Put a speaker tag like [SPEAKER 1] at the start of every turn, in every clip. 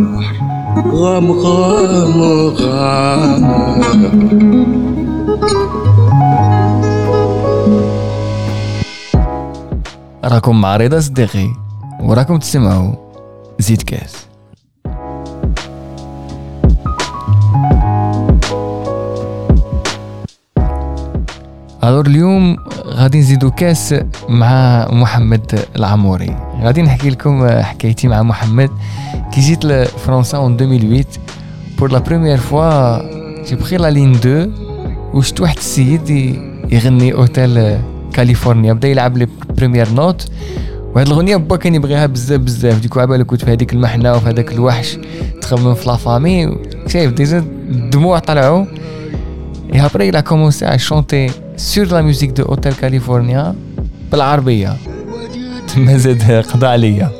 [SPEAKER 1] غام غام غام.
[SPEAKER 2] راكم مع رضا صديقي وراكم تسمعوا زيد كاس. الور اليوم غادي نزيدو كاس مع محمد العموري. غادي نحكي لكم حكايتي مع محمد كي جيت لفرنسا en 2008 pour la première fois. j'ai pris la ligne 2 وشت واحد السيد يغني اوتيل كاليفورنيا، بدا يلعب لي بريمير نوت، وهاد الاغنيه با كان يبغيها بزاف بزاف. ديكو عبالك كنت في هذيك المحنه وفي هذاك الوحش تخمم في لا فامي، شايف ديجا الدموع طلعوا. et après il a commencé à chanter sur la musique de Hotel California بالعربيه. تما زاد قضى عليا.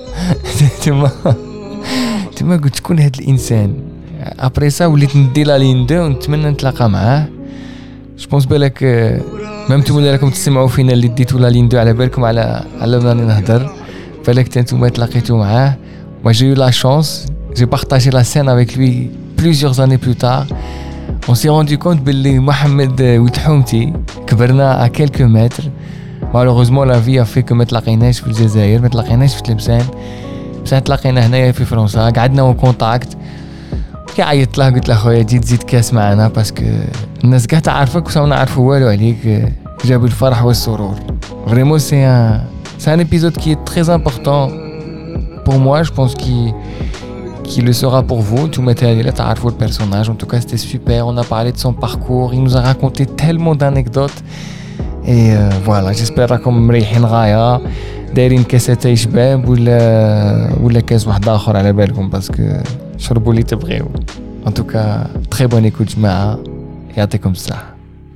[SPEAKER 2] تما قلت شكون هاد الانسان. ابري سا وليت ندي لا لين 2 ونتمنى نتلاقى معاه. جو بونس بالك ممتم لكم تسمعوا فينا اللي ديتو لا لين 2 على بالكم على بلاني نهضر، بالك نتوما تلاقيتوا معاه. moi j'ai eu la chance, j'ai partagé la scène avec lui plusieurs années plus tard. on s'est rendu compte باللي محمد وتحومتي كبرنا à quelques mètres. malheureusement la vie a fait que ما تلاقيناش في الجزائر، ما تلاقيناش في تلمسان، بس تلاقينا هنايا في فرنسا، قعدنا اون كونتاكت. كي عيطت له قلت له خويا جيت زيد كاس معنا باسكو الناس كاع تعرفك وسا ما نعرفوا والو عليك. جابوا الفرح والسرور. فريمون سي ان épisode qui est très important pour moi. je pense qui le sera pour vous. tout matériel là تعرفوا le personnage. en tout cas c'était super. on a parlé de son parcours, il nous a raconté tellement d'anecdotes. et voilà, j'espère راكم مريحين غايه، دايرين كاسات شباب ولا كاس واحد اخر على بالكم باسكو شربوا اللي تبغيو. en tout cas très bonne écoute جماعه، يعطيكم الصحه.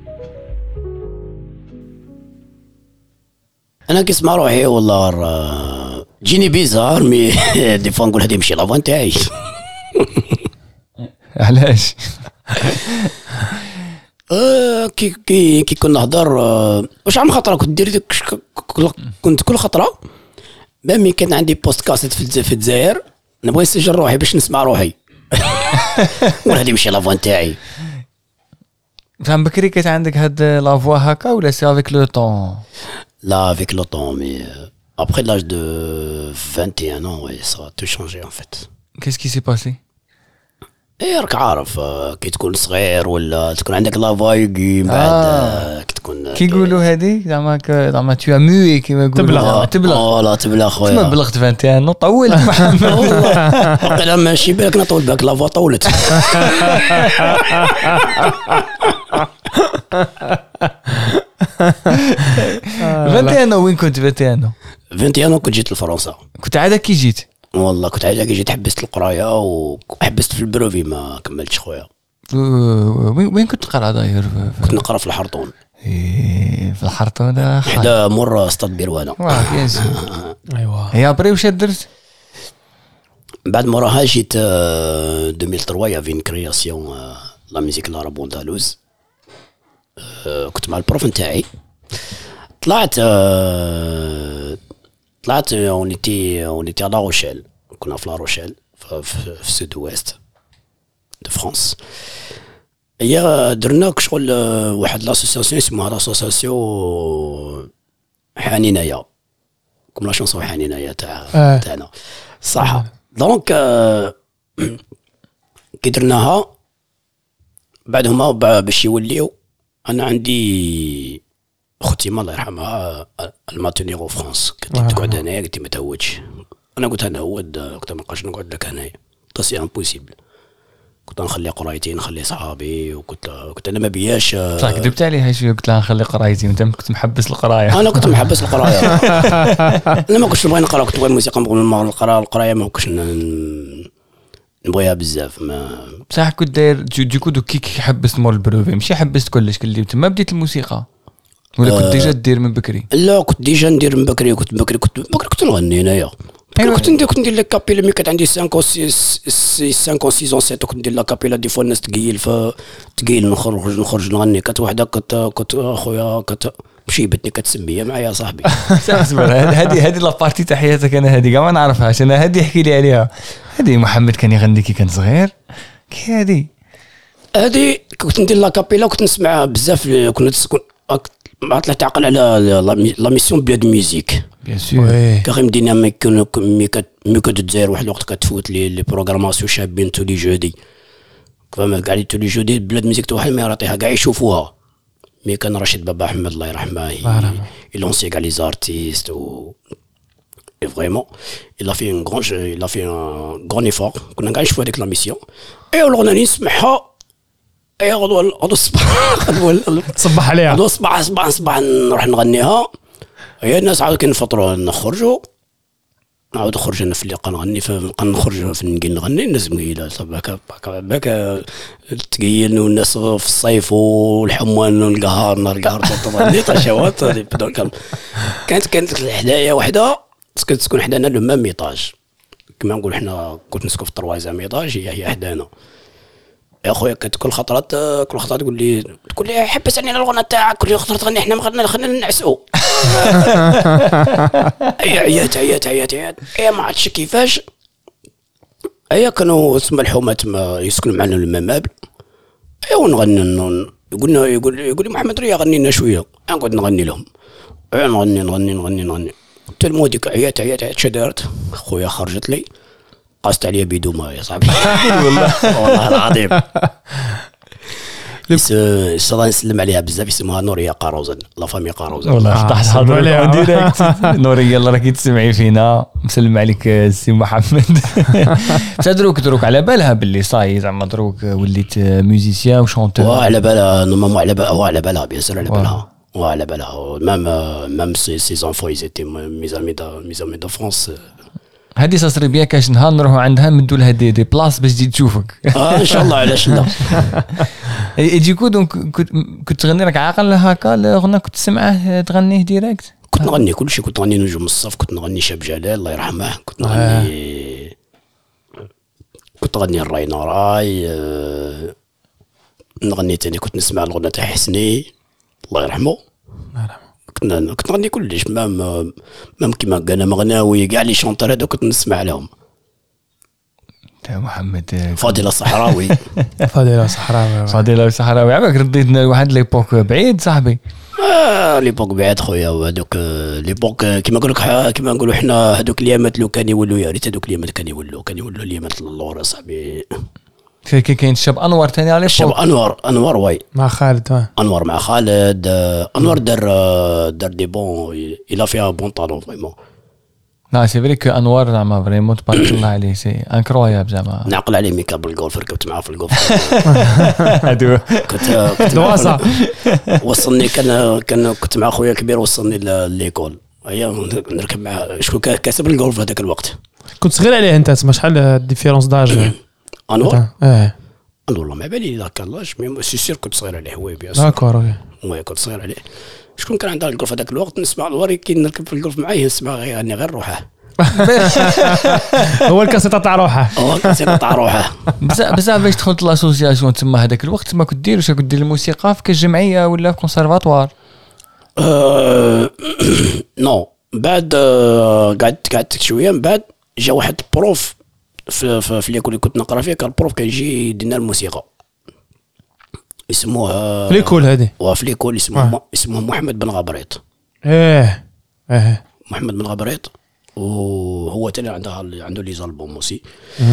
[SPEAKER 3] انا كنسمع روحي والله جيني بيزار مي دي فوا نقول هذه ماشي لافون تاعي.
[SPEAKER 2] علاش؟
[SPEAKER 3] كي كنا نهضر واش عم خطره كنت دير كنت كل خطره بامي كان عندي بوست كاسيت في الجزائر نبغي نسجل روحي باش نسمع روحي. وهذه ماشي لافون تاعي.
[SPEAKER 2] فهم بكري كانت عندك هاد لافوا هكا ولا سي افيك لو طون؟
[SPEAKER 3] لا افيك لو طون مي après l'âge de 21 ans ouais ça a tout changé en fait.
[SPEAKER 2] qu'est-ce qui s'est passé؟
[SPEAKER 3] راك عارف كي تكون صغير ولا تكون عندك لافايغي بعد كي تكون
[SPEAKER 2] كيقولوا هذه زعما تو اموي كيما يقولوا
[SPEAKER 3] تبلغ لا تبلغ خويا.
[SPEAKER 2] ما بلغت 21 طولت محمد.
[SPEAKER 3] والله ماشي بالك نطول بالك لافا طولت.
[SPEAKER 2] 21 وين كنت 21
[SPEAKER 3] كنت جيت لفرنسا.
[SPEAKER 2] كنت عادة كي جيت؟
[SPEAKER 3] والله كنت عادة كي جيت حبست القرايه وحبست في البروفي ما كملتش خويا.
[SPEAKER 2] وين كنت تقرا داير؟
[SPEAKER 3] كنت نقرا في الحرطون.
[SPEAKER 2] في الحرطون
[SPEAKER 3] حدا مر استاد بيروانه.
[SPEAKER 2] ايوا هي ابري واش درت
[SPEAKER 3] بعد موراها جيت 2003 يا فين كرياسيون لا ميوزيك العرب اندلس. كنت مع البروف نتاعي طلعت اونيتي على لا روشيل. كنا في لا روشيل في السود اويست دو فرانس. هي درنا شغل واحد لاسوسياسيون اسمها لاسوسياسيون حنينايا كوم لا شونسون حنينايا تاعنا صح. دونك كي درناها بعدهما باش يوليو انا عندي اختي ما الله يرحمها الماتونيغو فرانس كنت تقعد هنايا قلت ما تهودش. انا قلت نهود قلت ما نبقاش نقعد لك هنايا سي امبوسيبل. كنت نخلي قرايتي نخلي صحابي وكنت انا ما بياش
[SPEAKER 2] صح. كذبت عليها شويه قلت لها نخلي قرايتي وانت كنت محبس القرايه.
[SPEAKER 3] انا كنت محبس القرايه. انا ما كنتش نبغي نقرا كنت نبغي الموسيقى نبغي القرايه ما كنتش نبغيها بزاف. ما
[SPEAKER 2] بصح كنت داير دو كي حبست مور البروفي ماشي حبست كلش كلي تما بديت الموسيقى ولا كنت ديجا دير من بكري؟
[SPEAKER 3] لا كنت ديجا ندير من بكري. كنت نغني هنايا كنت ندير لا كابيلا مي كانت عندي 5 او 6 او 7 كنت ندير لا كابيلا دي فوا الناس تقيل نخرج نغني. كانت وحده كنت اخويا كانت مشيبتني كتسميه معايا صاحبي.
[SPEAKER 2] هذه لا بارتي تاع حياتك انا هذه كاع ما نعرفهاش انا. هذه احكي لي عليها. هذه محمد كان يغني كي كان صغير كي
[SPEAKER 3] هذه كنت ندير لا كابيلا وكنت نسمعها بزاف. كنت ما طلعت تعقل على لا ميسيون بلاد ميوزيك
[SPEAKER 2] بيان سور
[SPEAKER 3] كريم دينا مي كتدير واحد الوقت كتفوت لي بروغراماسيون شابين تو لي جودي فما كاع لي تو لي جودي بلاد ميوزيك تو ما يعطيها كاع يشوفوها. مي كان رشيد بابا احمد الله يرحمه يلونسي كاع لي زارتيست و فريمون il a fait un grand effort. كنا كاع نشوفوا هذيك لا ميسيون اي الاغنيه نسمعها اي غدوه
[SPEAKER 4] تصبح عليها
[SPEAKER 3] غدوه صباح نروح نغنيها. هي الناس عاود كنفطروا نخرجوا نعاود نخرج انا في اللي نغني نخرج في نغني الناس مقيله صباك تقيل والناس في الصيف والحموان والقهار نهار القهر تغني طشوات كانت الحدايا وحده تسكن حدانا لو ميم ايطاج كما نقول حنا كنت نسكن في الطروازيام ايطاج هي حدانا يا خويا. كانت كل خطره تقول لي حبس علينا الغنى تاعك كل خطره تغني حنا ما خلينا نعسوا. عيات هي ما عرفتش كيفاش. هي كانوا اسم الحومات ما يسكنوا معنا الممابل. ونغني يقول لي محمد ريا غني لنا شويه. نقعد نغني لهم نغني حتى الموديك عيات شدارت خويا خرجت لي قاست عليا بيدوما يا صاحبي. والله العظيم صراحه نسلم عليها بزاف. اسمها نوريه قاروزن لا فامي قاروزن.
[SPEAKER 2] والله طاح حاضر عليها ديريكت. نوريه الله راكي تسمعي فينا مسلم عليك السي محمد. دروك على بالها باللي صاي زعما دروك وليت ميوزيسيان وشونتور.
[SPEAKER 3] على بالها نورمالمون على بالها بيان سور على بالها même ses enfants ils étaient mes amis d'enfance.
[SPEAKER 2] هذه صار بيان كاش نهار نروحوا عندها ندوا لها دي بلاص باش تجي تشوفك.
[SPEAKER 3] ان شاء الله علاش لا.
[SPEAKER 2] يجيكو دونك كنت تغني لك عاقل هكا الاغنيه كنت تسمعه تغنيه ديريكت.
[SPEAKER 3] كنت نغني كل شيء. كنت نغني نجوم الصف كنت نغني شاب جلال الله يرحمه. كنت نغني الراي نوراي نغني تاني. كنت نسمع الاغنيه تاع حسني الله يرحمه. كنت نغني كلش مام كيما قالنا مغناوي كاع لي شونطور هذو كنت نسمع لهم.
[SPEAKER 2] تاع محمد
[SPEAKER 3] فاضل الصحراوي.
[SPEAKER 2] فاضل الصحراوي عباك رديتنا لواحد ليبوك بعيد صاحبي.
[SPEAKER 3] ليبوك بعيد خويا. وهذوك ليبوك كيما نقولوا حنا هذوك اليامات لو كان يولوا يا ريت هذوك اليامات كان يولوا اليامات اللور صاحبي.
[SPEAKER 2] كاين الشاب انور ثاني على
[SPEAKER 3] الشاب انور واي
[SPEAKER 4] مع خالد.
[SPEAKER 3] انور مع خالد. انور دار دي بون الى فيها بون طالون فريمون.
[SPEAKER 2] لا سي فري كو انور زعما فريمون تبارك الله عليه سي انكرويابل زعما.
[SPEAKER 3] نعقل عليه ميكا بالجولف ركبت معاه في الجولف.
[SPEAKER 2] هادو
[SPEAKER 3] كنت دواسه وصلني كنت مع خويا كبير وصلني لليكول. هيا نركب معاه. شكون كاسب الجولف هذاك الوقت؟
[SPEAKER 4] كنت صغير عليه انت تسمى شحال الديفيرونس داج؟
[SPEAKER 3] انور والله ما بالي ذاك اللاش مي سي سير كنت صغير عليه. وي بيان
[SPEAKER 4] داكور
[SPEAKER 3] وي كنت صغير عليه. شكون كان عنده الجولف هذاك الوقت نسمع الوري كي نركب في الجولف معاه نسمع غير روحه.
[SPEAKER 4] هو الكاسيطه تاع روحه.
[SPEAKER 2] بزاف باش دخلت لاسوسياسيون تما هذاك الوقت ما كنت دير واش كنت دير الموسيقى في كجمعيه ولا في كونسيرفاتوار؟
[SPEAKER 3] نو بعد قعدت شويه من بعد جا واحد بروف في ليكول اللي كنت نقرا فيه. كان البروف كان يجي يدينا الموسيقى اسموها
[SPEAKER 4] في ليكول هذه.
[SPEAKER 3] وفي ليكول اسمه محمد بن غبريط. محمد بن غبريط وهو تاني عنده لي زالبوم موسي.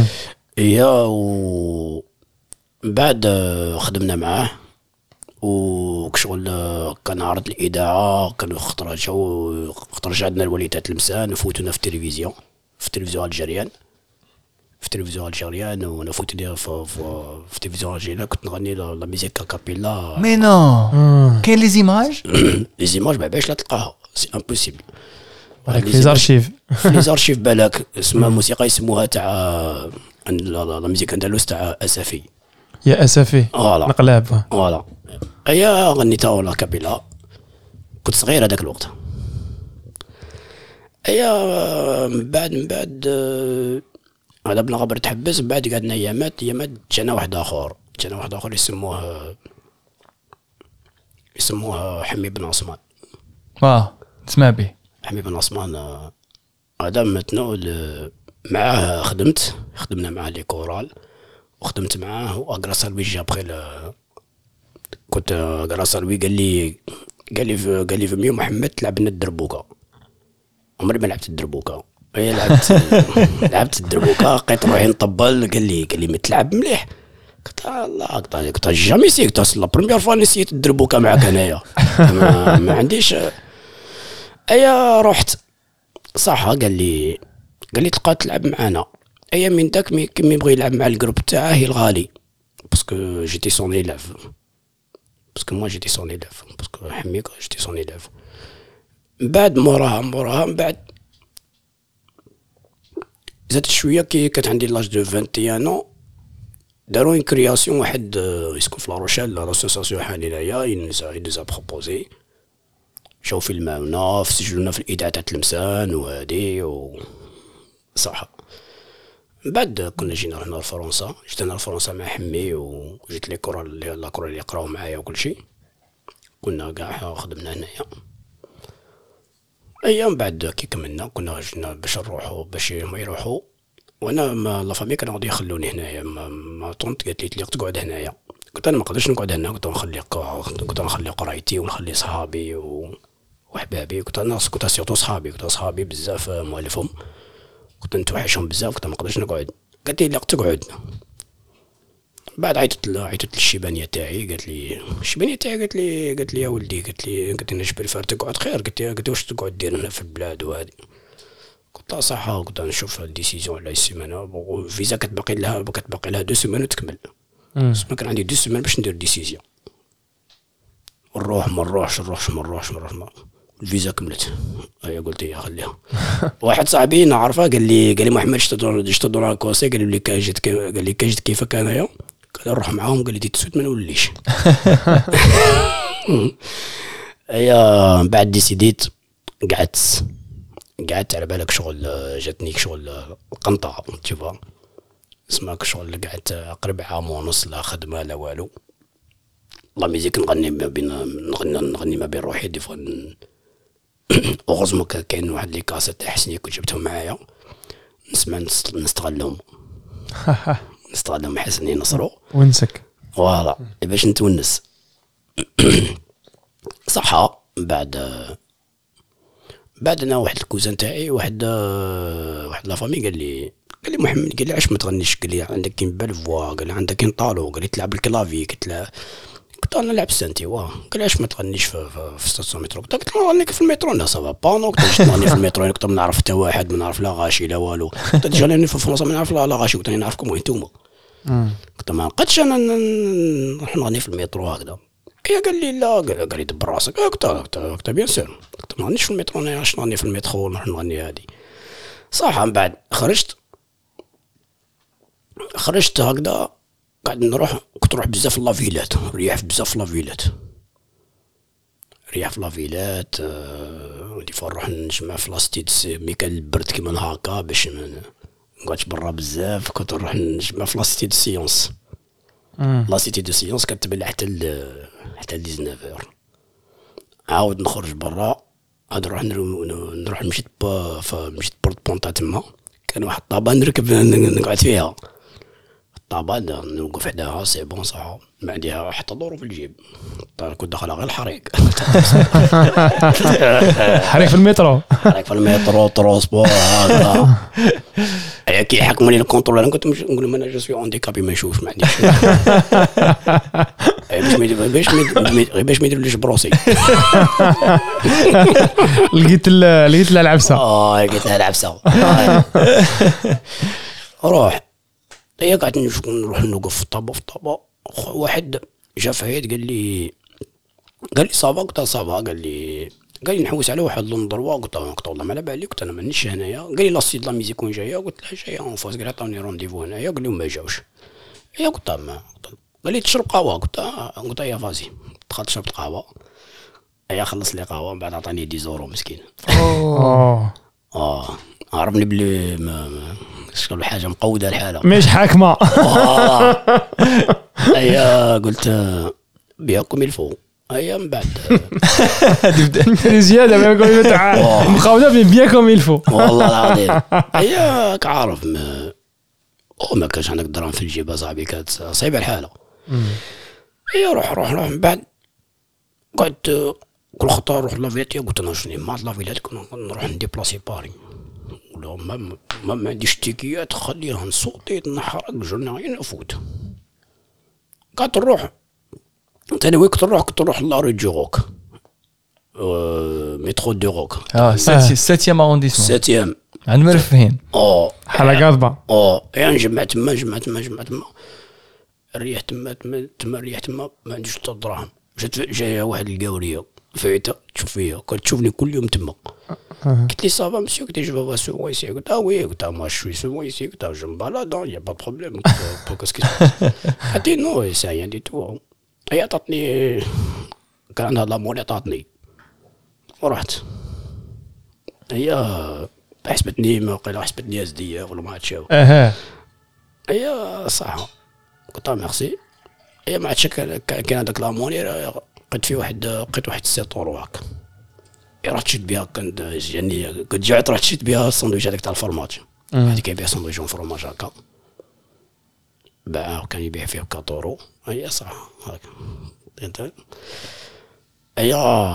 [SPEAKER 3] و بعد خدمنا معاه وكشغل كان عرض الاذاعه. كانوا خطر عندنا الوليدات المسان وفوتونا في التلفزيون ونفوت لي في التلفزيون الجزائري. كنت نغني لا ميوزيك كابيلا.
[SPEAKER 2] مي نو كاين لي زيماج
[SPEAKER 3] ما باش لا تلقاها سي امبوسيبل.
[SPEAKER 4] في
[SPEAKER 3] زارشيف بالك اسمها موسيقى يسموها تاع لا ميوزيك اندلس تاع اسفي
[SPEAKER 4] يا اسفي نقلاب.
[SPEAKER 3] فوالا هيا غنيتها ولا كابيلا. كنت صغير هذاك الوقت. ايا من بعد هذا بلا غبر تحبس. من بعد قعدنا ايامات جانا واحد اخر يسموه حمي بن عثمان.
[SPEAKER 2] تسمع به
[SPEAKER 3] حمي بن عثمان. هذا متنو معاه خدمنا معاه لي كورال وخدمت معاه. وغراس لوي جا بخي كنت غراس لوي قال لي فمي محمد تلعب لنا الدربوكه. عمري ما لعبت الدربوكه. هي لعبت الدربوكه لقيت روحي نطبل. قال لي ما تلعب مليح. قلت الله قلت جامي سيت لا بروميير فوا نسيت الدربوكه معاك انايا. ما عنديش. ايا رحت صح. قال لي تلقى تلعب معانا. ايا من داك كي يبغي يلعب مع الجروب تاعه الغالي باسكو جيتي سون ايلاف. باسكو جيتي سون ايلاف باسكو حميك جيتي سون ايلاف. من بعد موراها من بعد زادت شويه كي كانت عندي لاج دو 21 داروا اون كرياسيون واحد يسكن في لاروشيل لاسوسياسيون حاليا ينزا بروبوزي شاو فيلماونا سجلونا في الاذاعه تاع تلمسان وهادي صح. من بعد كنا جينا لفرنسا. جيت انا لفرنسا مع حمي وجيت لي كورال اللي يقراو معايا وكل شيء. كنا كاع خدمنا هنايا. ايام بعد كي كملنا كنا جينا باش نروحوا باش ما يروحوا. وانا لا فامي كانوا غادي يخلوني هنايا. ما طنت قالت لي تقعد هنايا. قلت انا ما نقدرش نقعد هنا. كنت نخلي قرايتي ونخلي صحابي وحبابي. كنت سيرتو صحابي بزاف موالفهم. كنت نتوحشهم بزاف. كنت ما نقدرش نقعد. قالت لي لا تقعد. بعد عيطت للشيبانيه تاعي. قالت لي يا ولدي قالت لي انا بريفير تقعد خير. قلت لي واش تقعد دير هنا في البلاد وهذه. قلت لها صح. قلت نشوف الديسيزيون على السيمانه. فيزا كتبقي لها 2 سيمان وتكمل. بس ما كان عندي 2 سيمان باش ندير ديسيزيون. نروح ما نروحش. الفيزا كملت. هيا قلت يا خليها. واحد صاحبي نعرفه قال لي محمد اشتدور كوسي. قال لي كاجت كيفك انايا. قال نروح معاهم. قال لي دي تسوت ما نوليش. هيا بعد ديسيديت قعدت على بالك شغل. جاتني شغل القنطه تشوفها اسمك شغل. قعدت قرب عام ونص لا خدمه لا والو. الله ميزيك نغني ما بين روحي دي فوا. اوغوزمون كاين واحد لي كاسيت تاع حسني كنت جبتهم معايا نسمع نستغلهم حسني نصرو
[SPEAKER 4] ونسك
[SPEAKER 3] فوالا باش نتونس. صح. بعد انا واحد الكوزان تاعي واحد لا فامي قال لي محمد قال لي علاش ما تغنيش. قال لي عندك كاين بالفوا. قال لي عندك كاين طالو. قال لي تلعب الكلافي. قلت انا نلعب سانتي. قال لي علاش ما تغنيش في ستاسيون مترو. قلت له نغني في المترو. لا سافا با. كنت نغني في المترو. كنت ما نعرف حتى واحد. ما نعرف لا غاشي لا والو. كنت جاني في فرنسا ما نعرف لا غاشي. كنت نعرفكم وين نتوما. كنت ما نقدش انا نروح نغني في المترو هكذا. قال لي لا. قال لي دبر راسك. قلت بيان سير. قلت ما نغنيش في المترو. انا علاش نغني في المترو نروح نغني هذه صح. من بعد خرجت هكذا قاعد كنت نروح بزاف لافيلات. ريح بزاف لافيلات. ودي نروح نجمع في لاستيد مي كان البرد كيما هكا باش ما نقعدش برا بزاف. كنت نروح نجمع في لاستيد سيونس. لاستيد دو سيونس كانت تبلع حتى 19 عاود نخرج برا. عاد نروح مشيت بورت بونطا. تما كان واحد الطابا نركب نقعد فيها. الطابا نوقف حداها سي بون صح. ما عندها حتى دورو في الجيب. كنت داخلها غير الحريق.
[SPEAKER 4] حريق في المترو.
[SPEAKER 3] ترونسبور هكذا. كي يحكموا لي الكونترول. انا كنت نقول لهم انا جو سوي هانديكابي ما نشوفش ما عنديش. باش ما يديروليش بروسي.
[SPEAKER 4] لقيت لها العبسه.
[SPEAKER 3] لقيت لها العبسه. روح. هي قاعد نروح نوقف في الطابا. واحد جا فهيد قال لي صافا. قلت صافا. قال لي نحوس على واحد لندروا. قلت والله ما على بالي. قلت انا مانيش هنايا. قال لي لا سيد لا ميزيك وين جايه. قلت له جايه اون فاس. قال عطوني رونديفو هنايا. قال لي ما جاوش. قلت قال لي تشرب قهوه. قلت يا فازي. دخلت شربت قهوه. خلص لي قهوه. من بعد عطاني 10 يورو مسكين. عرفني بلي شكون حاجه مقوده الحاله
[SPEAKER 4] مش حاكمه.
[SPEAKER 3] ايا قلت بياكم الفو. ايا من بعد
[SPEAKER 4] زياده ما يقول تاع مقاوده بياكم الفو.
[SPEAKER 3] والله العظيم ايا كعارف ما كانش عندك دراهم في الجيب صاحبي، كانت صعيبه الحاله. ايا روح من بعد قعدت كل خطره نروح لافيتي. قلت انا شنو ما لافيلات كنا نروح ندي بلاصي باري ولا ما عنديش تيكيات خليها نصوتي نحرق جرناين نفوت. قعدت نروح تاني وين كنت نروح لاري جوروك مترو دو روك
[SPEAKER 2] 7 ارونديسمون
[SPEAKER 3] 7
[SPEAKER 2] عند مرفهين
[SPEAKER 4] حلقات با
[SPEAKER 3] يعني جمعت تما الريح تما الريح تما ما عنديش حتى دراهم. جايه واحد القاوريه فايته تشوف فيا كنت تشوفني كل يوم تما. قلت لي صافا مسيو قلت جو فوا سو ايسي. قلت وي قلت ما شوي سو ايسي قلت جو مبالاد يا با بروبليم بوكس حتى نو سا يعني دي تو. هي عطاتني كان عندها لامول عطاتني ورحت. هي حسبتني ما قيل حسبتني ازديه ولا ما عرفتش. هي صح قلت ميرسي. هي ما عرفتش كان هذاك لاموني لقيت واحد 6 اورو هكا. رحت شفت بها كنت يعني كنت جعت رحت شفت بها الساندويتش هذاك تاع الفرماج. هذيك كيبيع ساندويتش فرماج هكا باع كان يبيع فيه 4 اورو. هي صح هكا انت. هي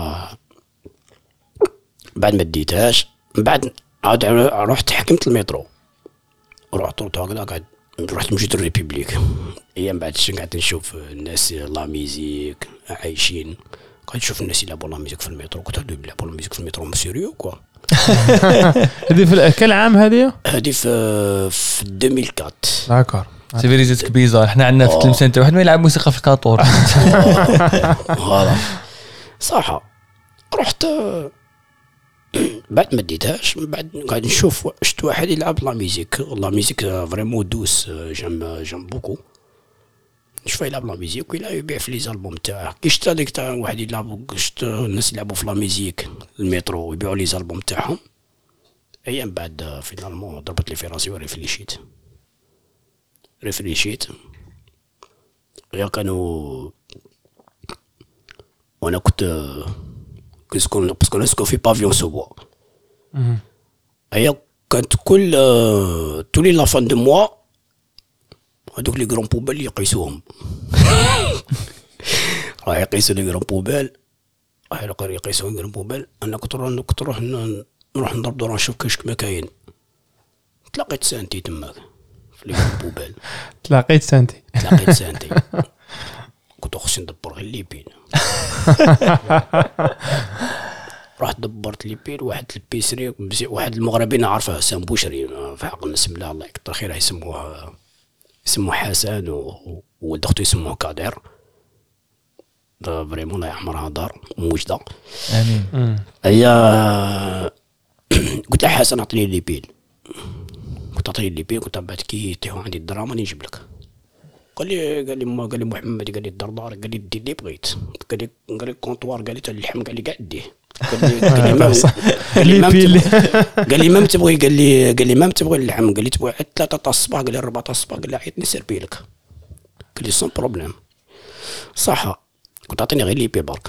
[SPEAKER 3] بعد ما ديتهاش بعد عاد رحت حكمت المترو ورحت هكذا قاعد رحت مشيت الريبوبليك. هي من بعد قعدت نشوف الناس لا ميزيك عايشين. قاعد نشوف الناس يلعبوا لا ميزيك في المترو. كنت هادو يلعبوا لا ميزيك في المترو مسيريو كوا.
[SPEAKER 4] هذه في كل عام هذه
[SPEAKER 3] في 2004.
[SPEAKER 4] داكور
[SPEAKER 2] سي فيريزيتك بيزار. احنا عندنا في التلمسان واحد ما يلعب موسيقى في الكاطور.
[SPEAKER 3] هذا صح. رحت بعد ما ديتهاش بعد قاعد نشوف شفت واحد يلعب لا ميزيك فريمون دوس جام بوكو. شوف يلعب لا ميزيك ولا يبيع في لي زالبوم تاعه. كي شفت هذيك تاع واحد يلعب شفت الناس يلعبوا في لا ميزيك المترو ويبيعوا لي زالبوم تاعهم. ايام بعد فينالمون ضربت لي في راسي وريفليشيت. يا كانوا وانا كنت سكون في بافيون سوبوا. هي كانت كل تولي لا فان دو موا هذوك لي غران بوبال يقيسوهم. راه يقيسوا لي غران بوبال يقيسوا غران بوبال. انا كنت نروح نضرب دور نشوف كاش ما كاين. تلاقيت سانتي تماك في لي غران بوبال.
[SPEAKER 4] تلاقيت سانتي
[SPEAKER 3] كنت خصني ندبر غير لي بين. رحت دبرت لي بين واحد البيسري واحد المغربي نعرفه حسام بوشري في حق الناس بالله الله يكثر خيره يسموه حسن وولد اختو يسموه كادر. فريمون الله يحمرها دار موجده
[SPEAKER 2] امين.
[SPEAKER 3] هي قلت له حسن اعطيني لي بين. قلت بعد كي يطيحوا عندي الدراهم راني نجيب لك. قال لي محمد قال لي الدردار قال لي دير اللي بغيت. قال لي كونطوار قال لي تاع اللحم قال لي قاع ديه. قال لي ما تبغي اللحم قال لي تبغي 3 تاع الصباح قال لي 4 تاع الصباح قال لي عيطني سيربي لك. قال لي سون بروبليم صح. كنت اعطيني غير لي بي برك.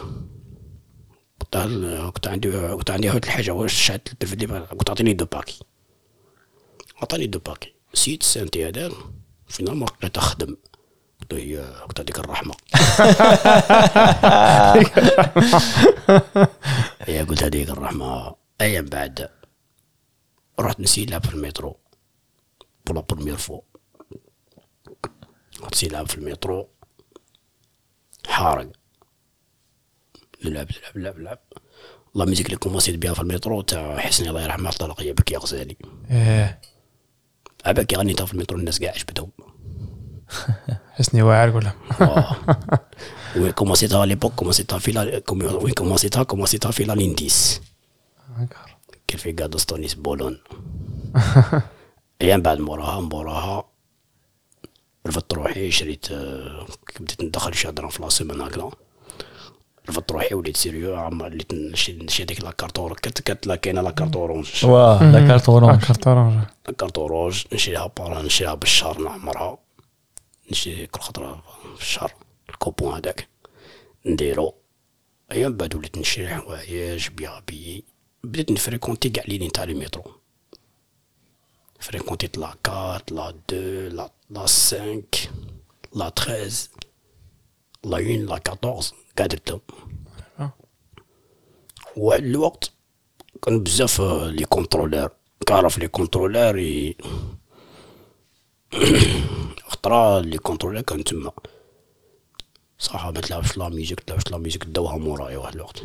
[SPEAKER 3] كنت عندي واحد الحاجه واش شعلت التلفزيون كنت اعطيني 2 باكي. عطاني 2 باكي سيت سنتي هذا فينال ما بقيت اخدم. قلت هذيك الرحمه. هي قلت هذيك الرحمه. ايام بعد رحت نلعب في المترو بولا بروميير فوا. رحت نلعب في المترو حارق نلعب الله ميزيك اللي كومونسيت بها في المترو تاع حسني الله يرحمه طلقيه بكي غزالي. عباك غنيتها في المترو الناس قاع عجبتهم.
[SPEAKER 4] حسني واعر ولا
[SPEAKER 3] وين كومونسيتها ليبوك كومونسيتها في لا لينديس كان في قاد ستونيس بولون. ايام بعد موراها رفضت روحي شريت بديت ندخل شهر في لاسيمين هكذا. رفضت روحي وليت سيريو عمر اللي نشري هذيك لاكارت كانت لا كاينه لاكارت اورانج
[SPEAKER 2] واه لا كارت اورانج
[SPEAKER 4] كارت اورانج
[SPEAKER 3] لاكارت اورانج نشريها بالشهر نعمرها نشري كل خطره في الشهر الكوبون هذاك نديرو ايام بعد وليت نشري حوايج بيابي بديت نفريكونتي كاع لي تاع لي مترو فريكونتيت لا 4 لا 2 لا 5 لا 13 لا 1 لا 14 قاعد درتهم واحد الوقت كان بزاف لي كونترولور كعرف لي كونترولور خطرا لي كونترولور كان تما صح ما تلعبش لا ميوزيك داوها مورايا واحد الوقت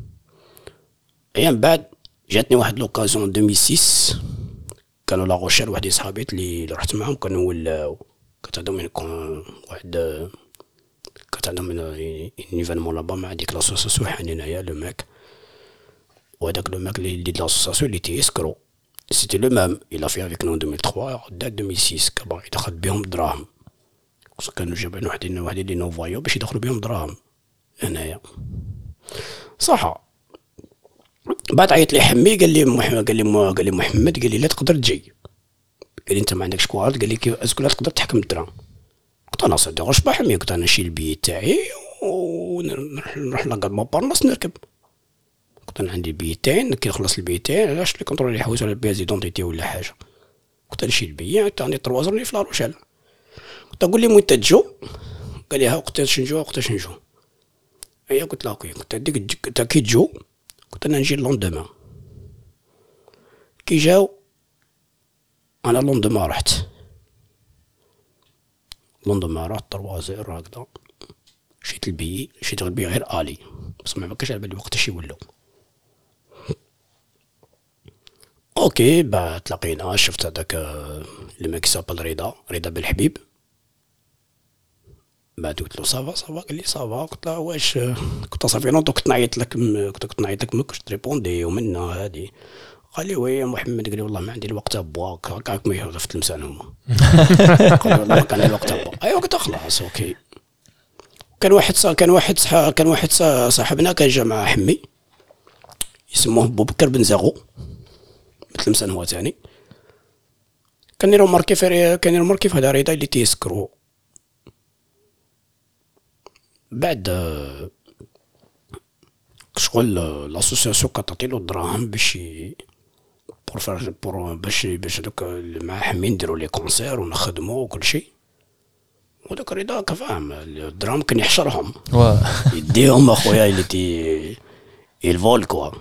[SPEAKER 3] ايام بعد جاتني واحد لوكازيون 2006 كانوا لا غوشير واحد صحابيت اللي رحت معهم كانوا ولاو كانت عندهم واحد كانت عندهم ايفينمون لابا مع ديك لاسوسياسيون حنينايا لو ماك وهذاك لو ماك اللي دي لاسوسياسيون اللي تيسكرو سيتي لو ميم il a fait avec nous en 2003 داك 2006 كبا يدخل بهم دراهم كانوا جابين واحدين اللي نوفايو باش يدخلوا بهم دراهم هنايا صح بعد عيط لي حمي قال لي محمد قال لي لا تقدر تجي قال لي انت ما عندكش كوارد قال لي كيف اسكو لا تقدر تحكم الدراهم قلت انا صدق واش بحمي قلت انا نشيل البي تاعي ونروح لاكار مونبارناس نركب قلت انا عندي البي تاعي كي نخلص البي تاعي علاش لي كونترول يحوسوا على البياز دونتيتي ولا حاجه قلت نشيل البي عندي 3 زرني في لاروشال قلت اقول لي متى تجو قال لي ها وقتاش نجو ايا قلت له اوكي قلت ديك كي تجو قلت انا نجي لوندومان كي جاو انا لوندومان رحت 3-0 هكذا شيت البي غير الي بس ما كاش على بالي وقتاش يولو اوكي بعد تلاقينا شفت هذاك اللي ما كيسابل رضا بالحبيب بعد قلت له صافا قال لي صافا قلت له واش كنت صافي لونطو كنت نعيط لك ما كنتش تريبوندي ومنا هادي قال لي وي يا محمد قال لي والله ما عندي الوقت ابواك هكاك ما يهضر في التلمسان هما قال لي والله ما كان الوقت ابواك ايوا قلت خلاص اوكي كان واحد صاحبنا كان جا مع حمي يسموه بوبكر بن زاغو بتلمسان هو ثاني كان يرو ماركي في هذا رضا اللي تيسكرو بعد شغل لاسوسياسيون كتعطيلو الدراهم باش باش دوك مع حمي نديرو لي كونسير ونخدمو وكل شيء وداك رضا كفاهم الدراهم كان يحشرهم يديهم اخويا اللي تي الفول كوا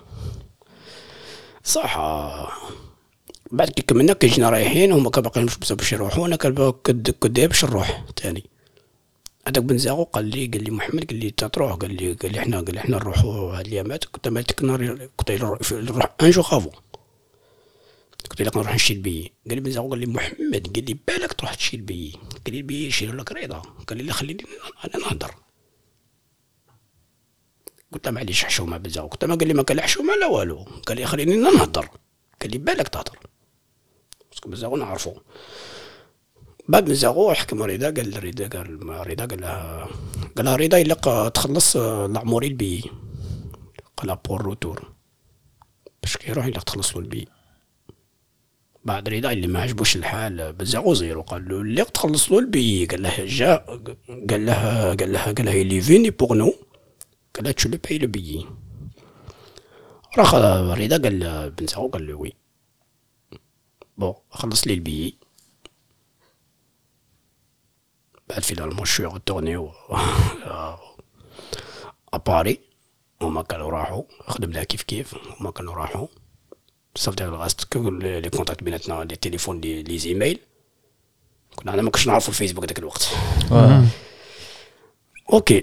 [SPEAKER 3] صح بعد كي كملنا كيجينا رايحين هما كباقيين باش يروحوا انا كدي باش نروح ثاني هذاك بن زاغو قال لي محمد قال لي تروح قال لي احنا نروحوا هاد الايامات كنت مالتك كنت نروح ان جو خافو قلت لك نروح نشري البي قال لي بن زاغو قال لي محمد قال لي بالك تروح تشري البي قال لي البي يشيروا لك رضا قال لي خليني انا نهضر قلت له معليش حشومه بن زاغو قلت له قال لي ما كان حشومه لا والو قال لي خليني نهضر قال لي بالك تهضر باسكو بن زاغو نعرفو بعد بن زاغو حكم رضا قال لها رضا الا تخلص العموري البي قال بور روتور باش كيروح الا تخلص له البي بعد رضا اللي ما عجبوش الحال بن زاغو زيرو قال له اللي تخلص له البي قال لها اللي فيني بور نو قال لها تشو لو باي لو بي راح رضا قال بن زاغو قال له وي بون خلص لي البي بعد فينالمون شوي غتورنيو اباري هما كانوا راحوا خدمنا كيف هما كانوا راحوا صافي الغاست لي كونتاكت بيناتنا لي تليفون لي زيميل كنا انا ما كنتش نعرفوا الفيسبوك داك الوقت اوكي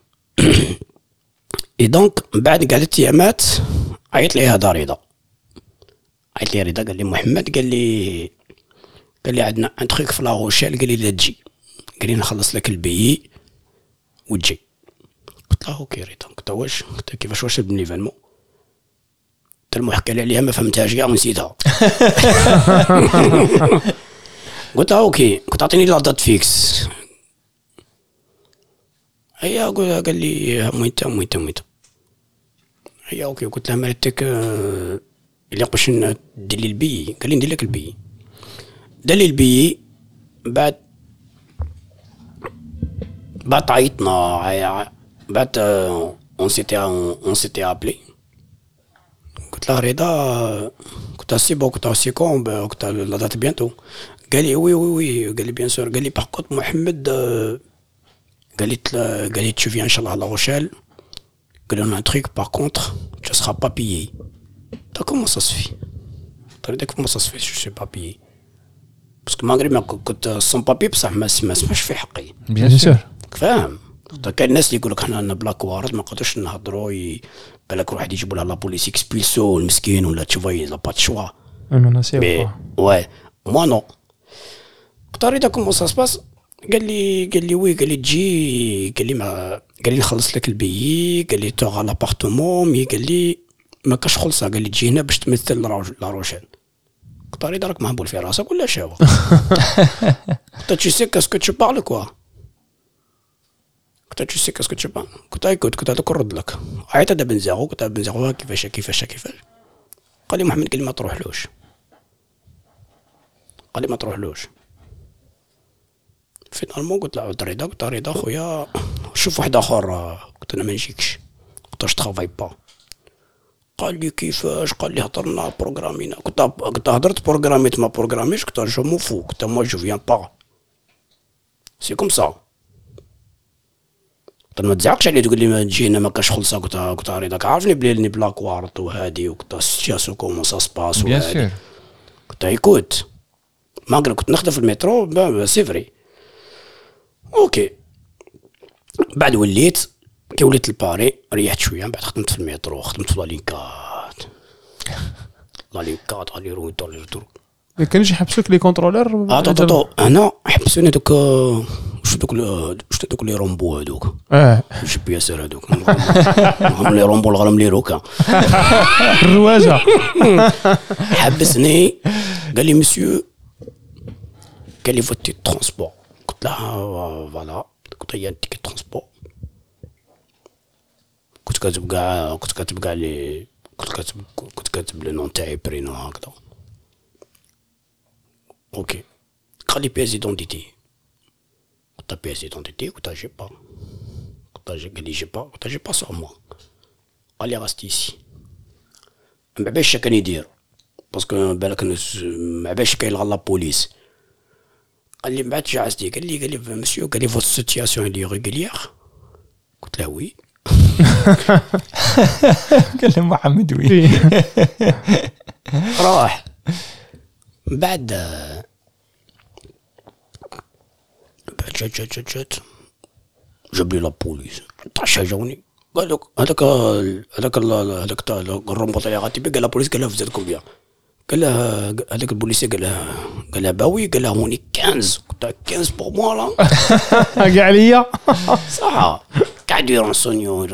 [SPEAKER 3] اي دونك بعد كاع 3 ايامات عيط لي هذا رضا قال لي محمد قال لي عندنا ان تخيك في لاغوشيل قال لي لا تجي قال لي نخلص لك البي وتجي قلت له اوكي رضا قلت له واش قلت كيفاش واش بالنيفالمون قلت له حكى لي عليها ما فهمتهاش كاع ونسيتها قلت له اوكي كنت اعطيني لا دات فيكس هي قال لي موينتا هي اوكي. قلت لها مرتك اللي باش ندير لي البي. قال لي ندير لك البي. دار لي البي. بعد عيطنا بعد اون سيتي ابلي. قلت لها رضا قلت لها سي بون قلت لها سي كوم قلت لها لا دات بيانتو. قال لي وي قال لي بيان سور. قال لي باغ كونت محمد قال لي tu viens inchallah à La Rochelle. قال لنا un truc par contre tu seras pas payé. comment ça se fait. comment ça se fait je suis pas payé باسكو ماغري ما كنت سون بابي بصح ما سمعش في حقي.
[SPEAKER 2] بيان سور
[SPEAKER 3] فاهم. كاين الناس اللي يقول لك حنا بلاك وارد ما نقدرش نهضروا بالك واحد يجيبوا لها لا بوليس اكسبيلسو المسكين ولا تشوفي لا با شوا.
[SPEAKER 4] انا
[SPEAKER 3] واي مو نو. قلت له كومون سا سباس. قال لي وي. قال لي تجي. قال لي نخلص لك البيي. قال لي توغا لابارتمون مي. قال لي ما كاش خلصها. قال لي تجي هنا باش تمثل لا روشيل. قلت له راك مهبول في راسك ولا شاو. قلت له tu sais qu'est-ce que tu parles quoi. قلت له tu sais qu'est-ce que tu parles. قلت له كنت هذاك نرد لك. عيط هذا بن زاغو. قلت له بن زاغو كيفاش. قال لي محمد قال لي ما تروحلوش. فينالمون قلت له عود رضا. قلت له رضا خويا شوف واحد اخر. قلت انا ما نجيكش. قلت له ترافاي با. قال لي كيفاش. قال لي هضرنا بروغرامينا. قلت هضرت بروغراميت ما بروغراميش. قلت جو مو فو. قلت موا جو فيان با سي كوم سا. قلت ما تزعقش عليه تقول لي ما تجي هنا ما كاش خلصه. قلت رضاك عارفني بلي بلاك وارط وهادي. وقلت السياسيون كومون سا سباس وهادي. قلت ايكوت ماغري كنت نخدم في المترو سي فري اوكي. بعد وليت كي وليت لباري ريحت شويه. بعد خدمت في المترو. خدمت في لالينكات على روتور.
[SPEAKER 4] ما كانش يحبسوك لي كونترولور.
[SPEAKER 3] انا حبسوني دوك واش دوك لي رومبو هذوك. جي بي اس هذوك هم لي رومبو الغرام لي روكا
[SPEAKER 4] الرواجه.
[SPEAKER 3] حبسني. قال لي مسيو. قال لي فوتي ترونسبور. قلت له فوالا. قلت له تيكي ترونسبور. كنت كاتب لي نون تاعي برينو هكذا. اوكي. قال لي بياس ايدونتيتي. قلت له بياس ايدونتيتي. قلت له جي با. قال لي جي با. قلت له جي با سور موا. قال لي غاستي سي. ما باش كان يدير باسكو بالك ما باش كاين لا بوليس. قال لي من بعد جعزتي. قال لي مسيو. قال لي فوت سيتياسيون لي ريغوليير. قلت له وي.
[SPEAKER 2] قال له محمد وي.
[SPEAKER 3] راح. بعد جات جاب لي لا بوليس. شجعوني. قال لك هذاك الرومبوط اللي غاتي قال لا بوليس. قال له فزاد كومبيان. قال له هذاك البوليسي. قال له باوي. قال له هوني 15. قلت له 15 بور موا لا.
[SPEAKER 4] كاع عليا
[SPEAKER 3] صح. قاعد يرونسونيو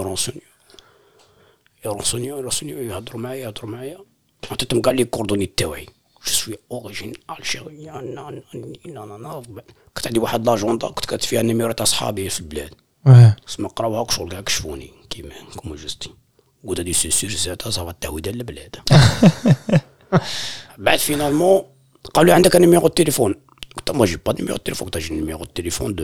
[SPEAKER 3] يهضروا معايا. عطيتهم كاع لي كوردوني تاعي. جو سوي اوريجين الجيريان. كنت عندي واحد لاجوندا كنت كاتب فيها النيميرو تاع صحابي في البلاد. اسمع قراوها شغل كاع كشفوني كيما جوستي. قلت هادي سي سير زاد صافا التهويده للبلاد. بعد فينالمون قالوا لي عندك نيميرو التليفون. قلت ما جي با نيميرو التليفون. قلت جي نيميرو التليفون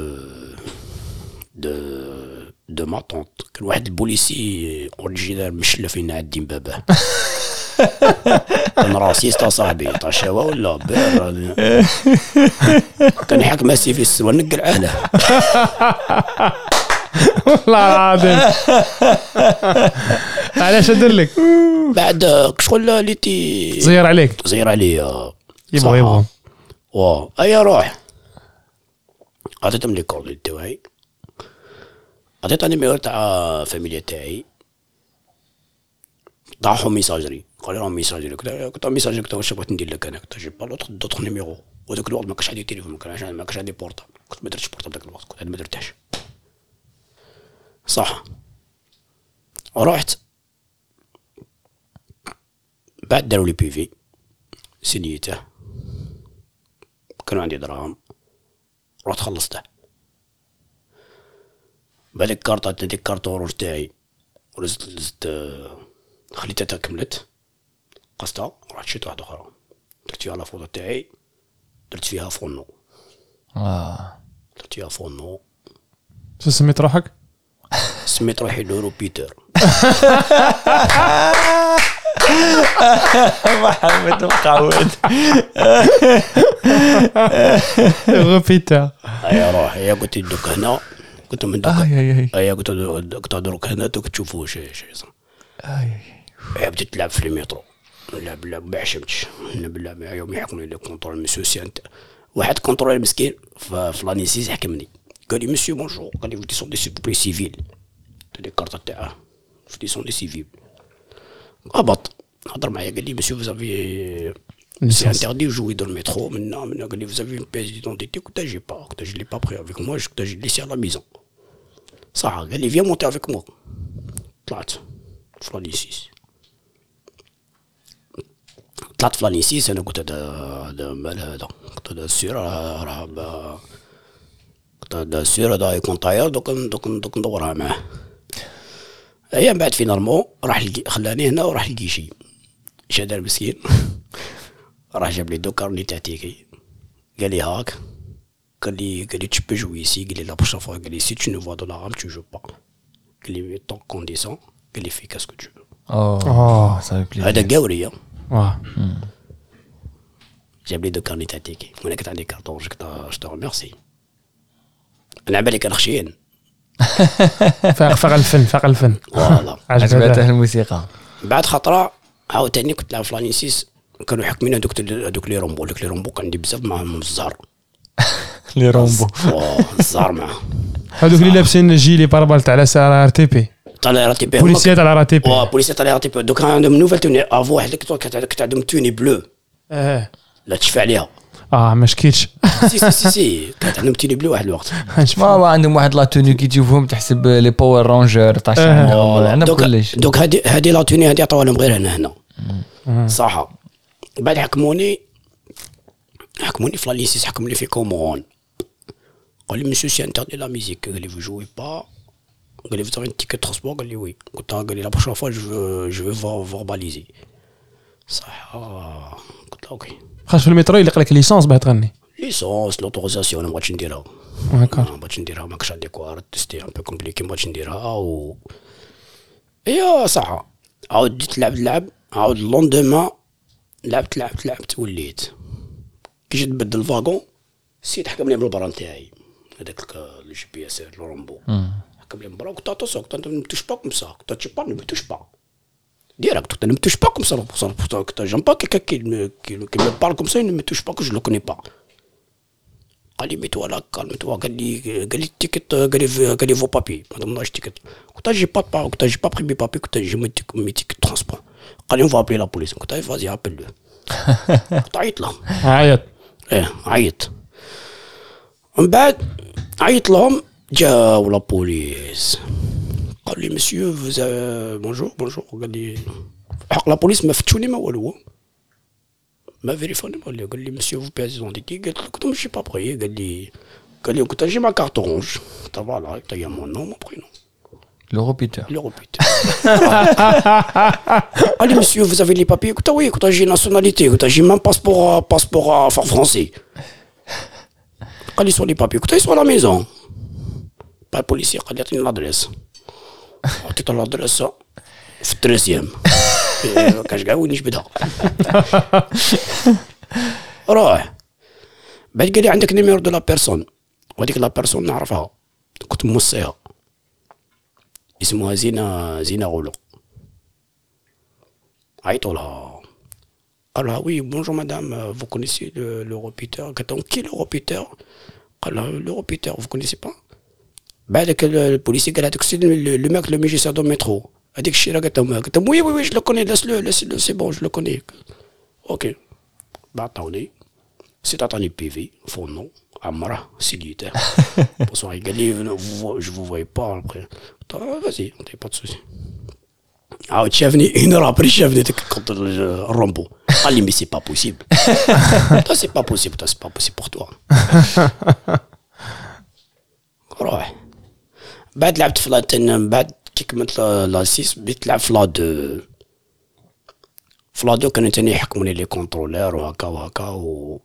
[SPEAKER 3] دو ما طونط. كان واحد البوليسي اوريجينال مشلف فينا عندي باباه. كان راسيست صاحبي تاع شوا ولا بير. كان يحكم سي في السوا نقل عاله.
[SPEAKER 4] والله العظيم. علاش ندير لك
[SPEAKER 3] بعد شغل ليتي
[SPEAKER 4] زير عليك.
[SPEAKER 3] زير عليا.
[SPEAKER 4] يبغى
[SPEAKER 3] ايا روح. عطيتهم لي كوردي تاعي. عطيت النيميرو تاع فاميليا تاعي. طاحوا ميساجري. قال لهم ميساجري. قلت ميساجري. قلت واش بغيت ندير لك انا. قلت جيب دوطخ نيميرو. وذاك الوقت ما كانش عندي تليفون. ما كانش عندي بورطابل. كنت ما درتش بورطابل ذاك الوقت. كنت ما درتهاش صح. رحت بعد داروا لي بي في سنيته. كانوا عندي دراهم. رحت خلصته. بعد الكارطة هذيك كارطة روج تاعي ورزت خليتها كملت قصتها رحت شريت واحدة أخرى درت فيها لافوطو تاعي درت فيها فونو درت فيها فونو
[SPEAKER 4] شو سميت روحك؟
[SPEAKER 3] سميت روحي لورو بيتر
[SPEAKER 2] محمد مقعود
[SPEAKER 4] غبيتا
[SPEAKER 3] يا روحي يا قلت دوك هنا قلت من دوك ايا قلت دوك هنا دوك تشوفوا شي بديت تلعب في المترو نلعب ما عشمتش نلعب يوم يحكمني لي كونترول مسيو سيانت واحد كونترول مسكين في لانيسيس حكمني قال لي مسيو بونجور قال لي ودي سون دي سيبلي سيفيل تدي الكارطه تاعه ودي سون دي سيفيل هبط هضر معايا قال لي مسيو فوزافي سي انتردي جوي دو المترو منا قال لي فوزافي اون بيس ديدونتيتي كنت جي با كنت جي لي با بري افيك موا كنت جي ليسي على ميزون صح قال لي فيا مونتي افيك موا طلعت في لانيسيس طلعت في لانيسيس انا قلت هذا مال هذا قلت هذا السير راه قلت هذا السير هذا يكون طاير دوك ندورها معاه ايام بعد فينالمون راح خلاني هنا وراح الكيشي اش دار مسكين راح جاب لي دو كارني تاع تيكي قال لي هاك قال لي tu peux jouer ici قال لي لا بروشين فوا قال لي si tu ne vois de l'arabe tu joues pas قال لي ton condition قال لي fais qu'est-ce que tu veux
[SPEAKER 2] ça fait plaisir
[SPEAKER 3] هذا قاوري
[SPEAKER 4] واه
[SPEAKER 3] جاب لي دو كارني تاع تيكي وانا كنت عندي كارطون جو ريميرسي انا على بالي كان خشين
[SPEAKER 4] فاق الفن
[SPEAKER 3] فوالا
[SPEAKER 2] عجبته الموسيقى
[SPEAKER 3] بعد خطره عاوتاني كنت نلعب في لانيسيس كانوا يحكمين هذوك لي رومبو كان عندي بزاف معاهم الزهر
[SPEAKER 2] لي رومبو
[SPEAKER 3] الزهر معاه
[SPEAKER 4] هذوك اللي لابسين جيلي باربال تاع ار تي بي
[SPEAKER 3] تاع ار تي بي
[SPEAKER 4] بوليسيات على ار تي بي
[SPEAKER 3] بوليسيات تاع ار تي بي دوك عندهم نوفيل توني افو واحد كنت عندهم توني بلو لا تشفى عليها
[SPEAKER 4] ما شكيتش
[SPEAKER 3] سي كانت عندهم توني بلو واحد الوقت
[SPEAKER 2] ما عندهم واحد لا توني كي تشوفهم تحسب لي باور رانجر تاع عندنا كلش
[SPEAKER 3] دوك هذه لا توني هذه عطاوها لهم غير هنا صح بعد حكموني في لانيسيس حكموني في كومون قال لي مسيو سي انتردي لا ميوزيك قال لي vous jouez pas قال لي vous avez un ticket de transport قال لي وي قلت له la prochaine fois je vais verbaliser صح قلت له اوكي
[SPEAKER 4] خاش في المترو يلق لك ليسونس باه تغني
[SPEAKER 3] ليسونس لوتوريزاسيون ما بغيتش نديرها ما كنتش عندي كوار تستي ان بو كومبليكي ما بغيتش نديرها ايوا صح عاود بديت نلعب عاود لوندوما لعبت وليت كي جيت نبدل الفاغون السيد حكم لي بالبرا نتاعي هذاك الجي بي اس رومبو حكم لي بالبرا قلت اتونسيون قلت ne me touche pas comme ça قلت tu parles ne me touche pas direct قلت ne me touche pas comme ça قلت j'aime pas quelqu'un qui me parle comme ça il ne me touche pas que je le connais pas قال لي ميتوا لا كالمتوا قال لي التيكت قال لي فو بابي ما ضمناش تيكت قلت جي با قلت جي با بري مي بابي قلت جي مي تيكت ترونسبور قال لي اون فابي لا بوليس قلت فازي ابل قلت عيط لهم عيط من بعد عيط لهم جاو لا بوليس قال لي مسيو بونجور قال لي حق لا بوليس ما فتشوني ما والو ما فيريفوني قال لي مسيو فو بيز دونتيتي قلت له ماشي با بري قال لي قلت جي ما كارت اورانج قلت فوالا قلت يا مون نو مون برينو
[SPEAKER 2] لورو بيتر
[SPEAKER 3] قال لي مسيو vous avez les papiers قلت وي قلت جي ناسيوناليتي قلت جي مام باسبور فرونسي قال لي سوا لي بابي قلت سوا لا ميزون با البوليسي قال لي عطيني لادريس عطيته لادريس في التريزيام كاش كاع وين نجبدها روح بعد قال لي عندك نيميرو دو لا بيرسون وهذيك لا بيرسون نعرفها كنت موصيها اسمها زينة غولو عيطوا لها قال لها وي بونجور مدام فو كونيسي لو روبيتر قالت لهم كي لو روبيتر قال لها لو روبيتر فو كونيسي با بعدك البوليسي قال هذاك السيد لو ماك لو ميجيسير دو ميترو هذيك الشيرة قالت لهم وي جو لو كوني لاسلو سي بون جو لو كوني اوكي بعطوني سيت عطاني بيفي فونو عمره سيليتير بونسوار قال لي جو فو فوي با ابري فازي انتي با دو سوسي عاود شافني اون اور ابري شافني ديك كونت الرومبو قال لي مي سي با بوسيبل سي با بوسيبل بور توا روح بعد لعبت في بعد كي كملت لا 6 بديت نلعب في لا 2. في لا 2 كانوا تاني يحكموني لي كونترولير وهكا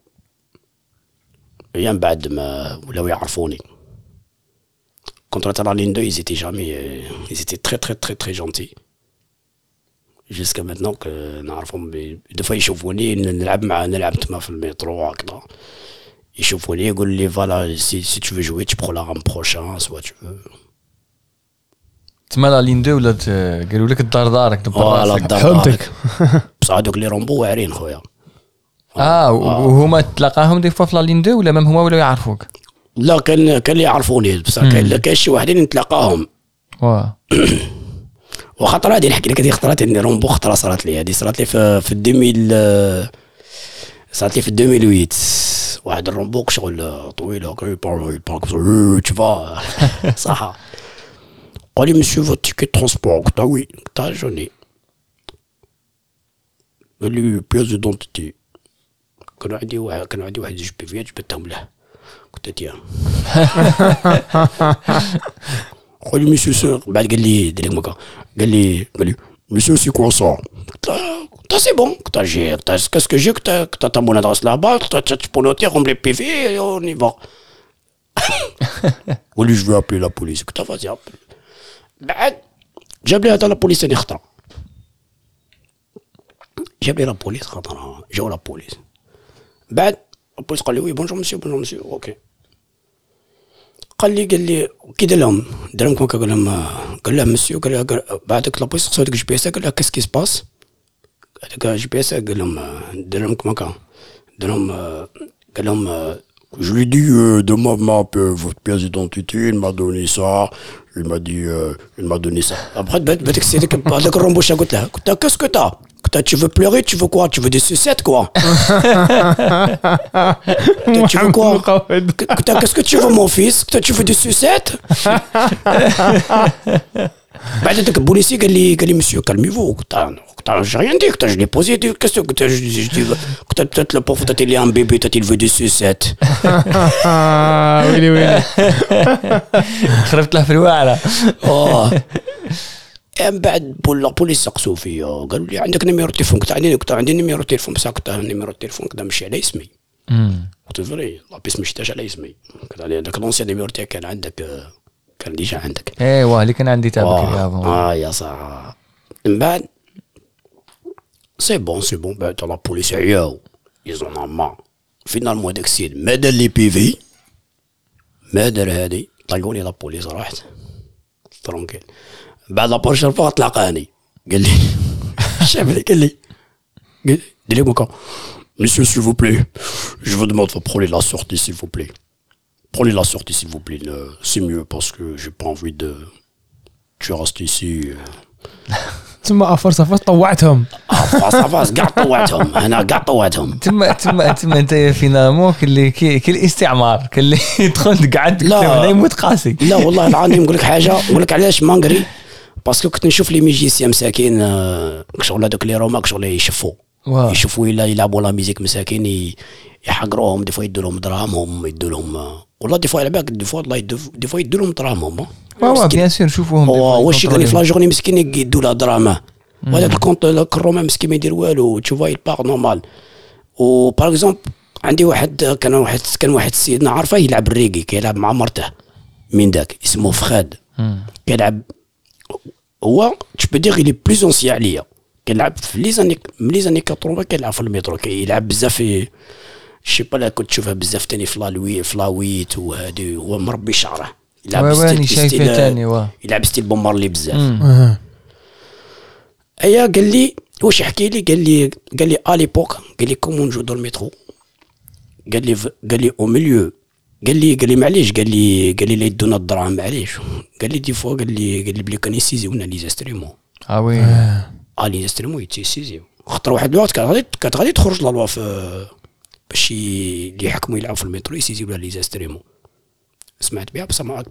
[SPEAKER 3] ايام بعد ما ولاو يعرفوني. كونترولير لا لين 2 ils étaient très gentils jusqu'à maintenant que نعرفهم دو فوا يشوفوني نلعب تما في المترو هكذا يشوفوني يقول لي فوالا si tu veux jouer tu prends la rame prochain soit tu veux.
[SPEAKER 2] تما لا لين 2 ولات قالوا لك الدار دارك دبر راسك.
[SPEAKER 4] فهمتك.
[SPEAKER 3] بصح هذوك لي رومبو واعرين خويا.
[SPEAKER 2] وهما تلاقاهم دي فوا في لا لين 2 ولا مام هما ولاو يعرفوك؟
[SPEAKER 3] لا كان اللي يعرفوني بصح كاين شي واحدين نتلاقاهم. وخطرة هذه نحكي لك هذه خطرات اني رومبو خطرة صارت لي في 2000 صارت لي في 2008 واحد الرومبو شغل طويل هكا تشوفا صح. قال لي مسيو فوت تيكي ترونسبور قلت وي قلت جوني. قال لي بياز دونتيتي كانوا عندي واحد جوج بيفيات جبتهم له قلت تيا. قال لي مسيو سور بعد قال لي ديريك مكا قال لي مسيو سي كوا سا قلت سي بون قلت جي كاسكو جي قلت تا مون ادرس لابا قلت tu peux noter comme les PV et on y va. قال لي je vais appeler la police قلت vas-y appelle. بعد جاب لي هذا لابوليس ثاني خطره جاب لي لابوليس خطره جاو لابوليس بعد لابوليس قال لي وي بونجور مسيو اوكي قال لي كي دار لهم كون قال لهم مسيو قال بعدك لابوليس خصو هذاك الجي بي اس قال له كاس كي سباس هذاك الجي بي اس قال لهم دار لهم كما كان قال لهم je lui ai dit de m'appeler votre pièce d'identité, il m'a donné ça, il m'a donné ça. Après, avec Ramboucha, qu'est-ce que t'as? Tu veux pleurer, tu veux quoi? Tu veux des sucettes, quoi? Tu veux quoi? Qu'est-ce que tu veux, mon fils? Tu veux des sucettes? بعد ذاك البوليسي قال لي مسيو كالميفو قلت j'ai rien dit قلت je l'ai posé des questions قلت قلت peut-être le pauvre t'as il un bébé t'as il veut des sucettes.
[SPEAKER 4] ويلي
[SPEAKER 2] خربت له في الواعره.
[SPEAKER 3] بعد البوليس سقسوا فيا قالوا لي عندك نيميرو تليفون قلت عندي نيميرو تليفون بصح قلت نيميرو تليفون كذا ماشي على اسمي. قلت فري لابيس مشتاش على اسمي قلت عليه داك لونسيان نيميرو تاعك كان عندك كان ديجا عندك.
[SPEAKER 2] ايوا اللي كان عندي تابعك
[SPEAKER 3] يا صح. من بعد سي بون بعد لا بوليس عياو يزون ما فينالمون داك السيد ما دار لي بي في ما دار هادي طلقوني لا بوليس راحت ترونكيل. بعد لا بروشين فوا تلاقاني قال لي شافني قال لي دير لي مكا مسيو s'il vous plaît je vous demande de prendre la sortie s'il vous plaît. Prenez la sortie s'il vous plaît, c'est mieux parce que j'ai pas envie de... Tu restes ici.
[SPEAKER 4] ثم افرس طوعتهم.
[SPEAKER 3] افرس قاع طوعتهم انا قاع طوعتهم.
[SPEAKER 2] ثم انت فينالمون كل الاستعمار كل يدخل قعد هنا يموت قاسي.
[SPEAKER 3] لا والله العظيم نقول لك حاجه نقول لك علاش ما نقري باسكو كنت نشوف لي ميوزيسيان مساكين شغل هذوك لي روماك شغل يشوفوا الا يلعبوا لا ميوزيك مساكين يحقروهم دي فوا يدوا لهم دراهمهم يدوا لهم والله دي فوا على بالك دي فوا والله دي فوا يدوا لهم دراهمهم.
[SPEAKER 2] بيان سور نشوفوهم
[SPEAKER 3] واش قال لي في لا جورني مسكين يدوا له دراهمه وهذاك الكونت الروما مسكين ما يدير والو تشوفا يبار نورمال. و باغ اكزومبل عندي واحد كان واحد السيد نعرفه يلعب الريغي كيلعب مع مرته من داك اسمه فخاد كيلعب هو تبي دير لي بلوز اونسيا عليا كيلعب في لي زاني 80 كيلعب في المترو كيلعب بزاف في شي با كنت تشوفها بزاف تاني في لاويت وهادي هو مربي شعره يلعب ستيل بومارلي بزاف. ايا قال لي واش يحكي لي قال لي على ليبوك قال لي كومون جو دو المترو قال لي او ميليو قال لي معليش قال لي لا يدونا الدراهم معليش قال لي دي فوا قال لي بلي كان يسيزيونا لي زاستريمون
[SPEAKER 2] وي
[SPEAKER 3] لي زاستريمون يتسيزيو خاطر واحد الوقت كانت غادي تخرج لا لوا في باش اللي يحكموا يلعبوا في المترو يسيزيو لي زاستريمون سمعت بها بصح ما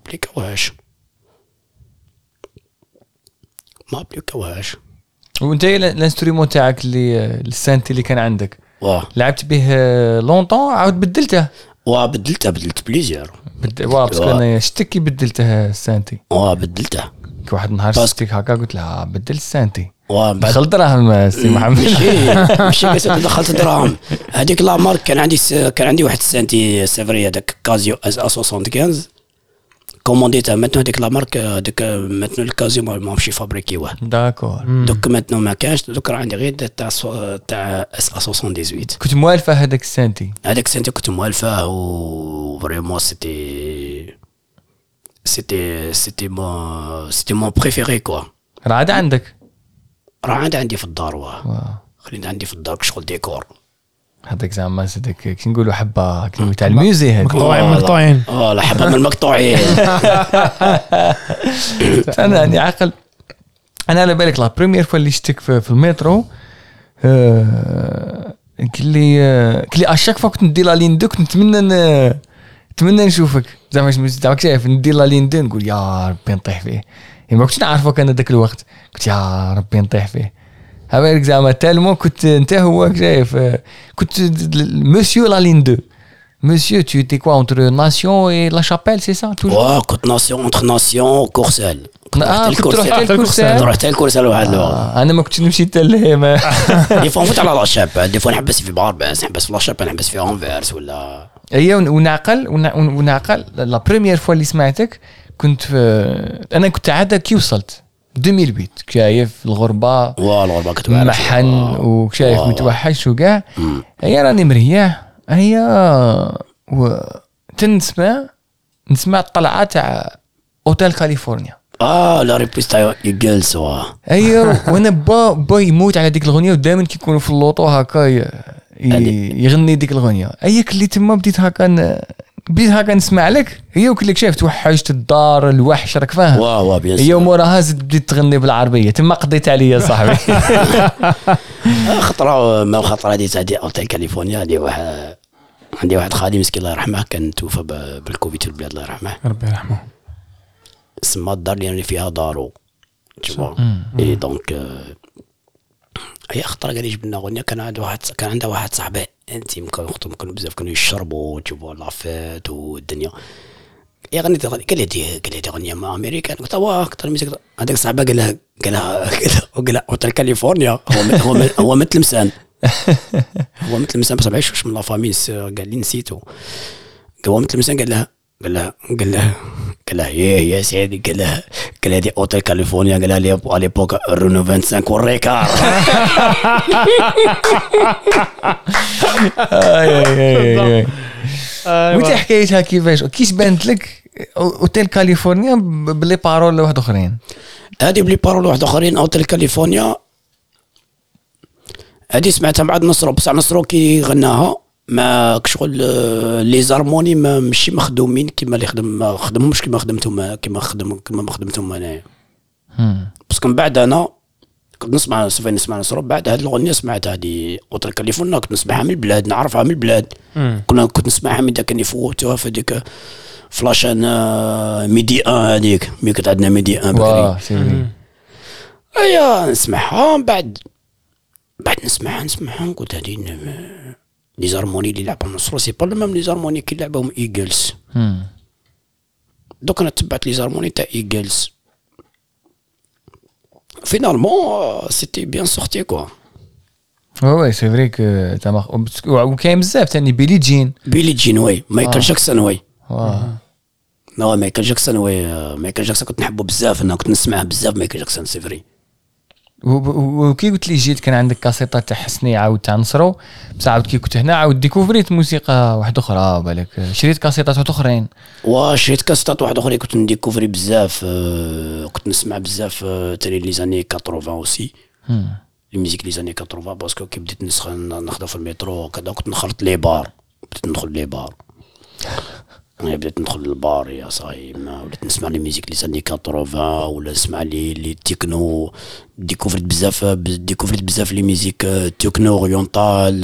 [SPEAKER 3] ابليكاوهاش.
[SPEAKER 2] وانت الانسترومون تاعك اللي السانتي اللي كان عندك لعبت به لونطون عاود بدلته؟
[SPEAKER 3] بدلت بليزير.
[SPEAKER 2] باسكو انا شتك كي بدلته السانتي.
[SPEAKER 3] بدلته
[SPEAKER 2] كي واحد النهار شتك هكا قلت لها بدل السانتي.
[SPEAKER 3] دخلت
[SPEAKER 2] دراهم سي محمد.
[SPEAKER 3] ماشي بس دخلت دراهم. هذيك لا مارك كان عندي واحد السانتي سيفري هذاك كازيو A75 كومونديتها ماتنو هذيك لا مارك هذيك ماتنو الكازيو ما ماشي فابريكيوه.
[SPEAKER 2] داكور.
[SPEAKER 3] دوك ماتنو ما كانش دوك راه عندي غير تاع A78.
[SPEAKER 2] كنت موالفه هذاك السانتي.
[SPEAKER 3] هذاك السانتي كنت موالفه و فريمون سيتي مون بريفيري كوا.
[SPEAKER 2] راه عندك؟
[SPEAKER 3] راه عندي في الدار. خلينا عندي في الدار شغل ديكور.
[SPEAKER 2] هذاك زعما صدق كي نقولوا حبه كلمه تاع الميوزي هذيك
[SPEAKER 4] مقطوعين
[SPEAKER 3] لا حبه من المقطوعين.
[SPEAKER 2] انا يعني عقل انا على بالك لا بريمير فوا اللي شتك في المترو كلي اشاك فوا كنت ندير لا لين دو كنت نتمنى نشوفك زعما الميوزي تاعك شايف ندير لا لين دو نقول يا ربي نطيح فيه. ما كنتش نعرفك انا ذاك الوقت قلت يا ربي نطيح فيه. هاولك زعما تالمو كنت انت هو شايف كنت مسيو لا لين دو مسيو tu étais quoi entre Nation et La Chapelle c'est ça toujours.
[SPEAKER 3] كنت ناسيون entre ناسيون وكورسال.
[SPEAKER 2] كنت رحت
[SPEAKER 3] الكورسال واحد الوقت.
[SPEAKER 2] انا ما كنتش نمشي حتى لهما.
[SPEAKER 3] دي فوا نفوت على لا شابل دي فوا نحبس في بارباس نحبس في لا شابل نحبس في انفيرس ولا
[SPEAKER 2] اييه ونعقل لا بريمير فوا اللي سمعتك كنت انا كنت عاد كي وصلت 2008 شايف الغربه
[SPEAKER 3] كنت
[SPEAKER 2] محن وشايف متوحش وكاع. هي راني مريح هي نسمع الطلعه تاع اوتيل كاليفورنيا.
[SPEAKER 3] لا ريبيس تاع يجلس
[SPEAKER 2] ايوه وانا با يموت على ديك الاغنيه ودائما كيكونوا في اللوطو هكا يغني ديك الاغنيه. اياك اللي تما بديت هكا نسمع لك هي وكلك شايف توحشت الدار الوحش راك فاهم. هي موراها زدت بديت تغني بالعربيه تما قضيت عليا صاحبي.
[SPEAKER 3] خطره هذه تاع اوتيل كاليفورنيا هذه عندي واحد خالي مسكين الله يرحمه كان توفى بالكوفيد في البلاد الله يرحمه
[SPEAKER 4] ربي يرحمه.
[SPEAKER 3] سما الدار اللي فيها دارو تشوف اي دونك هي خطره قال لي جبنا اغنيه كان عنده واحد صاحبه انت يمكن بزاف كانوا يشربوا تشوفوا لافيت والدنيا يا غنيت قال لي اغنيه مع امريكان قلت اكثر ميوزك هذاك صاحبه قال لها اوتيل كاليفورنيا هو مثل مسان هو مثل مسان بس بعيش من لا فاميس قال لي نسيته هو مثل مسان قال لها يا سيدي قال لها دي اوتيل كاليفورنيا قال لها على ليبوك رونو 25 والريكار.
[SPEAKER 2] وانت حكايتها كيفاش بانت لك اوتيل كاليفورنيا بلي بارول واحد اخرين؟
[SPEAKER 3] هذه بلي بارول واحد اخرين اوتيل كاليفورنيا هذه سمعتها بعد نصرو بصح نصرو كي غناها ما شغل لي زارموني ماشي مخدومين كيما اللي ما خدمهمش كيما ما خدمتهم انايا. بس من بعد انا كنت نسمع نصرو بعد هذه الاغنيه سمعت هذه اوتيل كاليفورنيا كنت نسمعها من البلاد نعرفها من البلاد. كنت نسمعها من داك اللي فوتوها في ديك فلاشان ميدي هذيك مي كانت عندنا ميدي بكري. ايا نسمعها بعد نسمعها قلت هذه لي زارموني اللي لعبهم نصرو سي با ميم لي زارموني كي لعبهم ايجلز. دوك انا تبعت لي زارموني تاع ايجلز فينالمون سيتي بيان سورتي كوا.
[SPEAKER 2] وي سي فري كو تما وكاين بزاف ثاني بيلي جين
[SPEAKER 3] وي مايكل جاكسون وي مايكل جاكسون كنت نحبه بزاف انا كنت نسمعه بزاف مايكل جاكسون سي فري.
[SPEAKER 2] وكي قلت لي جيت كان عندك كاسيطات تاع حسني عاود تاع نصرو بصح عاود كي كنت هنا عاود ديكوفريت موسيقى واحده اخرى بالك شريت كاسيطات واحد اخرين.
[SPEAKER 3] شريت كاسيطات واحد اخرين كنت نديكوفري بزاف كنت نسمع بزاف تاني لي زاني 80 اوسي الميوزيك لي زاني 80 باسكو كي بديت نخدم في المترو كذا كنت نخلط لي بار بديت ندخل للبار يا صاحبي وليت نسمع لي ميوزيك لي ساني 80 ولا نسمع لي تكنو ديكوفريت بزاف لي ميوزيك تكنو اورينتال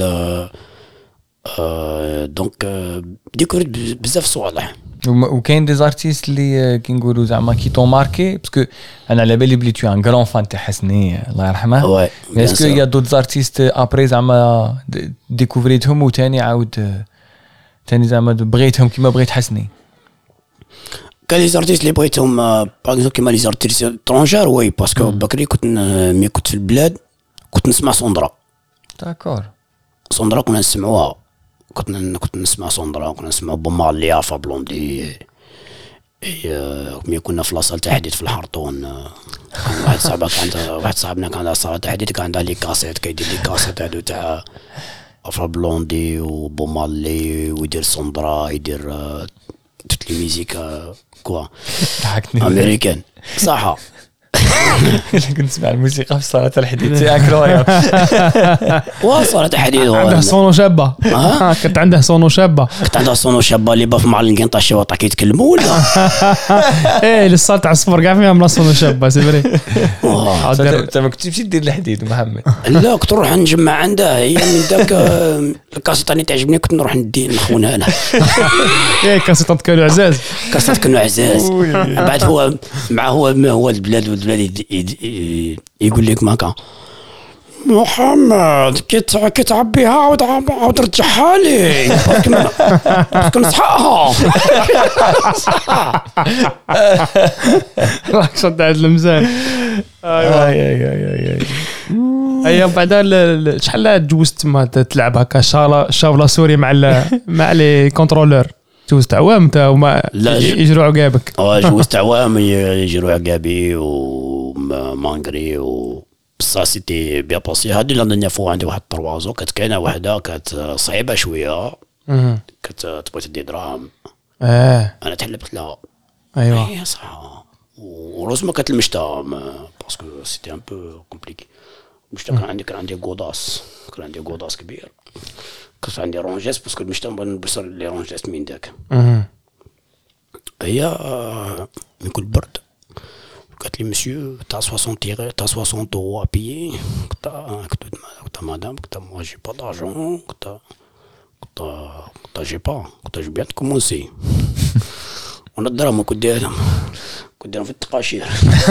[SPEAKER 3] دونك ديكوفريت بزاف صوالح.
[SPEAKER 2] وكاين دي زارتيست اللي كي نقولوا زعما كي طون ماركي باسكو انا على بالي بلي تو ان غران فان تاع حسني الله يرحمه. اسكو يا دوت زارتيست ابري زعما ديكوفريتهم وثاني عاود ثاني زعما بغيتهم كيما بغيت حسني.
[SPEAKER 3] كان لي زارتيست اللي بغيتهم باغ اكزومبل كيما لي زارتيست ترونجار وي باسكو بكري كنت في البلاد كنت نسمع سوندرا.
[SPEAKER 2] داكور.
[SPEAKER 3] سوندرا كنا نسمعوها كنت نسمع سوندرا كنا نسمع بومالي عفا بلوندي. ملي كنا في لاصال تحديد في الحرطون واحد صاحبنا كان عنده صاله تحديد كان عنده لي كاسيت كيدير لي كاسيت هادو تاع عفا بلوندي وبومالي ويدير سوندرا يدير توت لي ميوزيك كوا
[SPEAKER 2] ضحكتني
[SPEAKER 3] امريكان صح.
[SPEAKER 2] كنت نسمع الموسيقى في صالة الحديد سي انكرويابل.
[SPEAKER 3] وصالة الحديد
[SPEAKER 4] عنده صونو شابه. كنت عنده صونو شابه.
[SPEAKER 3] كنت عنده صونو شابه اللي باف مع القنطه شي وطا كيتكلموا ولا
[SPEAKER 4] ايه للصالة تاع الصفر كاع فيها صونو شابه سي فري.
[SPEAKER 2] انت ما كنتش تمشي دير الحديد محمد؟
[SPEAKER 3] لا كنت نروح نجمع عنده هي من ذاك الكاسيطه اللي تعجبني كنت نروح ندي نخونها له.
[SPEAKER 4] ايه كاسيطات كانوا عزاز.
[SPEAKER 3] كاسيطات كانوا عزاز. بعد هو مع هو البلاد يقول لك ماكا محمد كي تعبيها عاود رجعها لي باسكو نصحاها.
[SPEAKER 4] راك شد على المزان. ايوا ايوا بعدا شحال تجوزت تما تلعب هكا شافلا سوري مع لي كونترولور؟ جوزت عوام انت وما يجروا عقابك؟
[SPEAKER 3] جوزت عوام يجروا عقابي ومانغري بصح سيتي بيان باسي. هادي لا دنيا فوا عندي واحد الطروازو كانت كاينه وحده كانت صعيبه شويه كانت تبغي تدي دراهم. انا تحلبت لها.
[SPEAKER 4] ايوا
[SPEAKER 3] صح. وروزما كانت المشتا باسكو سيتي ان بو كومبليكي. المشتا كان عندي غوداس كبير. كنت عندي رونجيس باسكو المشتا نبغي نلبس لي رونجيس من داك. هي من كل برد قالت لي مسيو تاع 60 اورو ابيي. قلت مدام قلت موا جي با دارجون قلت جي بيان كومونسي. وانا الدراهم كنت دايرهم في التقاشير.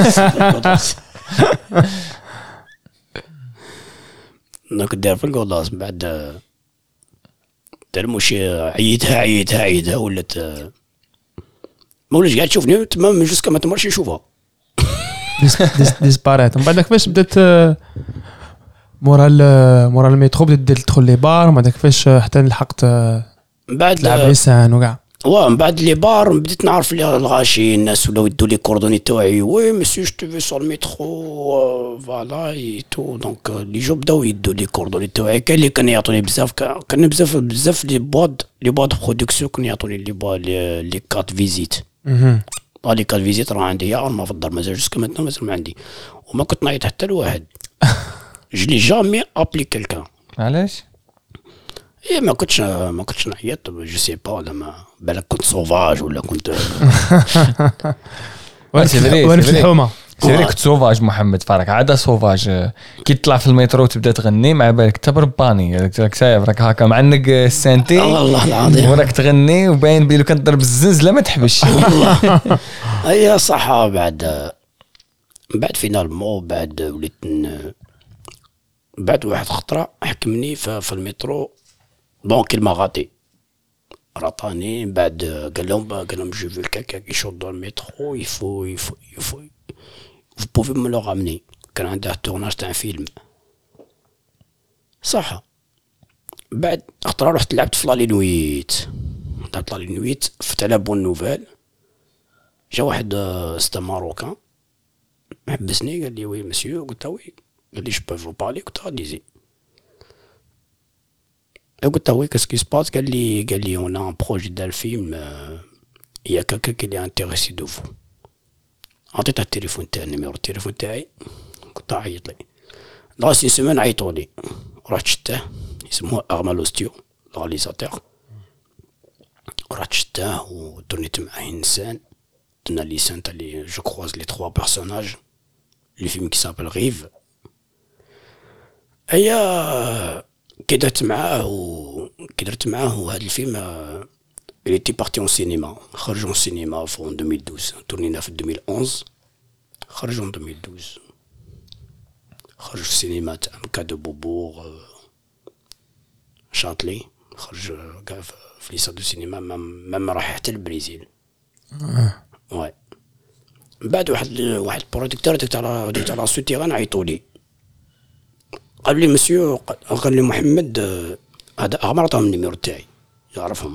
[SPEAKER 3] انا كنت داير في الكولاس بعد دار مشي عيدها ولات ما وليش قاعد تشوفني تمام من جوسكا ما تمرش يشوفها.
[SPEAKER 4] ديسباريت. من بعد كيفاش بدات مورا الميترو بدات تدخل لي بار؟ ما كيفاش حتى لحقت
[SPEAKER 3] بعد
[SPEAKER 4] تلعب لسان وكاع؟
[SPEAKER 3] من بعد لي بار بديت نعرف لي الغاشي الناس ولاو يدوا لي كوردوني تاعي. وي مسيو جو تو في سور الميترو فوالا اي تو دونك لي جو بداو يدوا لي كوردوني تاعي. كان اللي كان يعطوني بزاف كان بزاف لي بواد برودكسيون كانوا يعطوني لي كارت فيزيت. لي كارت فيزيت راه عندي يا ما في الدار مازال جوسكا ماتنا مازال ما عندي وما كنت نعيط حتى لواحد. جلي جامي ابلي كلكان.
[SPEAKER 2] علاش؟
[SPEAKER 3] ايه ما كنتش نعيط جو سي با ولا ما بالك كنت سوفاج ولا كنت
[SPEAKER 4] ولا في الحومه.
[SPEAKER 2] سيري كنت سوفاج محمد فارك عاده سوفاج. كي تطلع في المترو تبدا تغني مع بالك تبرباني راك سايب راك هكا معنق السانتي
[SPEAKER 3] والله العظيم
[SPEAKER 2] وراك تغني وباين بيلو كنضرب الزنز لا ما تحبش.
[SPEAKER 3] اي صح. بعد فينالمون بعد وليت بعد واحد خطره حكمني في المترو دونك المغاتي رطاني. بعد قال لهم جو في كاكا كي يشوط المترو يفو vous pouvez me le ramener. كان عنده تورناج تاع فيلم صح. بعد خطره رحت لعبت في لالينويت فتح على بون نوفيل. جا واحد ستا ماروكان حبسني قال لي وي مسيو. قلت وي. قال لي جو بو فو بارلي. قلت ديزي. قلت وي كاسكي سباس. قال لي اون ان بروجي دار فيلم يا كاكا كي لي انتريسي دو فو. عطيتها التليفون تاعي النيميرو التليفون تاعي كنت عيط لي لاصي سيمين عيطوا لي. رحت شتاه اسمه ارمالوستيو الرياليزاتور. رحت شتاه ودرنيت معاه انسان درنا لي سان تاع لي جو كروز لي 3 بيرسوناج لي فيلم كي سابل غيف. ايا كي درت معاه وهذا الفيلم il était parti en cinéma. خرج en cinéma en 2012. tourné في 2011. خرج en 2012. خرج في السينما تاع كادو بوبور شاتلي. خرج كاع في ليسا دو سينما مام راح حتى البرازيل. واي من بعد واحد البروديكتور ديك تاع سوتيغان عيطوا لي قال لي مسيو، قال لي محمد هذا عمر عطاهم النيميرو تاعي يعرفهم،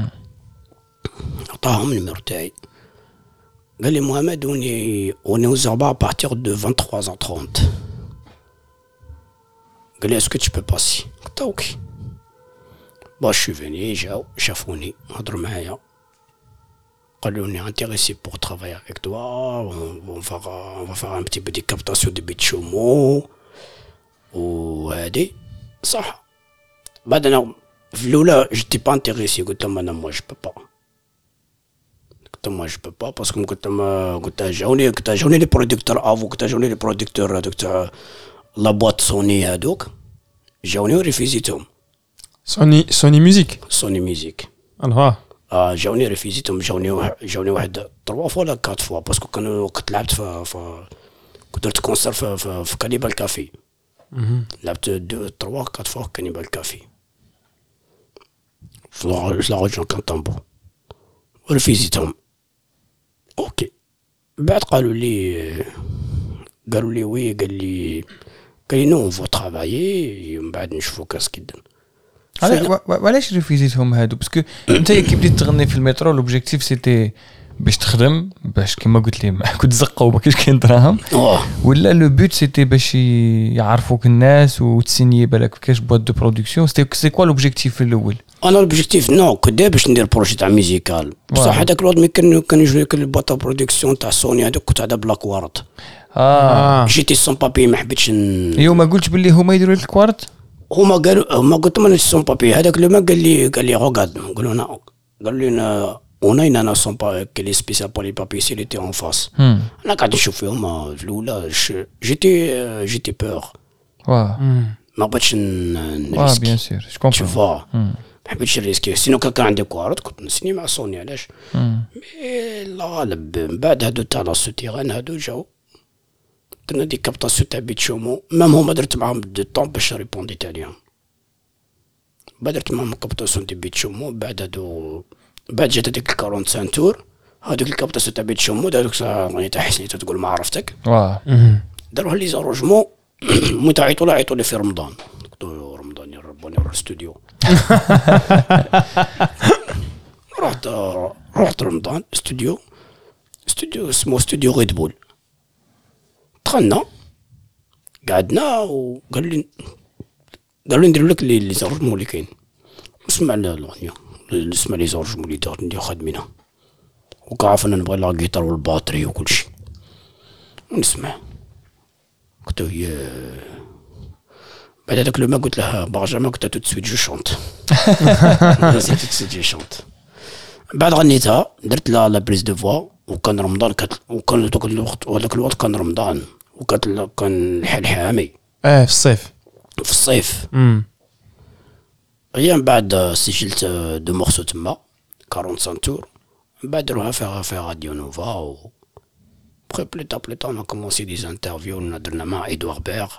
[SPEAKER 3] عطاهم النيميرو تاعي قال لي محمد on est aux Arbres à partir de 23h30. قال لي est-ce que tu peux passer؟ قلت اوكي. با je suis venu جاو شافوني هضروا معايا قالوا لي intéressé pour travailler avec toi, on va faire un petit peu des captations de بيتشومو وهادي صح. بعد انا في الاولى جيتي با انتريسي، قلت لهم انا moi je peux pas، قلت لهم moi je peux pas باسكو قلت جاوني لي برودكتور افو، قلت جاوني لي برودكتور هذوك تاع لا بواط سوني هذوك جاوني وريفيزيتهم.
[SPEAKER 4] سوني ميوزيك
[SPEAKER 3] الله جاوني ريفيزيتهم، جاوني واحد 3 فوا ولا 4 فوا باسكو كنت لعبت كنت درت كونسير في كانيبال كافي، لعبت 2 3 4 فوا في كانيبال كافي في لا ريجون كانطامبو وريفيزيتهم. اوكي بعد قالوا لي وي، قال لي نو فو ترافايي من بعد نشوفو كاس كيدن.
[SPEAKER 2] وعلاش ريفيزيتهم هادو؟ باسكو انت كي بديت تغني في المترو لوبجيكتيف سيتي باش تخدم، باش كيما قلت لي كنت زقه وما كاينش كاين دراهم، ولا لو بوت سيتي باش يعرفوك الناس وتسيني بالك كاش بوات دو برودكسيون؟ سي كوا لوبجيكتيف الاول؟
[SPEAKER 3] انا لوبجيكتيف نو كنت باش ندير بروجي تاع ميوزيكال بصح هذاك الوقت كان يجوني البوات برودكسيون تاع سوني هذوك كنت على بلاك وارد. جيتي سون بابي ما حبيتش
[SPEAKER 2] ايوا ما قلتش باللي هما يديروا لك الكوارت؟
[SPEAKER 3] هما قلت لهم انا سون بابي. هذاك لو ما قال لي روغاد، قالوا لنا انا سون با كلي سبيسيال بور لي بابي سي ليتي اون فاس. انا قاعد نشوف فيهم في الاولى جيتي بور ما بغيتش نريسكي.
[SPEAKER 2] بيان سور جو كومبرون،
[SPEAKER 3] ما حبيتش نريسكي سينو كان عندي كوارت كنت نسني مع سوني. علاش؟ مي لا غالب من بعد هادو تاع لا سوتيغان هادو جاو درنا دي كابتاسيون تاع بيتشومو، مام هما درت معاهم دو طون باش ريبونديت عليهم. بعد درت معاهم كابتاسيون تاع بيتشومو، بعد جات هذيك 45 تور هذوك الكابتاسيون تاع بيتشومو هذوك تاع حسني تقول ما عرفتك داروها لي زاروجمون متى عيطوا لي في رمضان، قلت له رمضان يا رباني نروح الاستوديو. رحت رمضان استوديو اسمه استوديو ريد بول. دخلنا قعدنا وقال لي ندير لك لي زاروجمون اللي كاين، اسمع الاغنيه نسمع لي زاروجمون اللي ندير خادمينها وكعرف انا نبغي لا جيتار والباتري وكل شيء ونسمع. قلت له بعد هذاك لو ما قلت له بنجامين قلت تو سويت جو شونت نسيت تو سويت جو شونت. بعد غنيتها درت لا بريز دو فوا وكان رمضان وكان هذاك الوقت كان رمضان كان الحال حامي
[SPEAKER 4] في الصيف
[SPEAKER 3] هي من بعد سجلت دو مورسو تما 45 تور. من بعد دروها في راديو نوفا و بلو تار on a commencé des interviews درنا مع إدوار بير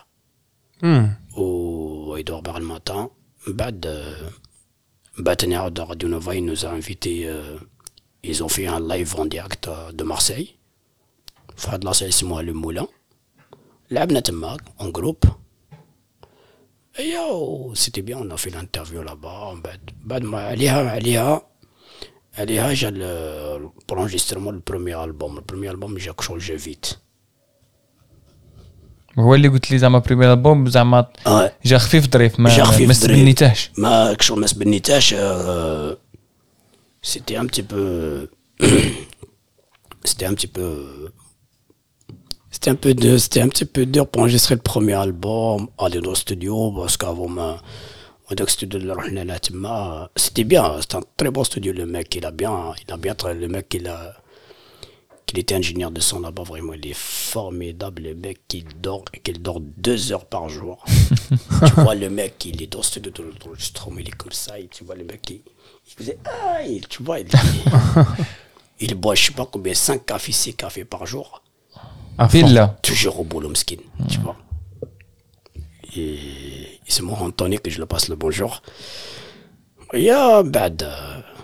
[SPEAKER 3] و إدوار بير الماتان. من بعد تاني عاود راديو نوفا ils nous a invités ils ont fait un live en direct de Marseille في واحد لاصال اسمها لو مولان. لعبنا تما en groupe c'était bien, on a fait l'interview là-bas. بعد ما عليها جا pour l'enregistrement le premier album جاك شونجي فيت.
[SPEAKER 2] هو اللي قلت لي زعما بريمير البوم زعما جا خفيف ظريف ما سبنيتاش
[SPEAKER 3] ما سبنيتاش c'était un petit peu dur pour enregistrer le premier album, aller dans le studio, parce qu'avant le studio de la Tima, c'était bien, c'était un très bon studio. Le mec, le mec, il était ingénieur de son là-bas, vraiment, il est formidable. Le mec, il dort 2 heures par jour. Tu vois, le mec, il est dans le studio de l'enregistrement, il est comme ça, et tu vois, le mec, il faisait, tu vois, il boit, je sais pas combien, 5 cafés, 6 cafés par jour. Toujours au boulot mesquine, tu vois. Et c'est mon Anthony que je le passe le bonjour. يا بعد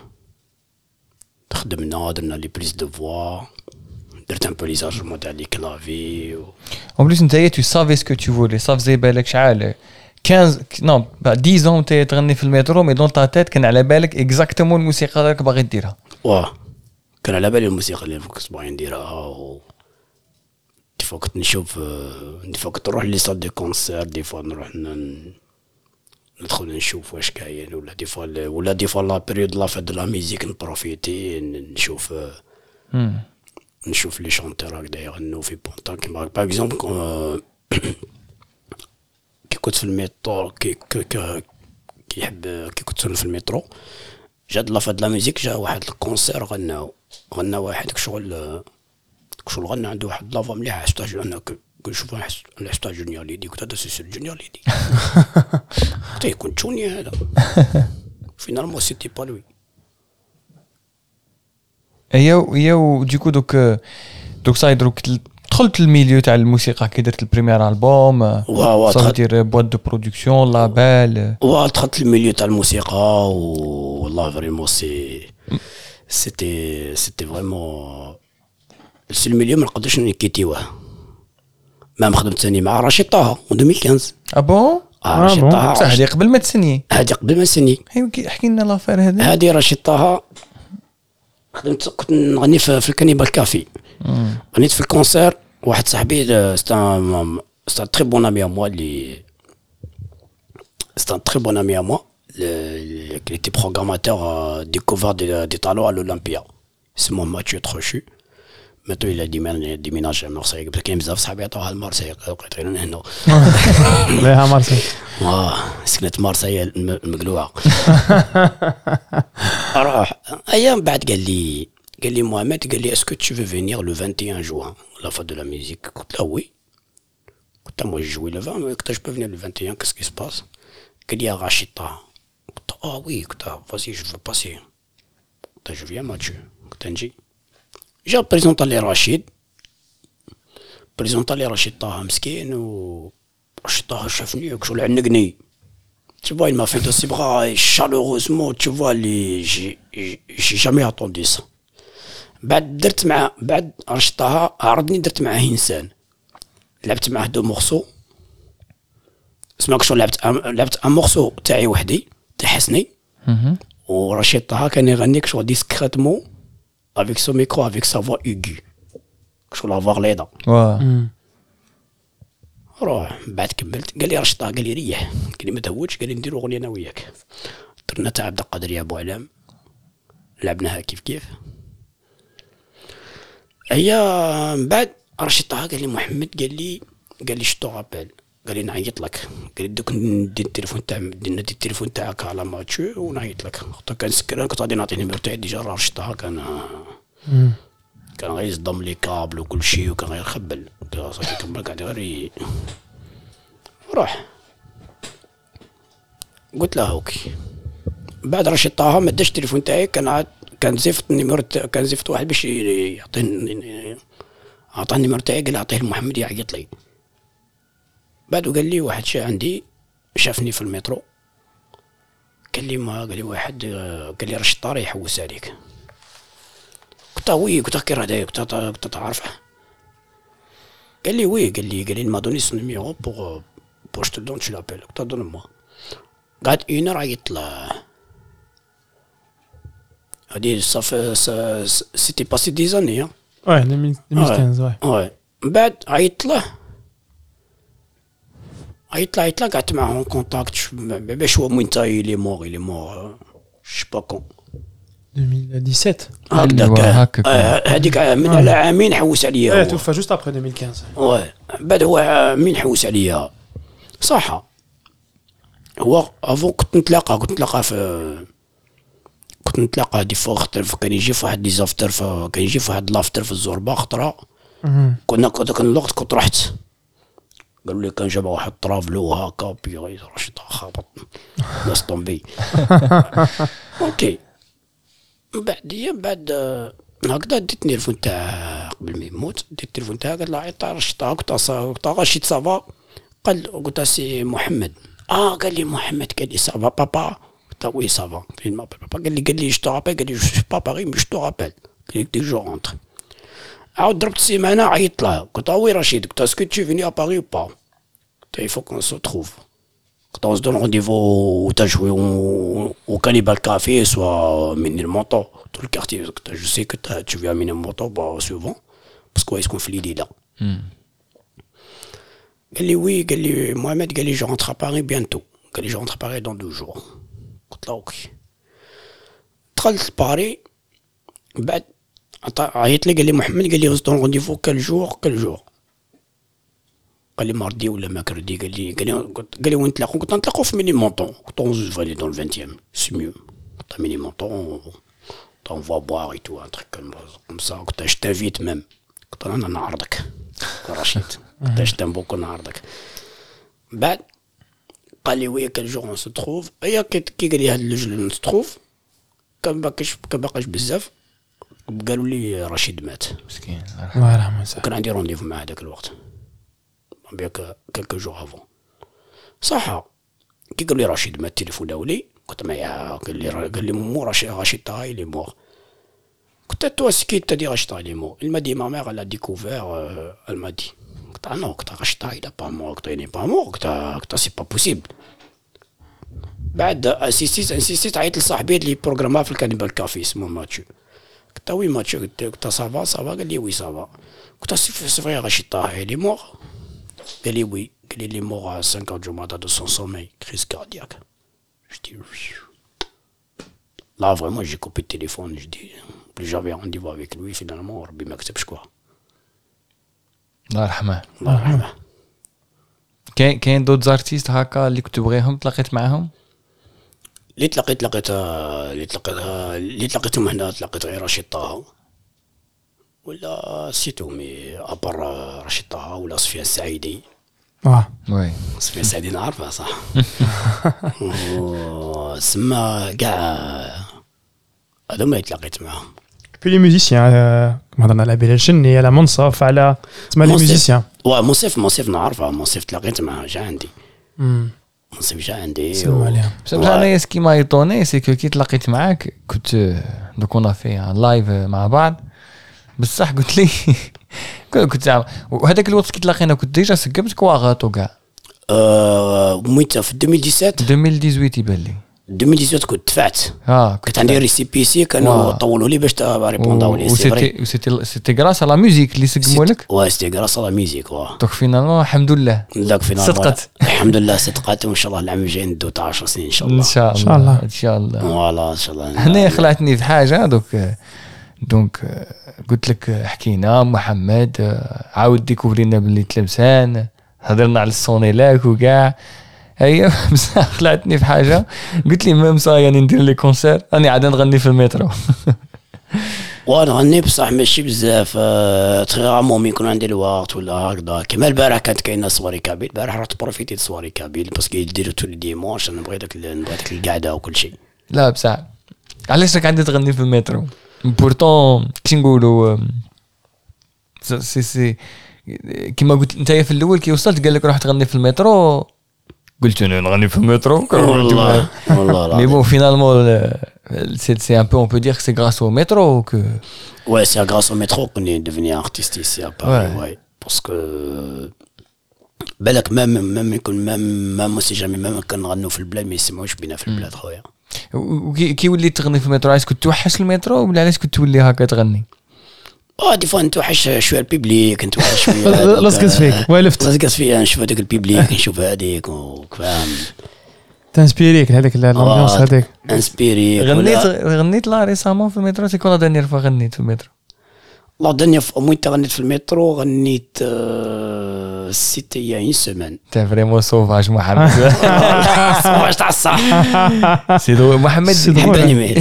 [SPEAKER 3] خدمنا درنا لي بريز دو فوا درت ان بو لي زاجمون تاع لي كلافي
[SPEAKER 2] En plus, tu savais ce que tu voulais. Ça faisait بالك شحال 15 non 10 ans tu تغني في المترو mais dans ta tête كان على بالك exactement الموسيقى اللي باغي ديرها.
[SPEAKER 3] واه كان على بالي الموسيقى اللي كنت باغي نديرها دي فوا كنت نشوف دي فوا كنت نروح لي صال دي كونسير دي فوا نروح ندخل نشوف واش كاين ولا دي فوا لا بيريود لا فات دو لا ميوزيك نبروفيتي نشوف لي شونتور هكذا يغنوا في بونطا كيما باغ اكزومبل كي كنت في الميترو كي كنت في الميترو جات لا فات لا ميوزيك جا واحد الكونسير غنى واحد شغل غنى عنده واحد لافا مليحه حسيت انا كنشوف حسيت جونيور ليدي كنت هذا سي جونيور ليدي حتى يكون تشوني هذا فينالمون سيتي با لوي
[SPEAKER 2] ايوا ديكو دوك صاي دروك دخلت الميليو تاع الموسيقى كي درت البريمير البوم صافي دير بوات دو برودكسيون لابيل
[SPEAKER 3] دخلت الميليو تاع الموسيقى والله فريمون سيتي فريمون سي الميليو ما نقدرش نكيتيوه ما خدمت ثاني مع رشيد طه 2015
[SPEAKER 2] بون
[SPEAKER 3] رشيد طه
[SPEAKER 2] صح هذه قبل ما تسني احكي لنا لافير
[SPEAKER 3] هذه رشيد طه كنت نغني في الكانيبال كافي غنيت في الكونسير واحد صاحبي ستا تري بون امي ا موا اللي ستا تري بون امي ا موا اللي était programmateur découvert des talents à l'Olympia c'est mon Mathieu Trochu maintenant il a déménagé à Marseille parce qu'il بزاف صحابي عطوها لمارسيل لقيت غير هنا
[SPEAKER 4] ليها مارسيل
[SPEAKER 3] سكنت مارسيل المقلوعه اروح ايام بعد قال لي محمد قال لي اسكو tu veux venir le 21 juin la fête de la musique قلت له وي قلت له moi je joue le 20 قلت له je peux venir le 21 qu'est-ce qui se passe قال لي رشيد طه قلت له oui قلت له vas-y je veux passer قلت له je viens Mathieu قلت له نجي جا بريزونطا لي رشيد طه مسكين ورشيد طه شافني كشغل عنقني tu vois il m'a fait de ses bras chaleureusement tu vois j'ai jamais entendu ça بعد رشيد طه عرضني درت معاه انسان لعبت معاه دو مورسو اسمع كشغل لعبت ان مورسو تاعي وحدي تاع حسني ورشيد طه كان يغني كشغل ديسكريتمون avec son micro, avec sa voix aiguë. كشغل افوار ليدا روح بعد كملت قال لي رشطه قال لي ريح قال لي ما تهوتش قال لي نديرو اغنيه انا وياك درنا تاع عبد القادر يا ابو علام لعبناها كيف هيا من بعد رشطه قال لي محمد قال لي شتو رابيل قال لي نعيط لك قال لي دوك ندي التليفون تاعك على ماتشو ونعيط لك كان سكران كنت غادي نعطي النيميرو تاعي ديجا رشطه كان غير يصدم لي كابل وكل شيء وكان غير يخبل صافي كمل قاعد غير روح قلت له اوكي بعد رشيد طه ما داش التليفون تاعي كان زفت النيميرو كان زفت واحد باش يعطيني عطاني النيميرو تاعي قال اعطيه لمحمد يعيط لي بعد قال لي واحد عندي شافني في المترو قال لي واحد قال لي رشيد طه يحوس عليك قلت وي قلت كي راه داير كنت تعرفه قال لي وي قال لي ما دوني سون نيميرو بور je te donne tu l'appelles قلت donne moi قعد 1 heure عيط له هادي صافي سيتي باسي دي زاني ها
[SPEAKER 4] 2015
[SPEAKER 3] وي بعد عيط له قعدت معاه كونتاكت باش هو وين تاي لي مور je sais pas quand
[SPEAKER 4] 2017
[SPEAKER 3] هكذاك هذيك من على عامين حوس عليا
[SPEAKER 4] توفى جوست ابري 2015
[SPEAKER 3] وي بعد هو مين حوس عليا صح هو افون كنت نتلاقى دي فوا خاطر كان يجي في واحد ديزافتر كان يجي في واحد لافتر في الزوربه خطره كنا داك الوقت كنت رحت قالوا لي كان جاب واحد طرافلو هكا بي رشيد خابط لاس طومبي اوكي بعد هكذا ديت التليفون تاع قبل ما يموت ديت التليفون تاعه قال له عيط رشيد قلت رشيد صافا قلت سي محمد قال لي محمد قال لي صافا بابا قلت oui ça va. Il m'appelle pas. قال لي je te rappelle. قال لي je suis pas à Paris mais je te rappelle. قال لي dès que je rentre. عاود ضربت سيمانة عيطت لها قلت oui Rachid. قلت est-ce que tu es venu à Paris ou pas. قلت il faut qu'on se trouve. قلت on se donne rendez-vous où t'as joué au Cannibal Café soit Ménilmontant tout le quartier. قلت je sais que tu viens à Ménilmontant souvent parce que est-ce qu'on fait l'idée là. قال لي oui. قال لي Mohamed. قال لي je rentre à Paris bientôt. قال لي je rentre à Paris dans 2 jours. قلت له اوكي. دخلت باري بعد عيط لي قال لي محمد. قال لي on rendez-vous quel jour. قال لي مرضي ولا ماكردي. قال لي وين نتلاقوا. قلت نتلاقوا في Ménilmontant. قلت on se voit dans le 20e c'est mieux. قلت Ménilmontant on va boire et tout un truc comme ça. قلت je t'invite même. قلت انا نعرضك رشيد. قلت je t'aime beaucoup نعرضك. بعد قال لي وي كل جور on se trouve. ايا كي قال لي هاد اللي نتروف كان باقاش بزاف. قالوا لي رشيد مات
[SPEAKER 2] مسكين
[SPEAKER 4] الله يرحمه.
[SPEAKER 3] وكان عندي رونديفو مع هذاك الوقت بيك كلكو جور افون. صح كي قالوا لي رشيد مات التليفون داولي. قلت معايا. قال لي مو رشيد طاي لي مور. قلت toi ce qui te dit Rachid il est mort. Il m'a dit ma mère elle a découvert elle m'a dit. قلت non قلت Rachid il est pas mort. قلت il n'est pas mort. قلت c'est pas possible. بعد انسيستيت عيط لصاحبي اللي بروغرامها في الكانيبال كافي اسمه ماتشو. قلت وي ماتشو. قلت صافا قال لي وي صافا. قلت سي فري Rachid il est mort. قال لي وي. قال لي il est mort à 5 heures du matin de son sommeil crise cardiaque. Je dis là vraiment j'ai coupé le téléphone. Je dis plus j'avais rendez-vous avec lui finalement ربي ما كتبش كوا.
[SPEAKER 2] الله يرحمه.
[SPEAKER 3] الله يرحمه.
[SPEAKER 2] كاين دوت زارتيست هكا اللي كنت تبغيهم تلاقيت معاهم؟
[SPEAKER 3] اللي تلاقيتهم هنا تلاقيت غير رشيد طه ولا سيتو مي ابر رشيد طه ولا سفيان السعيدي.
[SPEAKER 2] وي
[SPEAKER 3] سفيان السعيدي نعرفه صح. سما كاع هذوما تلاقيت معاهم.
[SPEAKER 4] Puis les musiciens, كما هضرنا على بلال الشني على منصف على تسمى لي ميوزيسيان.
[SPEAKER 3] منصف نعرفه. منصف تلاقيت معاه جا عندي. منصف جا عندي.
[SPEAKER 4] سلام عليهم.
[SPEAKER 2] بصح انا سكي ما يطوني سي كو كي تلاقيت معاك كنت دوك اون في ان لايف مع بعض بصح قلت لي كنت وهذاك الوقت كي تلاقينا كنت ديجا سقمت كواغاتو كاع.
[SPEAKER 3] مويت في
[SPEAKER 2] 2018 يبان لي
[SPEAKER 3] 2018 كنت دفعت. كنت عندي ريسيبيسي كانوا طولوا لي باش ريبونداو لي.
[SPEAKER 2] سيتي غراس على ميوزيك اللي سقموا لك.
[SPEAKER 3] سيتي غراس على ميوزيك.
[SPEAKER 2] دونك فينالمون الحمد لله
[SPEAKER 3] صدقت. الحمد لله صدقت. وان شاء الله العام الجاي ندو 10 سنين ان شاء الله.
[SPEAKER 2] ان شاء الله
[SPEAKER 3] فوالا ان شاء الله.
[SPEAKER 2] هنا خلعتني في حاجه دونك قلت لك حكينا محمد عاود ديكوفرينا باللي تلمسان هضرنا على السونيلاك وكاع. هي بصح خلعتني في حاجه قلت لي ميم صا يعني ندير لي كونسير راني عاد نغني في المترو.
[SPEAKER 3] وانا غني بصح ماشي بزاف تغامو مين يكون عندي الوقت ولا هكذا. كيما البارح كانت كاينه صواري كابيل. البارح رحت بروفيتي صواري كابيل باسكو يديروا تو لي ديمونش. انا بغيت داك القعده وكل شيء.
[SPEAKER 2] لا بصح علاش راك عندي تغني في المترو بورتون كي نقولوا سي كيما قلت انت في الاول كي وصلت قال لك روح تغني في المترو. قلت انا نغني في المترو
[SPEAKER 3] والله
[SPEAKER 2] مي بون فينالمون سي ان بو اون بو دير سي غراس او مترو كو
[SPEAKER 3] ouais c'est grâce au métro qu'on est devenu artiste ici à Paris. Ouais parce que بالك même يكون même si jamais même كنغنوا في البلاد مي سمعوش بينا في البلاد خويا.
[SPEAKER 2] كي وليت تغني في المترو علاش كنت توحش المترو ولا علاش كنت تولي هكا تغني؟
[SPEAKER 3] دي فوا نتوحش شويه البيبليك نتوحش شويه
[SPEAKER 4] لصقت فيك
[SPEAKER 3] لصقت فيا نشوف هذاك البيبليك نشوف هذيك وفاهم
[SPEAKER 4] تنسبيريك هذاك الامبيونس هذاك
[SPEAKER 3] انسبيري.
[SPEAKER 2] غنيت لا ريسامون في المترو سي كون لا دانيير فوا غنيت في المترو.
[SPEAKER 3] لا دانيير فوا غنيت في المترو غنيت سيتي يا اون سيمين.
[SPEAKER 2] تاع فريمون سوفاج محمد.
[SPEAKER 3] سوفاج تاع الصح.
[SPEAKER 2] سيدو محمد
[SPEAKER 3] يحبني مالك.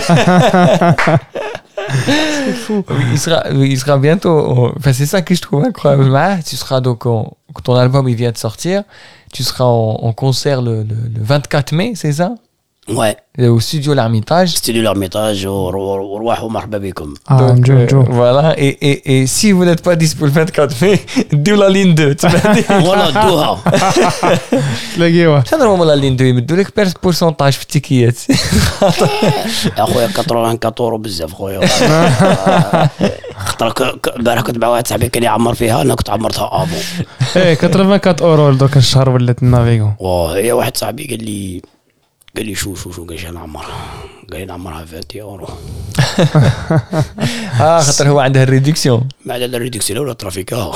[SPEAKER 2] Il sera bientôt. Enfin, c'est ça que je trouve incroyable. Tu seras donc quand ton album il vient de sortir, tu seras en concert le 24 mai, c'est ça?
[SPEAKER 3] Ouais.
[SPEAKER 2] واستوديو l'Ermitage.
[SPEAKER 3] Studio l'Ermitage وروحوا مرحبا بكم.
[SPEAKER 4] نجو
[SPEAKER 2] Voilà et si vous n'êtes pas dispo le 24 mai ديو لا لين 2
[SPEAKER 3] ولا دوها.
[SPEAKER 4] تلاقيوها
[SPEAKER 2] شنو هما لا لين 2 يمدوا لك بورسونتاج في التيكيات.
[SPEAKER 3] اخويا 84 بزاف خويا. خاطر البارح كنت مع واحد صاحبي كان يعمر فيها انا كنت عمرتها افو.
[SPEAKER 4] ايه 84 دوك الشهر ولات النافيغو.
[SPEAKER 3] وهي واحد صاحبي قال لي شو قال لي نعمرها. قال لي نعمرها 20 يورو.
[SPEAKER 2] خاطر هو عنده الريدكسيون.
[SPEAKER 3] ما على الريدكسيون ولا ترافيكا.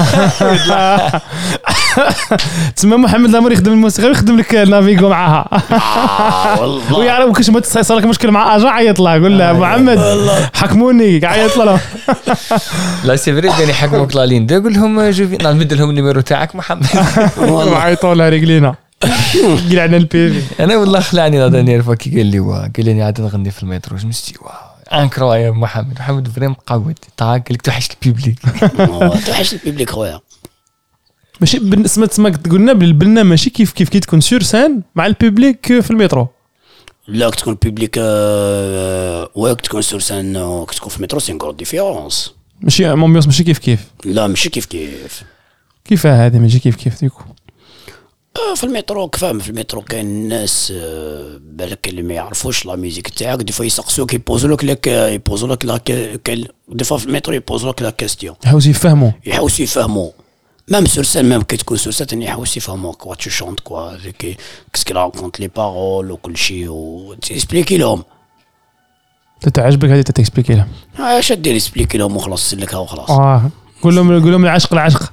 [SPEAKER 4] تسمى محمد لامور يخدم الموسيقى ويخدم لك النافيغو معاها.
[SPEAKER 3] والله
[SPEAKER 4] ويعرف كاش ما تصير لك مشكل مع اجا عيط له قول له محمد حكموني عيط له.
[SPEAKER 2] لا سي فري كان يحكموك لا لين 2 قول لهم جو نمد لهم النيميرو تاعك محمد.
[SPEAKER 4] وعيطوا له رجلينا قال عندنا البي
[SPEAKER 2] انا والله خلعني لا دانيير فوا كي قال لي عاد نغني في المترو جمستي واو انكرويا محمد فريم قود قال لك توحش البيبليك.
[SPEAKER 3] توحش البيبليك خويا.
[SPEAKER 4] ماشي بالنسبه تسمى قلنا بالبنا ماشي كيف كي تكون سور سان مع البيبليك في المترو.
[SPEAKER 3] لا تكون بيبليك وقت تكون سور سان تكون في المترو سي غرو ديفيرونس.
[SPEAKER 4] ماشي مومبيونس ماشي كيف
[SPEAKER 3] لا ماشي كيف
[SPEAKER 4] كيف هذه ماشي كيف ديكو.
[SPEAKER 3] في المترو كفاهم في المترو كاين الناس بالك اللي ما يعرفوش لا ميوزيك تاعك دي فوا يسقسوك يبوزوا لك لا دي فوا في المترو يبوزوا لك لا كاستيون
[SPEAKER 4] يحاولوا
[SPEAKER 3] يفهموا ميم سور سان ميم كي تكون سور سان يحاولوا يفهموا كوا تو شونت كوا كيسكي راكونت لي بارول وكل شيء وتسبليكي لهم.
[SPEAKER 4] تعجبك هذه تكسبليكي لهم
[SPEAKER 3] اش دير اسبليكي لهم وخلاص سلكها وخلاص.
[SPEAKER 4] قول لهم العشق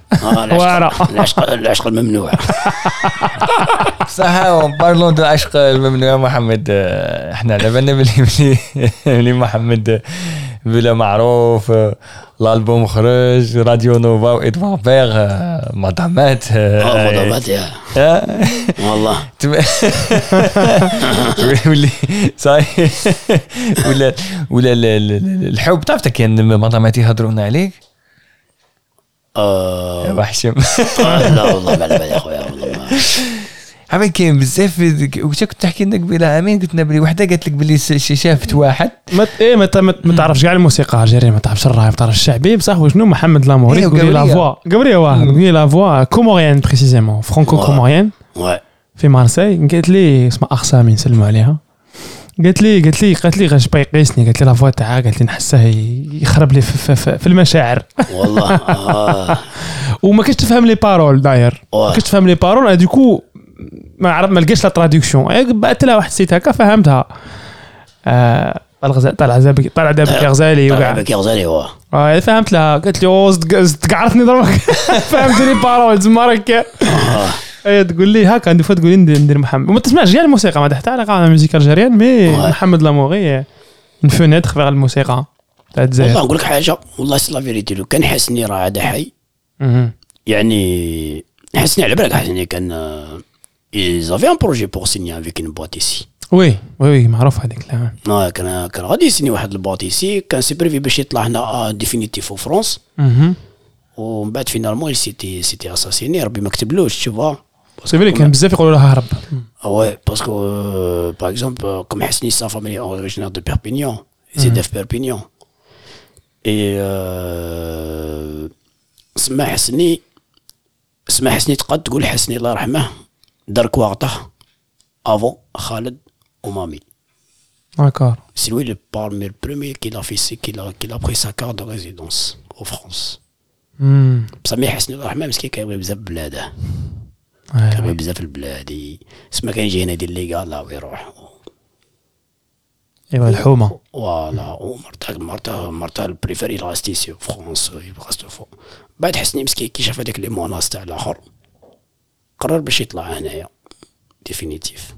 [SPEAKER 3] العشق الممنوع.
[SPEAKER 2] صح بارلون دو العشق الممنوع محمد. احنا على بالنا بلي محمد بلا معروف الالبوم خرج راديو نوفا وادوار بيغ مدامات
[SPEAKER 3] يا والله
[SPEAKER 2] ولي صحيح ولا الحب تعرف كان مدامات يهضرون عليك وحشم.
[SPEAKER 3] لا والله ما على بالي اخويا والله
[SPEAKER 2] عمين كاين بزاف. وش كنت تحكي لنا قبيله عامين قلت لنا بلي وحده قالت لك بلي شافت واحد
[SPEAKER 4] ما تعرفش كاع الموسيقى الجزائريه ما تعرفش الراي ما تعرفش الشعبي بصح وشنو محمد لاموري يقول لي لا فوا قبريه واحد يقول لي لا فوا كوموريان بريسيزيمون فرانكو كوموريان في مارسي. قالت لي اسمها اخسامي نسلموا عليها. قالت لي غاش بيقيسني قالت لي لا فوا تاعها قالت لي نحسه يخرب لي في المشاعر
[SPEAKER 3] والله.
[SPEAKER 4] وما كنتش تفهم لي بارول داير ما كنتش تفهم لي بارول دوكو ما لقيتش لا تراديكسيون. بعثت لها واحد السيت هكا فهمتها. طلع دابك يا غزالي وكاع فهمت لها. قالت لي تقعرتني ضربك فهمتني بارول زمارك. تقول لي هكا عندي فوا تقول لي ندير محمد وما تسمعش كاع الموسيقى ما تحت علاقه مع الموسيقى الجزائريه مي محمد لاموري نفونيت خفير الموسيقى تاع الجزائر.
[SPEAKER 3] والله نقول لك حاجه والله سي لا فيريتي لو كان حسني راه عاد حي يعني حسني على بالك حسني كان زافي ان بروجي بور سيني افيك ان بوات ايسي.
[SPEAKER 4] وي معروف هذيك لا
[SPEAKER 3] كان غادي يسني واحد البوات ايسي كان سي بريفي باش يطلع هنا ديفينيتيف في فرنسا ومن بعد فينالمون سيتي اساسيني ربي ما كتبلوش تشوفا
[SPEAKER 4] سي فري كان بزاف يقولوا لها هرب.
[SPEAKER 3] وي باسكو باغ اكزومبل كوم حسني سا فاميلي اوريجينال دو بيربينيون زيد في بيربينيون اي سما حسني تقد تقول حسني الله يرحمه دار كواغطه افون خالد ومامي.
[SPEAKER 4] D'accord.
[SPEAKER 3] C'est lui le premier qui l'a fait, qui l'a pris sa carte de résidence en France. بصح حسني الله يرحمه مسكين كان يبغي بزاف بلاده. كان يبغي بزاف البلاد اسمه كان يجي هنا يدير لي قال لا ويروح.
[SPEAKER 4] ايوا الحومه.
[SPEAKER 3] فوالا ومرته البريفيري راستي سي فرونس يبغى فوق. بعد حسني مسكين كي شاف هذاك لي موناس تاع الاخر قرر باش يطلع هنايا ديفينيتيف.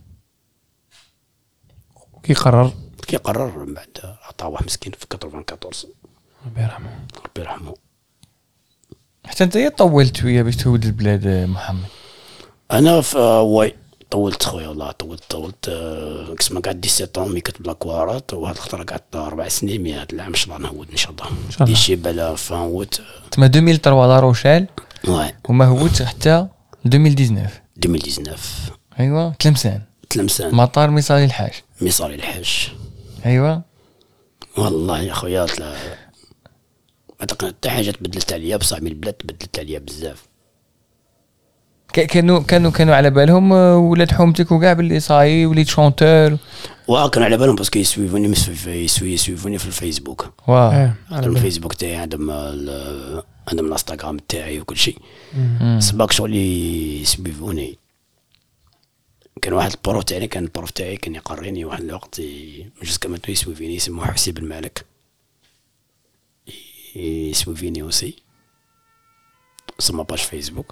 [SPEAKER 4] كي قرر
[SPEAKER 3] من بعد عطاه واحد مسكين في 94
[SPEAKER 4] ربي
[SPEAKER 3] يرحمه.
[SPEAKER 2] حتى انت طولت ويا باش تولد البلاد محمد.
[SPEAKER 3] انا واي طولت خويا والله طولت كسما قعدت 17 مي كتب لاكوارات وهاد الخطره قعدت 4 سنين مي هاد العام ان شاء الله نهود ان شاء الله دي شي بلا فاوت
[SPEAKER 2] تما 2003 لا روشيل
[SPEAKER 3] واي
[SPEAKER 2] وما هودش حتى 2019
[SPEAKER 3] 2019
[SPEAKER 2] ايوا 3 سنين
[SPEAKER 3] تلمسان
[SPEAKER 2] مطار مصالي الحاج.
[SPEAKER 3] مصالي الحاج
[SPEAKER 2] ايوا
[SPEAKER 3] والله يا خويا ما تقنع حتى حاجه تبدلت عليا بصح من البلاد تبدلت عليا بزاف.
[SPEAKER 2] كانوا على بالهم ولاد حومتك وكاع باللي صاي وليت شونتور.
[SPEAKER 3] كانوا على بالهم باسكو يسويفوني يسويفوني في الفيسبوك.
[SPEAKER 2] واه
[SPEAKER 3] عندهم الفيسبوك تاعي عندهم الانستغرام تاعي وكل شيء. سباك شغل يسويفوني. كان واحد البروف تاعي كان يقريني واحد الوقت جوسكا ماتو يسويفيني يسموه حسيب المالك يسويفيني اوسي سما باج فيسبوك.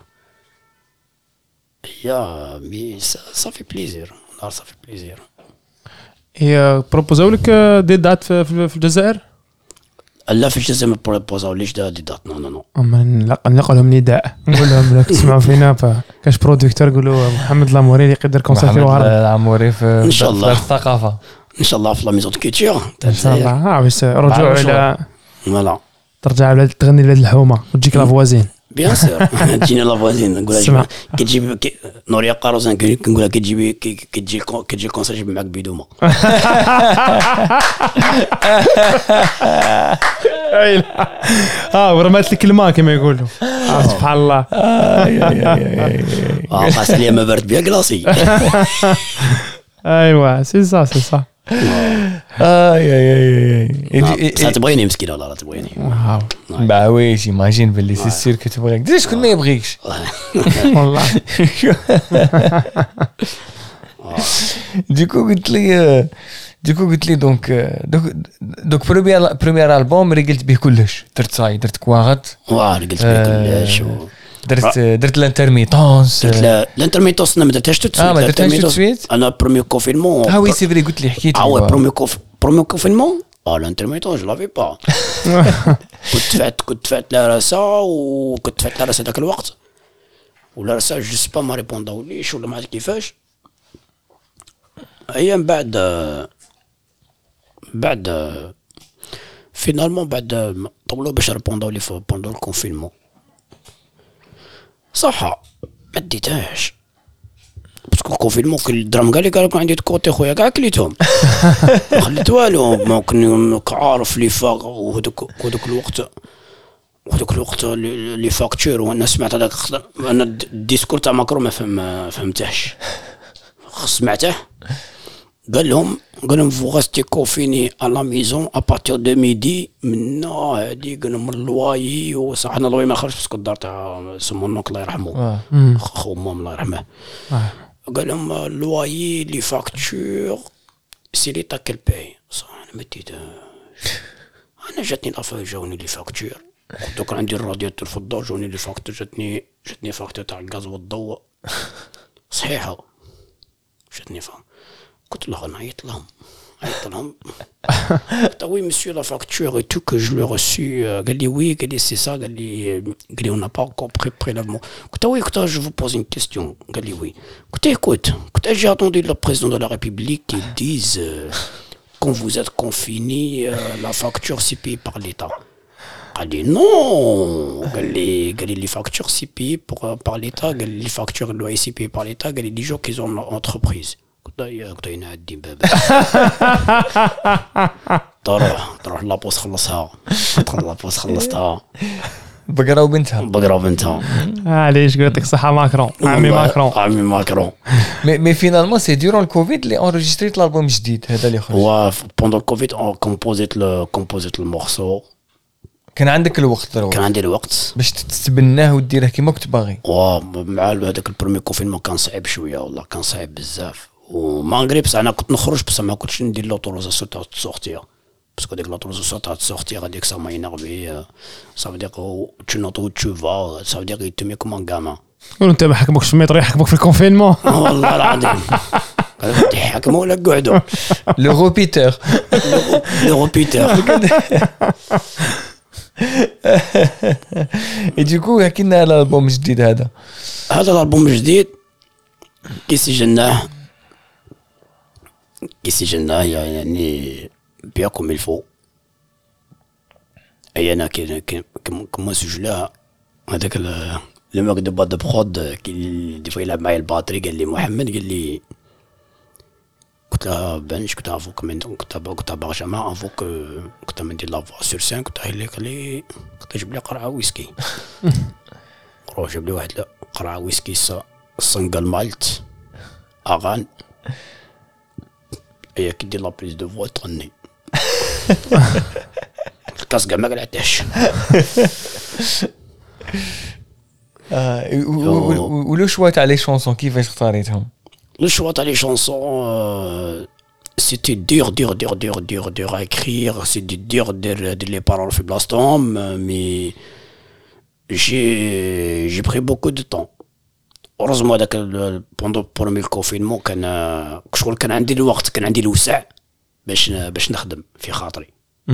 [SPEAKER 3] يا مي صافي بليزير نهار صافي بليزير.
[SPEAKER 4] هي بروبوزاو لك دي دات في الجزائر؟
[SPEAKER 3] لا في الجزائر ما بروبوزاو ليش دي دات نو
[SPEAKER 4] اما نلقى لهم نداء نقول لهم راك تسمعوا فينا كاش برودكتور قولوا محمد لاموري يقدر كونسيرتي
[SPEAKER 2] محمد لاموري في
[SPEAKER 3] ان شاء الله
[SPEAKER 2] الثقافه
[SPEAKER 3] ان شاء الله في لا ميزون كولتور
[SPEAKER 4] ان شاء الله. بس رجوع الى
[SPEAKER 3] فوالا
[SPEAKER 4] ترجع تغني لهاد الحومه وتجيك لافوازين
[SPEAKER 3] بيان سور تجينا لافوازين نقول كتجيب نوريا قاروزان كنقولها كتجي كونسير جيب معاك بيدومه.
[SPEAKER 4] ورمات لك الماء كما يقولوا. سبحان الله.
[SPEAKER 3] خاص لي ما برد بيا كلاصي.
[SPEAKER 4] ايوا سي سا
[SPEAKER 3] تبغيني مسكين والله لا تبغيني.
[SPEAKER 2] با وي جيماجين باللي سي سير كتبغيك دير شكون ما يبغيكش
[SPEAKER 4] والله.
[SPEAKER 2] ديكو قلت لي دونك بريمير البوم رجلت به كلش درت كواغط
[SPEAKER 3] قلت به كلش
[SPEAKER 2] درت الانترميتونس.
[SPEAKER 3] الانترميتونس ما درتهاش تسويت. انا بروميير كونفينمون
[SPEAKER 2] وي سي فري قلت لي حكيت
[SPEAKER 3] بروميير كونفينمون الانترميتونس جو لافي با. كنت فات لا راسا وكنت فات لا راسا ذاك الوقت ولا راسا جو سي با ما ريبونداوليش ولا ما عرفت كيفاش. ايام بعد فينالمون بعد طولوا باش ريبونداو لي بوندو الكونفينمون صح ما ديتهاش باسكو الكونفينمون كل الدرهم قال لي عندي كوتي خويا كاع كليتهم ما خليت والو ممكن عارف لي فاق وهذوك الوقت لي فاكتور وانا سمعت هذاك انا الديسكور تاع ماكرون ما فهمتهش سمعته قال لهم فو غاستي كوفيني à la maison à partir de midi من هادي قال لهم اللواي وصح انا اللواي ما خرجش باسكو الدار تاع سمونك الله يرحمه خو مام الله يرحمه. قال لهم اللواي لي فاكتور سي لي تا كل باي صح انا مديت انا جاتني لافا جاوني لي فاكتور دوك عندي الرادياتور في الدار جاوني لي فاكتور جاتني فاكتور تاع الغاز والضوء صحيحه جاتني فهم. قلت له نعيط لهم قلت وي مسيو لا فاكتور اي تو كو جو لو ريسي قال لي وي قال لي سي سا قال لي اون با انكور بريلافمون قلت وي قلت جو فو بوز اون كيستيون قال لي وي قلت écoute قلت جي اتوندي لو بريزيدون دو لا ريبوبليك كي ديز quand vous êtes confiné la facture c'est payée par l'état. قال لي نو قال لي لي فاكتور سي بي par l'état قال لي فاكتور لو سي بي par l'état قال لي دي جو كي زون entreprise قلت ينعدي بابا تروح لابوس خلصها خلصتها
[SPEAKER 2] بقرة وبنتها
[SPEAKER 3] علاش
[SPEAKER 4] قلت لك صحة ماكرون عمي
[SPEAKER 3] ماكرون
[SPEAKER 2] مي فينالمون سي ديورون الكوفيد اللي اونجستريت الالبوم جديد هذا اللي خرج.
[SPEAKER 3] هو بوندون الكوفيد كومبوزيت المورسو.
[SPEAKER 2] كان عندك الوقت
[SPEAKER 3] كان عندي الوقت
[SPEAKER 2] باش تتبناه وديره كيما كنت باغي.
[SPEAKER 3] مع هذاك البرومي كونفينمون كان صعيب شويه والله كان صعيب بزاف وما بس انا كنت نخرج بس ما كنتش ندير لوتوريزاسيون تاع السورتير باسكو ديك لوتوريزاسيون تاع السورتير هذيك سا ما ينرفي سا دير tu n'entends tu vas ça veut dire il te met comme un gamin.
[SPEAKER 4] وانت ما حكموكش في الميترو يحكموك في الكونفينمون
[SPEAKER 3] والله العظيم قالوا يحكموا ولا قعدوا
[SPEAKER 2] لو ريبيتور يجيكو حكينا على الالبوم الجديد هذا
[SPEAKER 3] الالبوم الجديد كي سجلناه يعني بيان كوم الفو اي انا كما سجلها هذاك لو ماك دو با دو برود كي دي فوا يلعب معايا الباتري قال لي محمد قال لي قلت لها بنش كنت افوك من كنت برجمه افوك كنت ندير لافوا سور سان كنت قايل لي كنت جيب لي قرعه ويسكي روح جيب لي واحد قرعه ويسكي سنغال مالت اغان هي كي دير لا بريز دو فوا تغني الكاس كاع ما قلعتهاش
[SPEAKER 2] ولو شوا تاع لي شونسون كيفاش اختاريتهم؟
[SPEAKER 3] Le choix dans les chansons, c'était dur à écrire, c'était dur de les paroles في بلاصتهم, mais j'ai pris beaucoup de temps. Heureusement هذاك pendant le premier confinement كان عندي الوقت, كان عندي الوسع باش نخدم في خاطري.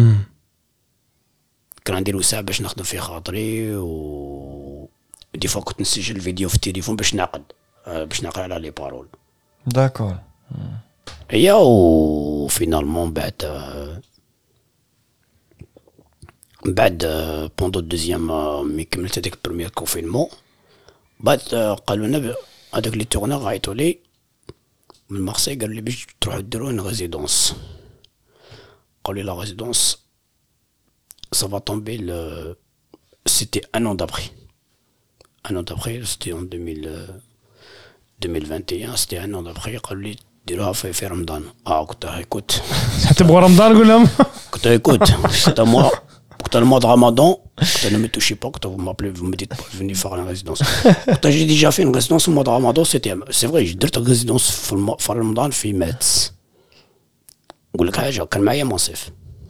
[SPEAKER 3] كان عندي الوسع باش نخدم في خاطري, و دي فوا كنت نسجل الفيديو في التليفون باش نعقل على لي بارول.
[SPEAKER 2] داكور.
[SPEAKER 3] هي و فينالمون بعد بوندو دوزيام مي كملت هذاك البروميير كونفينمون, بعد قالوا لنا هذاك لي تورنور عيطوا لي من مارسي, قالوا لي باش تروحوا ديروا ان ريزيدونس. قالوا لي لا ريزيدونس ça va tomber c'était un an d'après, c'était en 2021, c'était un an d'après. قالوا لي ديروها في رمضان. كنت écoute
[SPEAKER 4] تبغوا رمضان قول لهم
[SPEAKER 3] كنت écoute كنت le mois de Ramadan, ne me touchez pas, quand vous m'appelez, vous me dites pas venir faire une résidence. Quand j'ai déjà fait une résidence au mois de Ramadan, c'est vrai, j'ai درت résidence في رمضان في ماتس. نقول لك حاجه, كان معايا منصف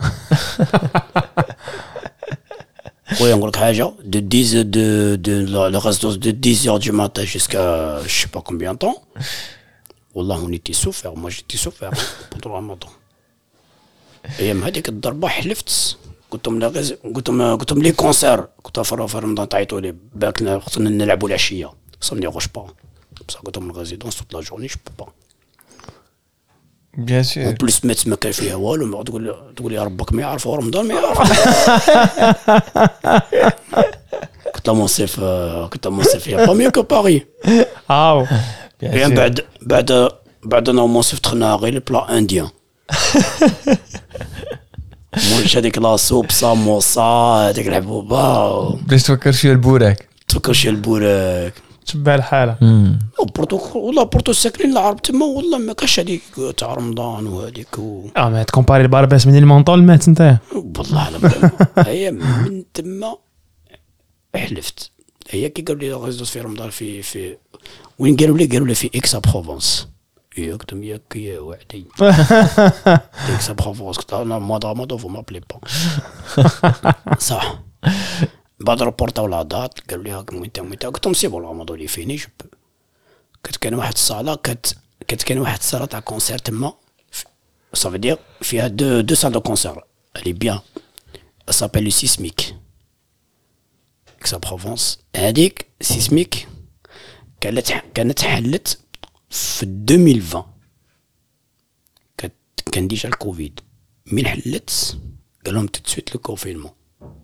[SPEAKER 3] خويا, نقول لك حاجه, de la résidence de 10h du matin jusqu'à je sais pas combien de temps. والله on était souffert, moi j'étais souffert pendant Ramadan. ايام هذيك الضربه حلفت, قلت لهم لي كونسير كنت في رمضان تعيطوا لي باكنا خصنا نلعبوا العشيه, ça me dérange pas, بصح قلت لهم الريزيدونس toute la journée je peux pas.
[SPEAKER 2] بيان سور.
[SPEAKER 3] اون بليس ما كان فيها والو, ما تقول لي ربك ما يعرف رمضان ما يعرف. كنت منصف يا با ميو كو باري. بعد انا منصف دخلنا غير البلا انديان. مش هذيك لا سوب ساموسا هذيك الحبوبه
[SPEAKER 2] باش تفكر شويه البوراك
[SPEAKER 4] تبع الحاله.
[SPEAKER 3] بورتو ساكنين العرب تما, والله ما كاش هذيك تاع رمضان وهذيك
[SPEAKER 4] ما تكومباري البارباس من المونطول مات انت
[SPEAKER 3] والله هي من تما حلفت. هي كي قالوا لي غزوت في رمضان في وين قالوا لي في اكسا بروفونس. يكتم ياك يا وعدي اكسا بروفونس. قلت انا موا رمضان فو مابلي با صح. بعد رابورتاو لا دات, قالوا لي هاك وين قلت لهم سي بون رمضان لي فيني. كان واحد الصاله كان واحد الصاله تاع كونسير تما, صافي دير فيها دو سال دو كونسير الي بيان, سابيل لو سيسميك اكسا بروفونس. هذيك سيسميك كانت حلت في 2020, كان ديجا الكوفيد. من حلت قال لهم تتسويت لو كونفينمون.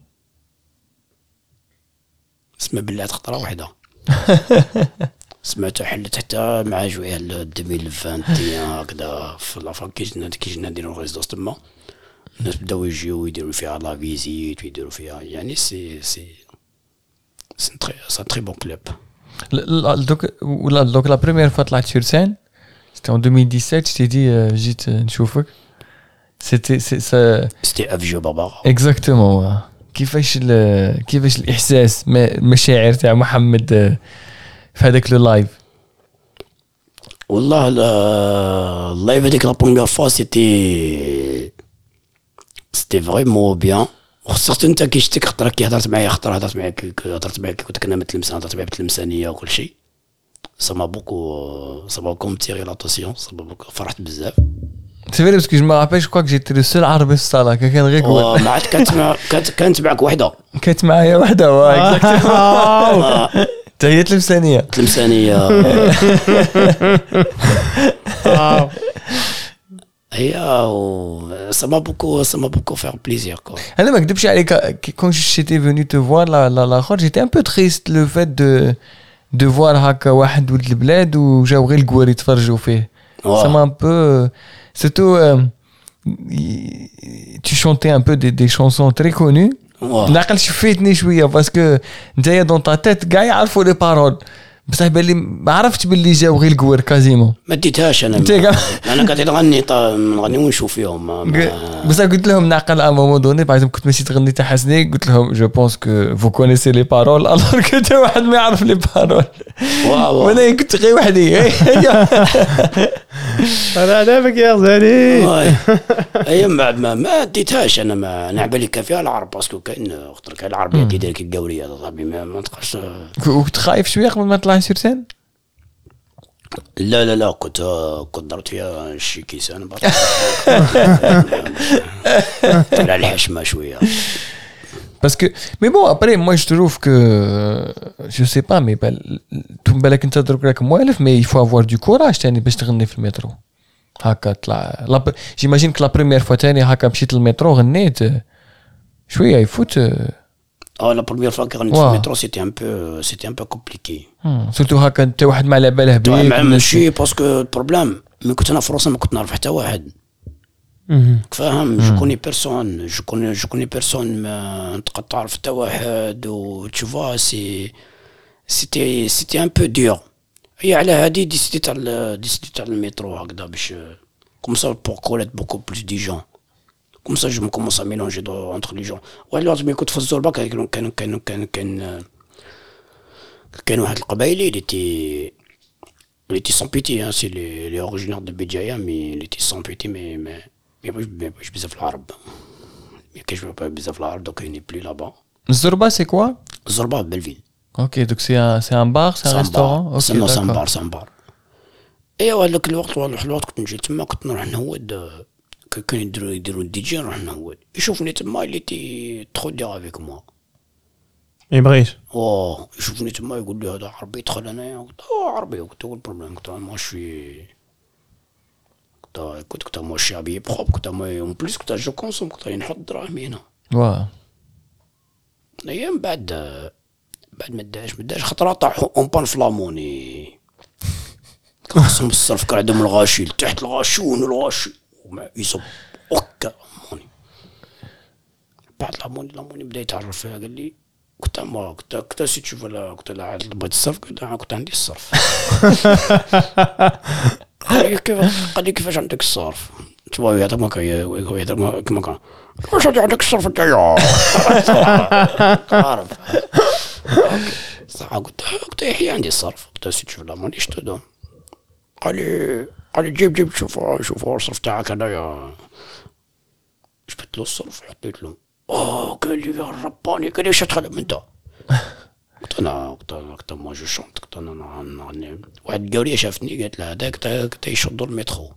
[SPEAKER 3] اسمع بالله خطره واحده سمعت حلت حتى مع جويه 2021 هكذا في لافان كي جينا نديرو ريزيدونس تما. الناس بداو يجيو يديروا فيها لا فيزيت ويديروا فيها, يعني سي تري بون كلوب.
[SPEAKER 2] دوك لا بروميير فوا طلعت سور سين سيتي en 2017. je t'ai dit جيت نشوفك,
[SPEAKER 3] c'était افجو بابا
[SPEAKER 2] اكزاكتومون. كيفاش الاحساس مشاعر تاع محمد في هذاك لو لايف؟
[SPEAKER 3] والله اللايف هذيك لا بروميير فوا سيتي فريمون بيان. خصك انت كي شتك خطره كي هضرت معايا كنت كنا متلمسان, هضرت معايا بالتلمسانيه وكل شيء. ça m'a beaucoup tiré l'attention, فرحت بزاف.
[SPEAKER 2] C'est vrai parce que je me rappelle, je crois que j'étais le seul arabe في الصالة, كان غير
[SPEAKER 3] كويس. ما عاد كانت معك وحده.
[SPEAKER 2] كانت معايا وحده اكزاكتومون. هي تلمسانيه.
[SPEAKER 3] هي ça m'a beaucoup fait plaisir quoi.
[SPEAKER 2] انا ما نكذبش عليك, quand j'étais venu te voir la خرج, j'étais un peu triste le fait de voir هكا واحد ولد البلاد وجاو غير الكوار يتفرجوا فيه. Ça m'a un peu surtout tu chantais un peu des chansons très connues. نعقل شفيتني شويه باسكو نتايا دون تا تيت كاع يعرفوا لي بارول بصح باللي ما عرفتش باللي جاو غير الكوار كازيمون
[SPEAKER 3] ما ديتهاش انا قاعد نغني نغني ونشوف فيهم
[SPEAKER 2] بصح قلت لهم نعقل ا مومون دوني باغ اكزومبل كنت ماشي تغني تاع حسني قلت لهم جو بونس كو فو كونيسي لي بارول الوغ كنت واحد ما يعرف لي بارول وانا كنت غير وحدي
[SPEAKER 4] انا عجبك يا غزالي
[SPEAKER 3] اي ما ديتهاش انا ما نعبالي كافيه العرب باسكو كاين خاطر كاين العربيه كيدير كي القوريه هذا صاحبي ما تقدرش.
[SPEAKER 2] كنت خايف شويه قبل ما تطلع سير سين؟
[SPEAKER 3] لا كنت ضربت فيها شي كيسان على الحشمه شويه
[SPEAKER 2] باسكو مي بون ابري مو جو تروف كو جو سي با مي بالك انت درك راك موالف مي يفو افوار دو كوراج ثاني باش تغني في المترو هكا طلع جيماجين كو لا بريمير فوا ثاني هكا مشيت للمترو غنيت شويه يفوت
[SPEAKER 3] la première fois que j'ai métro c'était un peu compliqué.
[SPEAKER 2] Surtout هكا انت واحد ما على باله بيك
[SPEAKER 3] ماشي باسكو البروبليم ملي كنت انا في فرنسا ما كنت نعرف حتى واحد. فاهم جو كوني بيرسون ما تقدر تعرف حتى واحد و tu vois c'était un peu dur. هي على هادي ديسيدي تاع المترو هكذا باش comme ça pour connaître beaucoup plus de gens. Comme ça, je me commence à mélanger entre les gens. Ouais, alors, mais écoute, Fazolba, كان واحد القبائلي il était sans pitié, hein, c'est les originaires de Béjaïa, mais il était sans pitié, mais je بزاف العرب. Mais que je veux pas بزاف العرب, donc il n'est plus là-bas.
[SPEAKER 2] Zorba, c'est quoi?
[SPEAKER 3] Zorba, Belleville.
[SPEAKER 2] Ok, donc c'est un bar, c'est un restaurant?
[SPEAKER 3] Ok, d'accord. C'est un bar. Et هذاك الوقت كنت نجي تما كنت نروح نهود كانوا يديروا دي جي نروح نهود يشوفني تما اللي تي ترو دير افيك موا
[SPEAKER 4] يبغيش
[SPEAKER 3] يشوفني تما يقول لي هذا عربي دخل انايا قلت عربي قلت هو البروبليم قلت ماشي قلت ماشي ابي بروب قلت ما اون بليس قلت جو كونسوم قلت نحط دراهمي هنا ايام بعد ما داش خطره طاحوا اون بان فلاموني خصهم الصرف كان عندهم الغاشي تحت الغاشون الغاشي وما يصب اوكا موني بعد لاموني بدا يتعرف فيها قال لي كنت سي تشوف ولا كنت لا بغيت الصرف كنت عندي الصرف قال لي كيفاش عندك الصرف تبغى هذا ما كان واش عندك الصرف نتايا عارف صح قلت يحيى عندي الصرف قلت سي تشوف لاموني شتو قال لي جيب شوف الصرف تاعك هنايا جبت له الصرف حطيت له قال لي يا رباني قال لي واش تخدم انت قلت ما جو شونت قلت انا نغني واحد القوريه شافتني قالت له هذاك يشدوا المترو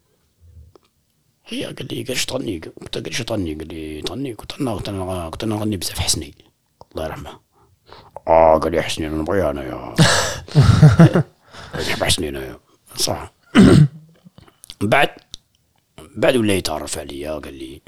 [SPEAKER 3] هي قال لي اش تغني قلت قال لي تغني قلت انا نغني بزاف حسني الله يرحمه قال لي حسني انا نبغي انايا نحب حسني انايا صح بعد ولا يتعرف عليا قال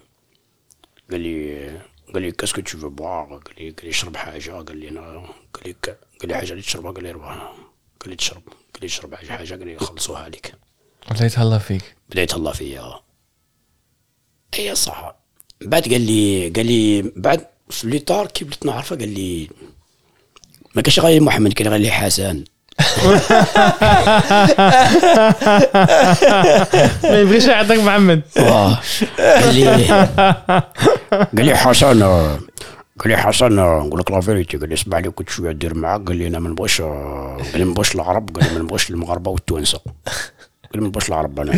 [SPEAKER 3] لي كاسكو تو فو بوار قال لي شرب حاجه قال لي حاجه اللي تشربها قال لي روح قال لي تشرب حاجه قال لي خلصوها لك
[SPEAKER 2] بدا يتهلا فيك
[SPEAKER 3] بدا يتهلا فيا هي صح بعد قال لي بعد في ليطار كي بديت نعرفه قال لي ما كاش غير محمد كان غير لي حسن
[SPEAKER 4] ما يبغيش يعطيك محمد
[SPEAKER 3] قال لي حسن نقول لك لا فيريتي قال لي اسمع لي كنت شويه ندير معاك قال لي انا ما نبغيش العرب قال لي ما نبغيش المغاربه والتوانسه قال لي ما نبغيش العرب انا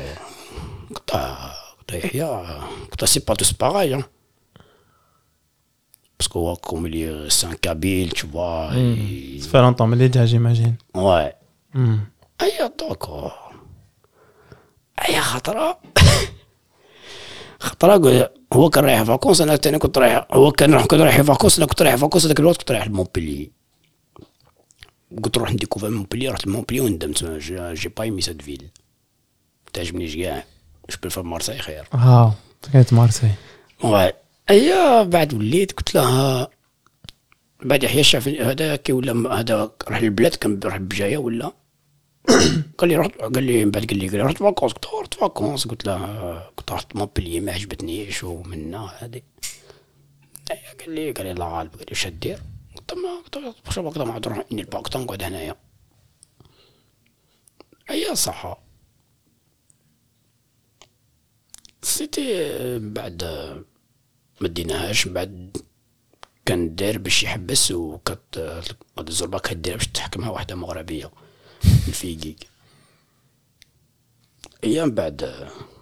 [SPEAKER 3] قلت يحيى قلت سي با توس باغاي parce que comme c'est un kabyle tu vois
[SPEAKER 4] ça fait longtemps mais déjà j'imagine
[SPEAKER 3] ouais d'accord خطره هو كان رايح فاكونس انا ثاني كنت رايح هو كان رايح فاكونس انا كنت رايح فاكونس هذاك الوقت كنت رايح لمونبلي قلت نروح نديكوفر مونبلي رحت لمونبلي وندمت جي با ايمي سات فيل تعجبنيش كاع جو بريفير مارساي خير
[SPEAKER 4] كانت مارساي
[SPEAKER 3] بعد وليت قلت لها بعد يحيى شاف هذا كي ولا هذا راح للبلاد كان راح بجايه ولا قال لي من بعد قال لي رحت فاكونس قلت له كنت رحت مونبليي ما عجبتنيش ومنا هذه. قال لي الله غالب. قال لي واش دير؟ قلت له واش باك ما نروح اني الباك نقعد هنايا. ايا صح سيتي. بعد ما ديناهاش بعد كان داير باش يحبس وكت هاد الزربه كدير باش تحكمها واحده مغربيه الفيقيق. ايام بعد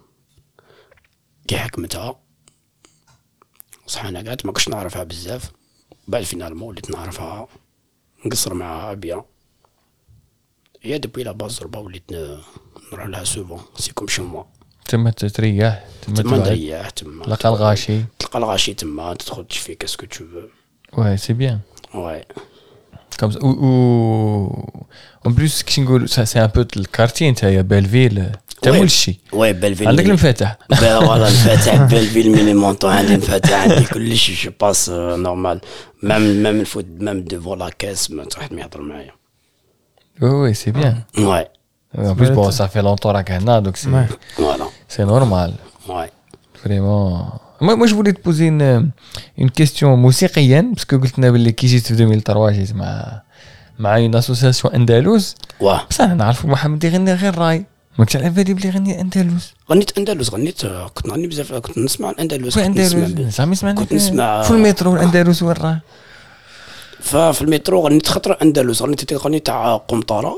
[SPEAKER 3] كي حكمتها صح انا قعدت ما كنتش نعرفها بزاف. بعد فينالمون وليت نعرفها نقصر معها بيان. هي دبي لا باز الزربه وليت نروح لها سوفون سي كوم شو موا.
[SPEAKER 2] تما تريح
[SPEAKER 3] تما نريح تما
[SPEAKER 2] تلقى
[SPEAKER 3] الغاشي تما تدخل تشفي كاسكو تو فو.
[SPEAKER 2] Ouais, c'est bien.
[SPEAKER 3] Ouais.
[SPEAKER 2] Comme ça, en plus, c'est un peu le quartier, tu as Belleville. تعمل شيء.
[SPEAKER 3] Ouais, Belleville.
[SPEAKER 2] عندك المفاتح.
[SPEAKER 3] voilà المفاتح Belleville ميني مونطو عندي المفاتح عندي كل شيء je passe normal. Même الفوت même devant la caisse ما تروح يهضر معايا.
[SPEAKER 2] Oui, c'est bien.
[SPEAKER 3] Ouais.
[SPEAKER 2] En plus, bon, ça fait longtemps là qu'on a, donc
[SPEAKER 3] Voilà.
[SPEAKER 2] C'est normal.
[SPEAKER 3] Ouais.
[SPEAKER 2] Vraiment. Moi, je voulais te poser une question موسيقيا parce que قلت لنا باللي كي جيت في 2003 جيت مع une association أندلس.
[SPEAKER 3] واه.
[SPEAKER 2] بصح أنا نعرف محمد يغني غير راي. ما كنتش على بالي بلي يغني أندلس.
[SPEAKER 3] غنيت كنت نغني بزاف كنت نسمع الأندلس.
[SPEAKER 2] زعما سمعنا.
[SPEAKER 3] كنت نسمع
[SPEAKER 2] في المترو الأندلس وين راه.
[SPEAKER 3] ففي المترو غنيت خطرة أندلس غنيت تاع قمطرة.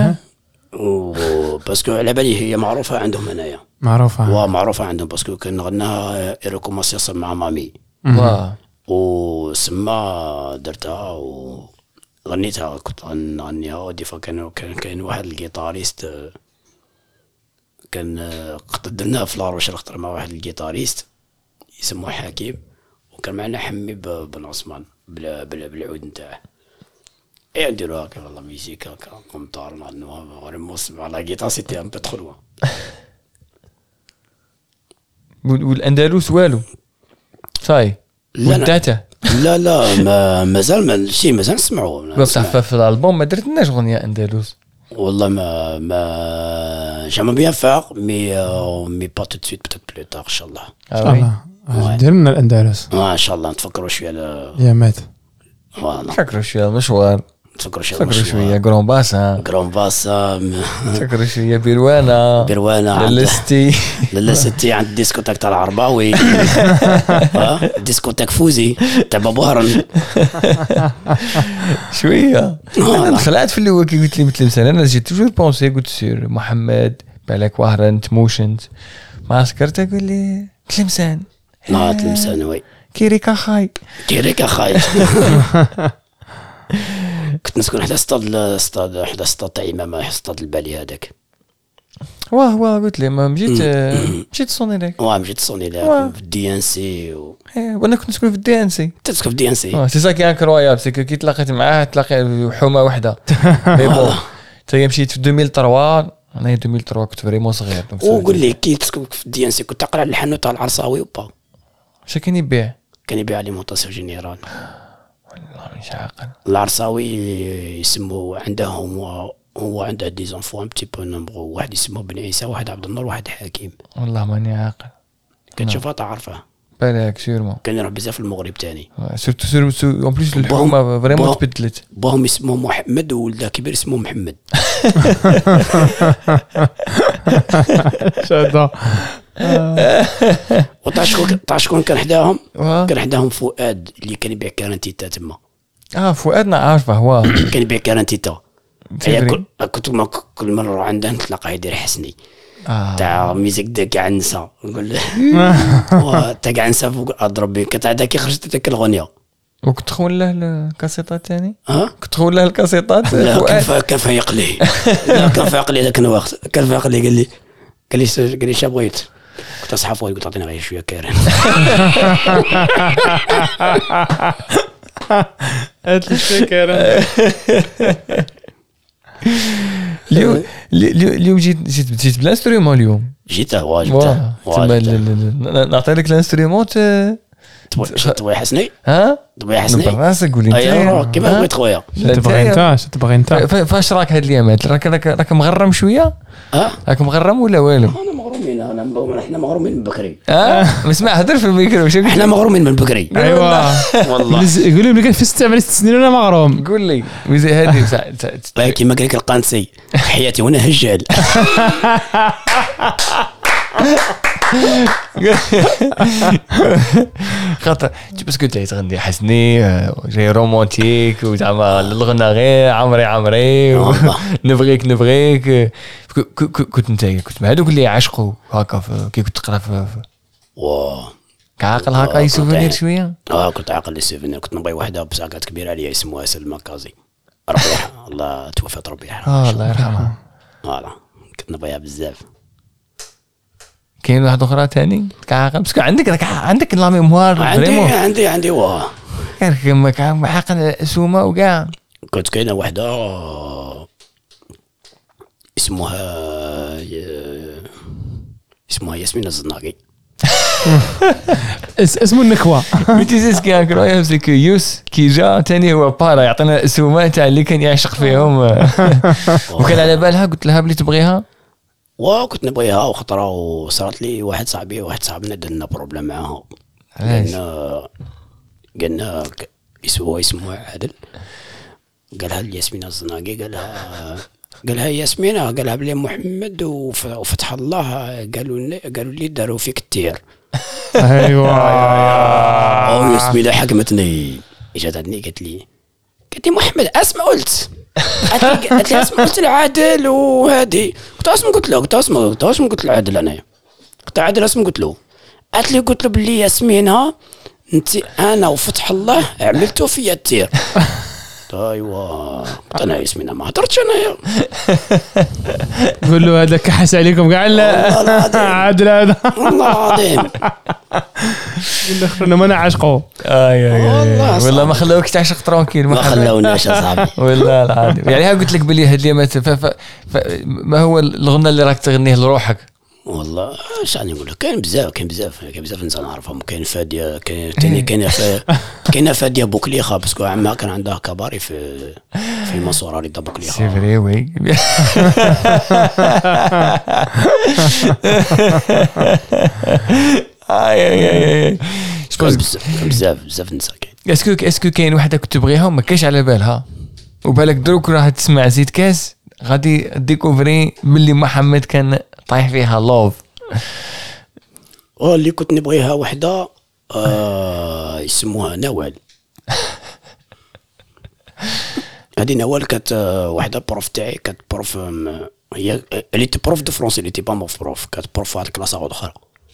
[SPEAKER 3] باسكو على بالي هي معروفة عندهم هنايا. معروفة عندهم باسكو كان غناها إيروكو ماسيس مع مامي. وسما درتها وغنيتها كنت نغنيها. ودي كان واحد الجيتاريست كان قدرناها في لاروش نختار مع واحد الجيتاريست يسموه حكيم وكان معنا حمي بن عثمان بالعود نتاعه. ايه نديرو هكا والله ميوزيك هكا قمطار نغنوها غير نسمع على جيتار سيتي ان بو تخلوه.
[SPEAKER 2] والأندلس والو صاي ودعته.
[SPEAKER 3] لا مازال نسمعوه.
[SPEAKER 2] بصح في الالبوم ما درتناش اغنيه اندلس
[SPEAKER 3] والله ما j'aimerais bien faire mais pas tout de suite peut-être plus tard ان شاء الله.
[SPEAKER 4] دير لنا الاندلس
[SPEAKER 3] ان شاء الله نتفكروا شويه
[SPEAKER 4] يا مات.
[SPEAKER 2] نفكروا شويه المشوار. نفكروا شويه غرون باسا. نفكروا شويه بيروانا للستي
[SPEAKER 3] عند الديسكوتاك تاع العرباوي. ديسكوتاك فوزي تاع بابو هرن
[SPEAKER 2] شويه. خلعت في الاول كي قلت لي مثل مثلا انا جيت توجور بونسي قلت سير محمد بالك وهرن تموشنت ما سكرت اقول لي تلمسان.
[SPEAKER 3] تلمسان وي
[SPEAKER 2] كيريكا خاي
[SPEAKER 3] كنت نسكن حدا اسطاد تاع إمام اسطاد البالي هذاك.
[SPEAKER 2] واه قلت لي ما مشيت صوني لك.
[SPEAKER 3] مشيت صوني لك في الدي ان سي
[SPEAKER 2] وانا كنت نسكن في الدي ان سي.
[SPEAKER 3] تسكن في الدي ان سي.
[SPEAKER 2] سي سا كي انكرويابل سي كي تلاقيت معاه تلاقي حومه واحده. مي بون تايا مشيت في 2003 انا 2003 كنت فريمون صغير.
[SPEAKER 3] وقول لي كي تسكن في الدي ان سي كنت تقرا على الحانوت تاع العرصاوي وبا
[SPEAKER 2] شا كان يبيع
[SPEAKER 3] اليمونطاسيون جينيرال.
[SPEAKER 2] والله مش عاقل.
[SPEAKER 3] العرصاوي يسموه عندهم هو عنده دي زونفون ان بتي بو نومبرو. واحد يسموه بن عيسى واحد عبد النور واحد حكيم.
[SPEAKER 2] والله ماني عاقل.
[SPEAKER 3] كتشوفها تعرفها
[SPEAKER 2] بالك سيرمون.
[SPEAKER 3] كان يروح بزاف في المغرب تاني
[SPEAKER 2] سورتو اون بليس الحكومه فريمون تبدلت.
[SPEAKER 3] باهم اسمه محمد وولده كبير اسمه محمد.
[SPEAKER 4] شاده.
[SPEAKER 3] وتعشكون كان حداهم فؤاد اللي كان يبيع كارانتيتا تما.
[SPEAKER 2] فؤادنا عارفه هو
[SPEAKER 3] كان يبيع كارانتيتا. كنت كل مره عنده نتلاقى يدير حسني تاع ميزيك دي كاع نسا نقول له تاع كاع نسا فوق اضرب بك تاع كي خرجت ديك الاغنيه.
[SPEAKER 2] وكنت تخون له الكاسيطات ثاني. كنت تخون له الكاسيطات.
[SPEAKER 3] لا كان فايق لي. كان فايق لي ذاك الوقت. كان فايق لي قال لي شا بغيت. كنت اصحى قلت عطيني غير شويه كارن.
[SPEAKER 4] هات لي شويه كارن.
[SPEAKER 2] اليوم جيت بالانسترومون اليوم.
[SPEAKER 3] جيت
[SPEAKER 2] نعطي لك الانسترومون
[SPEAKER 3] تبغي حسني
[SPEAKER 2] ها
[SPEAKER 3] تبغي حسني
[SPEAKER 2] براسك قول لي
[SPEAKER 3] ايوا كيما بغيت خويا
[SPEAKER 4] تبغي انت
[SPEAKER 2] فاش راك هاد الايامات راك مغرم شويه راك مغرم ولا والو
[SPEAKER 3] انا مغرومين احنا مغرومين من بكري
[SPEAKER 2] اسمع هضر في الميكرو
[SPEAKER 3] احنا مغرومين من بكري
[SPEAKER 4] ايوا
[SPEAKER 3] والله
[SPEAKER 4] يقولوا لي كان في 6 سنين وانا مغروم
[SPEAKER 2] قول لي وزي هذه
[SPEAKER 3] كيما قال لك القانسي حياتي وانا هجال
[SPEAKER 2] خاطر باسكو جاي تغني حسني جاي رومانتيك وزعما الغنى غير عمري نبغيك كنت انت كنت مع هذوك اللي عشقوا هكا كي كنت تقرا في عاقل هكا يسوفونير شويه
[SPEAKER 3] كنت عاقل لي سوفونير كنت نبغي وحده بساكات كبيره عليا اسمها سلمى كازي ربيعه الله توفت ربي يرحمها
[SPEAKER 2] الله يرحمها
[SPEAKER 3] فوالا كنت نبغيها بزاف
[SPEAKER 2] كاين واحد اخرى ثاني كعاقل باسكو عندك لا ميموار
[SPEAKER 3] عندي واه
[SPEAKER 2] كان عاقل سومه وكاع
[SPEAKER 3] كنت كاينه وحده اسمها ياسمين الزناقي
[SPEAKER 4] اسمه النكوه
[SPEAKER 2] بتيزيس كي انكرويابل سي يوس كي جا ثاني هو بارا يعطينا السومه تاع اللي كان يعشق فيهم وكان على بالها قلت لها بلي تبغيها
[SPEAKER 3] وكنت نبغيها وخطره وصارت لي واحد صاحبنا درنا بروبليم معاها قلنا اسمه عادل قالها ياسمين الزناقي قالها ياسمينة قالها بلي محمد وفتح الله قالوا لي داروا فيك التير
[SPEAKER 4] ايوا
[SPEAKER 3] ياسمينة حكمتني اجت عندي قالت لي محمد اسمع قلت اسمع قلت لعادل وهادي قلت اسمع قلت لعادل انايا قلت عادل اسمع قلت له قلت له بلي ياسمينة انت انا وفتح الله عملتو فيا التير ايوا انا ياسمينة ما هضرتش انايا
[SPEAKER 4] قول له هذا كحس عليكم كاع عادل هذا
[SPEAKER 3] والله العظيم
[SPEAKER 4] الاخرين ما نعشقوا
[SPEAKER 2] والله ما خلاوك تعشق ترونكيل
[SPEAKER 3] ما خلاوناش يا صاحبي
[SPEAKER 2] والله العظيم يعني ها قلت لك بلي هاد اليومات ما هو الغنى اللي راك تغنيه لروحك
[SPEAKER 3] والله اش راني نقول لك كاين بزاف انسان نعرفهم كاين فاديه كاين فاديه بوكليخه باسكو عمها كان عندها كباري في المنصوره رضا بوكليخه
[SPEAKER 2] سي فري وي اي
[SPEAKER 3] بزاف نساء
[SPEAKER 2] كاين اسكو كاين وحده كنت تبغيها ما كاينش على بالها وبالك دروك راه تسمع زيد كاس غادي ديكوفري باللي محمد كان طايح فيها لوف
[SPEAKER 3] اللي كنت نبغيها وحده يسموها نوال هذه نوال كانت وحده بروف تاعي كانت بروف هي اللي بروف دو فرونسي اللي تي با بروف كانت بروف هاد الكلاس اخرى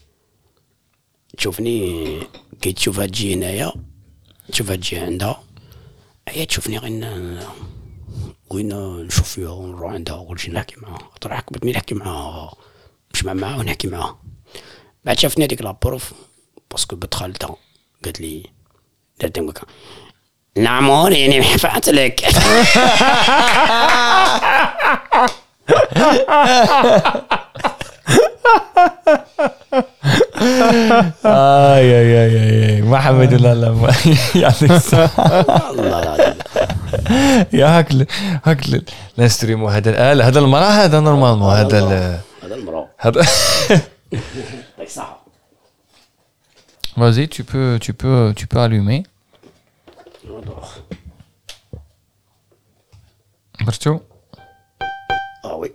[SPEAKER 3] تشوفني كي تشوفها تجي هنايا تشوفها تجي عندها هي تشوفني وين نشوف فيها ونروح عندها وكلشي نحكي معها طرح كبت مي نحكي معها نجمع معها ونحكي معها بعد شافني هذيك لابروف باسكو بنت خالتها قالت لي درت هكا نعم يعني حفعت لك
[SPEAKER 2] اي محمد لا يعطيك الصحة
[SPEAKER 3] الله
[SPEAKER 2] يا هاكل نستريمو هذا المراه هذا نورمالمون هذا
[SPEAKER 3] المراه
[SPEAKER 2] هذا
[SPEAKER 3] يعطيك الصحة
[SPEAKER 2] vas-y tu peux allumer برتو
[SPEAKER 3] وي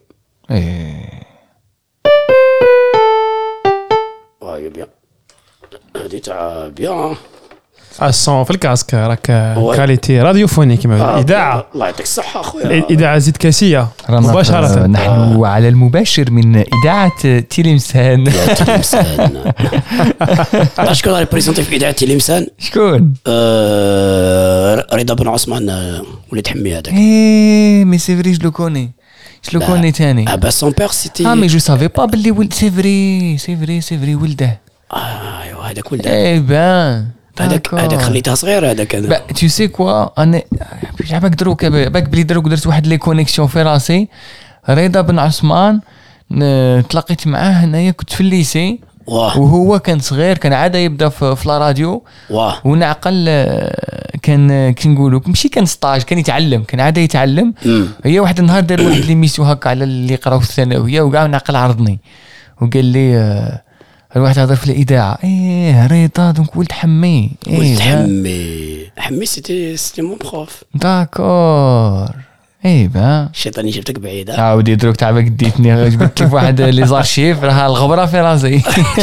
[SPEAKER 3] بيان هادي تاع بيان
[SPEAKER 4] الصون في الكاسك راك كاليتي راديوفوني كما اذاعه
[SPEAKER 3] الله يعطيك الصحه اخويا
[SPEAKER 4] اذاعه زيد كاسيه مباشره
[SPEAKER 2] نحن على المباشر من اذاعه تلمسان
[SPEAKER 3] شكون اللي بريزونتي في اذاعه تلمسان
[SPEAKER 2] شكون
[SPEAKER 3] رضا بن عثمان ولد حمي هذاك
[SPEAKER 2] مي سي فري جو لو كوني ثاني
[SPEAKER 3] با سون بير سيتي
[SPEAKER 2] مي جو سافي با بلي ولد سي فري ولده
[SPEAKER 3] ايوا هذاك ولده
[SPEAKER 2] اي بان
[SPEAKER 3] هذاك خليتها صغير هذاك انا
[SPEAKER 2] تو سي كوا انا باك دروك باك بلي دروك درت واحد لي كونيكسيون في راسي رضا بن عثمان تلاقيت معاه هنايا كنت في الليسي وهو كان صغير كان عاده يبدا في لا راديو ونعقل كان كي نقولوا ماشي كان ستاج كان يتعلم كان عاده يتعلم هي واحد النهار دار واحد ليميسيو هكا على اللي يقراو في الثانويه وكاع نعقل عرضني وقال لي الواحد هضر في الاذاعه رضا دونك ولد حمي
[SPEAKER 3] حمي سيتي مون بروف
[SPEAKER 2] داكور با
[SPEAKER 3] الشيطان جبتك بعيد
[SPEAKER 2] عاودي دروك تعبك ديتني جبت لك واحد لي زارشيف راها الغبره في راسي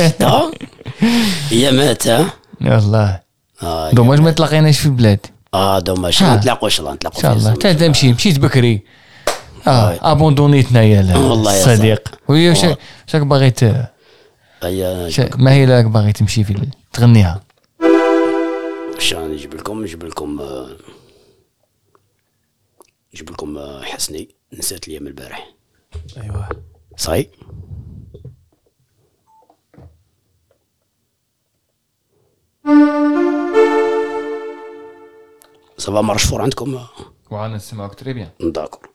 [SPEAKER 3] هي مات
[SPEAKER 2] والله دوماج ما تلاقيناش في البلاد
[SPEAKER 3] دوماج نتلاقوش ان
[SPEAKER 2] شاء الله حتى مشيت بكري ابوندونيتنا يا الصديق وهي شاك باغيت ما هي لك باغي تمشي في تغنيها
[SPEAKER 3] واش نجيب لكم حسني نسيت لي من البارح
[SPEAKER 4] ايوه
[SPEAKER 3] صحيح صافا مرشفور عندكم
[SPEAKER 2] وانا نسمعك تري بيان
[SPEAKER 3] داكور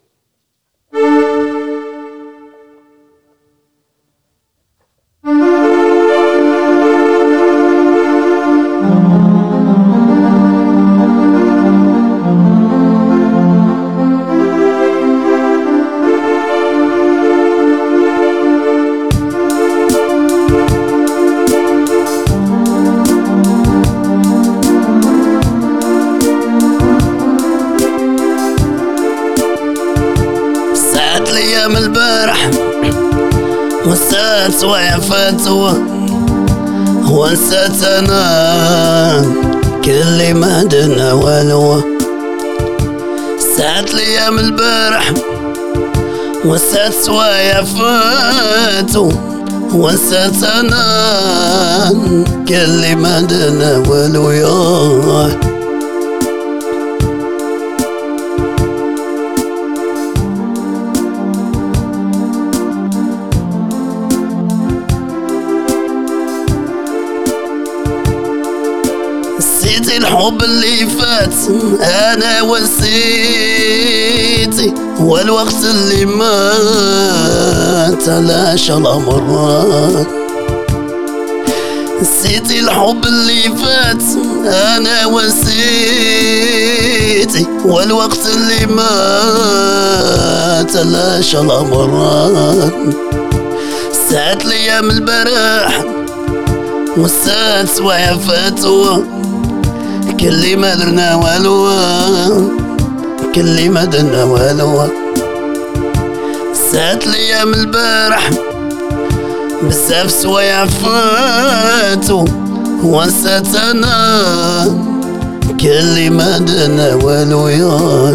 [SPEAKER 3] من البارح ونسات وعفاتوا ونسات انا كل ما درنا والو ساعات ليا من البارح ونسات وعفاتوا ونسات انا كل ما درنا والو يا الحب اللي فات انا ونسيتي والوقت اللي مات علاش الامر نسيتي الحب اللي فات انا ونسيتي والوقت اللي مات علاش الامر ساعات ليا من البارح وسات وعفاتو كل ما درنا والو كل ما درنا والو ساعات ليا من البارح بزاف سوايع فاتو ونسات انا كل ما درنا والو يا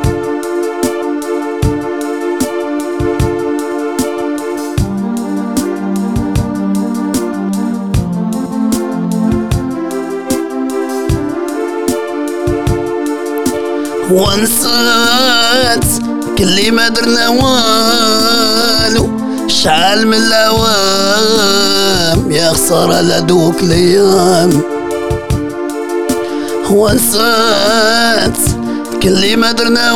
[SPEAKER 3] ونسات كل ما درنا والو شعل من الاوام يا خسارة لدوك الايام ونسات كل ما درنا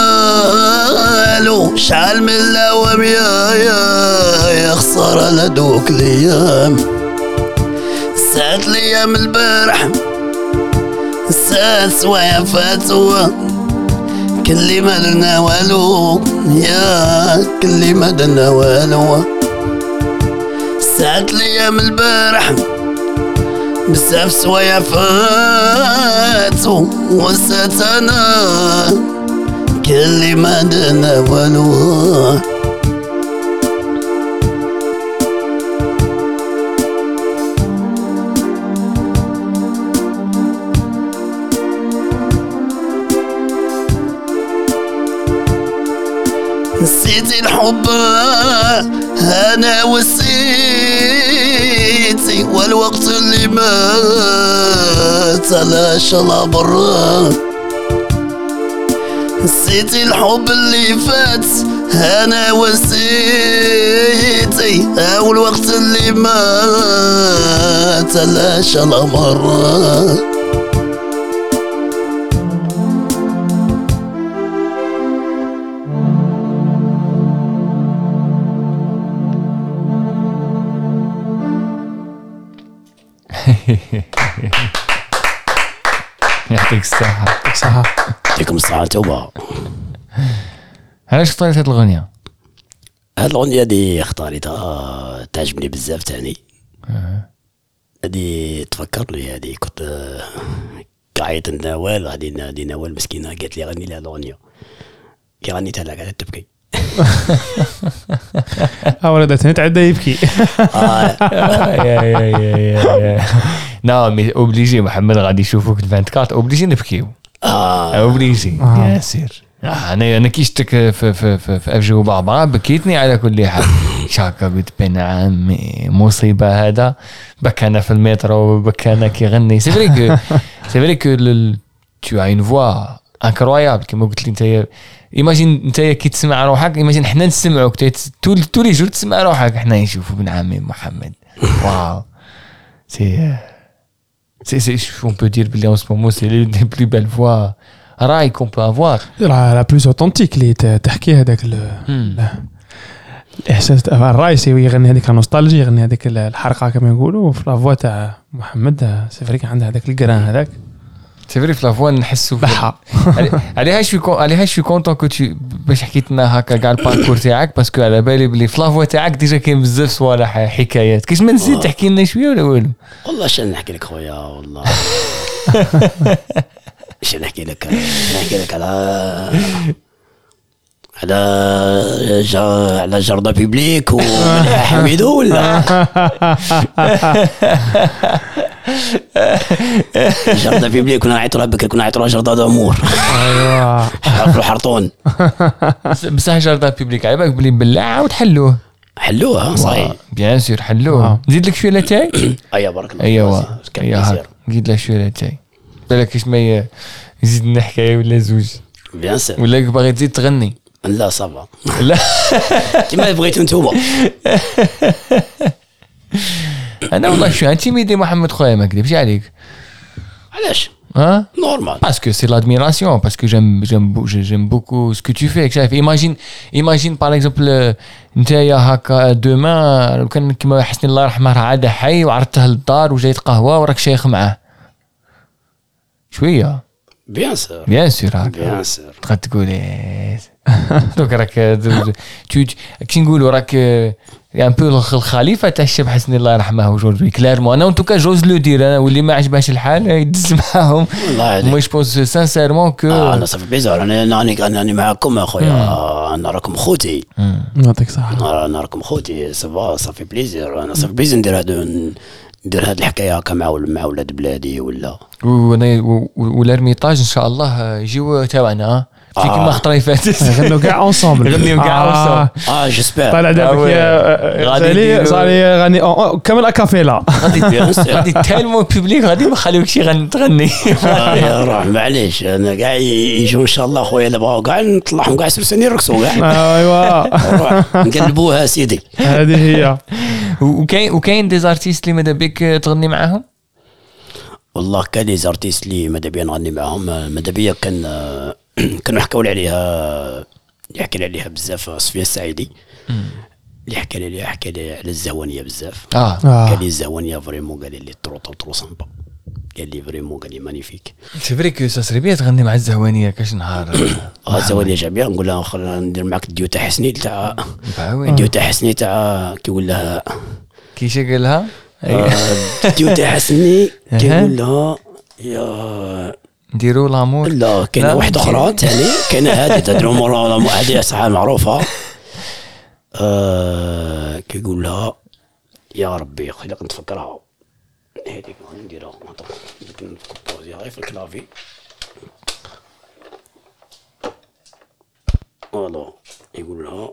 [SPEAKER 3] والو شعل من الاوام يا خسارة لدوك الايام ساعات ليا من البارح ساعات سوايع فاتوا كل ما درنا والو يا كل ما درنا والو ساعات ليا من البارح بزاف سوايع فاتو ونسات انا كل ما درنا والو نسيتي الحب انا وسيتي والوقت اللي مات علاش الابر نسيتي الحب اللي فات انا وسيتي والوقت اللي مات علاش الامر
[SPEAKER 2] يعطيك الصحة.
[SPEAKER 4] صح.
[SPEAKER 3] يعطيكم الصحة توبة.
[SPEAKER 2] علاش اختاريت هاد الأغنية؟
[SPEAKER 3] هاد الأغنية دي اختاريتها تعجبني بزاف تاني. هادي تفكرني، هادي كنت قاعد نوال غادي نوال مسكينة قالت لي غني لي هاد الأغنية، كي غنيتها لها قاعدة تبكي.
[SPEAKER 4] ولدتني تعدى يبكي.
[SPEAKER 2] لا مي اوبليجي محمد غادي يشوفوك 24 اوبليجي نبكيو. اوبليجي ياسر. انا كي شفتك في افجو بابا بكيتني على كل حال. شاكا قلت بين عمي مصيبه هذا. بكانا في المترو بكانا كيغني. سي فري كو tu as une voix incroyable كما قلت لي انت. ايماجين انت كي تسمع روحك، ايماجين حنا نسمعوك تولي جور تسمع روحك، حنا نشوفوا بن عمي محمد. واو سي on peut dire بلي en ce moment c'est les plus belles voix راي qu'on peut avoir.
[SPEAKER 4] لا بلوس اوتنتيك اللي تحكي هذاك الاحساس الراي سي يغني هذيك النوستالجي، يغني هذيك الحرقه كما يقولوا في لافوا تاع محمد. سي فري عنده هذاك الجران هذاك.
[SPEAKER 2] سي فري في لافوا نحسوا
[SPEAKER 4] بحا.
[SPEAKER 2] عليها شوي كونطون كو تو باش حكيت لنا هكا كاع الباركور تاعك، باسكو على بالي بلي في لافوا تاعك ديجا كاين بزاف صوالح حكايات. كيش ما نزيد تحكي لنا شويه ولا والو؟
[SPEAKER 3] والله شنو نحكي لك خويا، والله شنو نحكي لك على جردة بيبليك وحميدو ولا جردة بيبليك. كنا نعيطوا بكري، كنا نعيطوا جردة دامور.
[SPEAKER 4] ايوا
[SPEAKER 3] حرفوا حرطون.
[SPEAKER 2] بصح جردة بيبليك على بالك بلي بلعه وتحلوه.
[SPEAKER 3] حلوها صحيح
[SPEAKER 2] بيان سور حلوه. نزيد لك شويه لاتاي.
[SPEAKER 3] ايوا بارك الله.
[SPEAKER 2] ايوا نزيد لك شويه لاتاي بالك كيش ما يزيد لنا حكايه ولا زوج.
[SPEAKER 3] بيان سور.
[SPEAKER 2] ولا باغي تزيد تغني؟
[SPEAKER 3] لا صافا.
[SPEAKER 2] لا
[SPEAKER 3] كيما بغيتو نتوما.
[SPEAKER 2] انا والله شو انتيميدي محمد خويا، ما نكذبش عليك.
[SPEAKER 3] علاش؟ نورمال.
[SPEAKER 2] Parce que c'est l'admiration, parce que j'aime beaucoup ce que tu fais. شايف imagine par exemple نتايا هكا دوما لو كان كيما حسني الله يرحمه عاد حي وعرضته للدار وجايت قهوه وراك شيخ معاه شويه.
[SPEAKER 3] بيان سور
[SPEAKER 2] بيان سور تقول دوك راك كي نقولوا راك ان بو الخليفه تاع الشاب حسني الله يرحمه وجوزوي كلارمون. انا وانتو جوز لو دير، انا واللي ما عجبهاش الحال يدز معاهم. مو جوبونس سانسيرمون كو
[SPEAKER 3] انا صافي بيزار. انا معكم اخويا، انا راكم خوتي.
[SPEAKER 4] يعطيك الصحه.
[SPEAKER 3] انا راكم خوتي صافي بليزير. انا صافي بليزير ندير هاد الحكايه هكا مع ولاد بلادي ولا والارميطاج ان شاء الله يجيو تاعنا في كيما خطره اللي فاتت.
[SPEAKER 4] غنوا كاع اونصومبل.
[SPEAKER 2] غنيو كاع اونصومبل.
[SPEAKER 3] جيسبر.
[SPEAKER 4] طلع دابك غادي صار غني كامل اكافيلا.
[SPEAKER 2] غادي تالمو بوبليك غادي ما خليوكش تغني.
[SPEAKER 3] روح معليش. انا كاع يجوا ان شاء الله خويا اللي بغاو كاع نطلعهم كاع سلساني يرقصوا كاع.
[SPEAKER 4] ايوا
[SPEAKER 3] نقلبوها سيدي.
[SPEAKER 4] هذه هي.
[SPEAKER 2] وكاين دي زارتيست اللي ماذا بك تغني معاهم؟
[SPEAKER 3] والله كان لي زارتيست اللي ماذا بيا نغني معاهم. ماذا بيا كانوا حكاو لي عليها، يحكي لي عليها بزاف صفيه السعيدي. اللي حكى لي على الزوانيه بزاف. قال لي الزوانيه فريمون، قال لي ترو سامبا، قال لي فريمون، قال لي مانيفيك.
[SPEAKER 2] سي فري كو سا سري بيا تغني مع الزوانيه كاش نهار.
[SPEAKER 3] الزوانيه جابيه نقول لها خلينا ندير معك الديو تاع حسني تاع الديو تاع حسني تاع كيقول لها
[SPEAKER 2] كيش قال لها
[SPEAKER 3] الديو تاع حسني كيقول لها يا
[SPEAKER 2] نديروا لامور.
[SPEAKER 3] لا كاينه واحده اخرى ثاني، كاينه هذه تدرو هذه صح معروفه. كيقول لها يا ربي خليك نتفكرها هذيك نديرها نكوبوزيها غير في الكلافي. فوالا يقول لها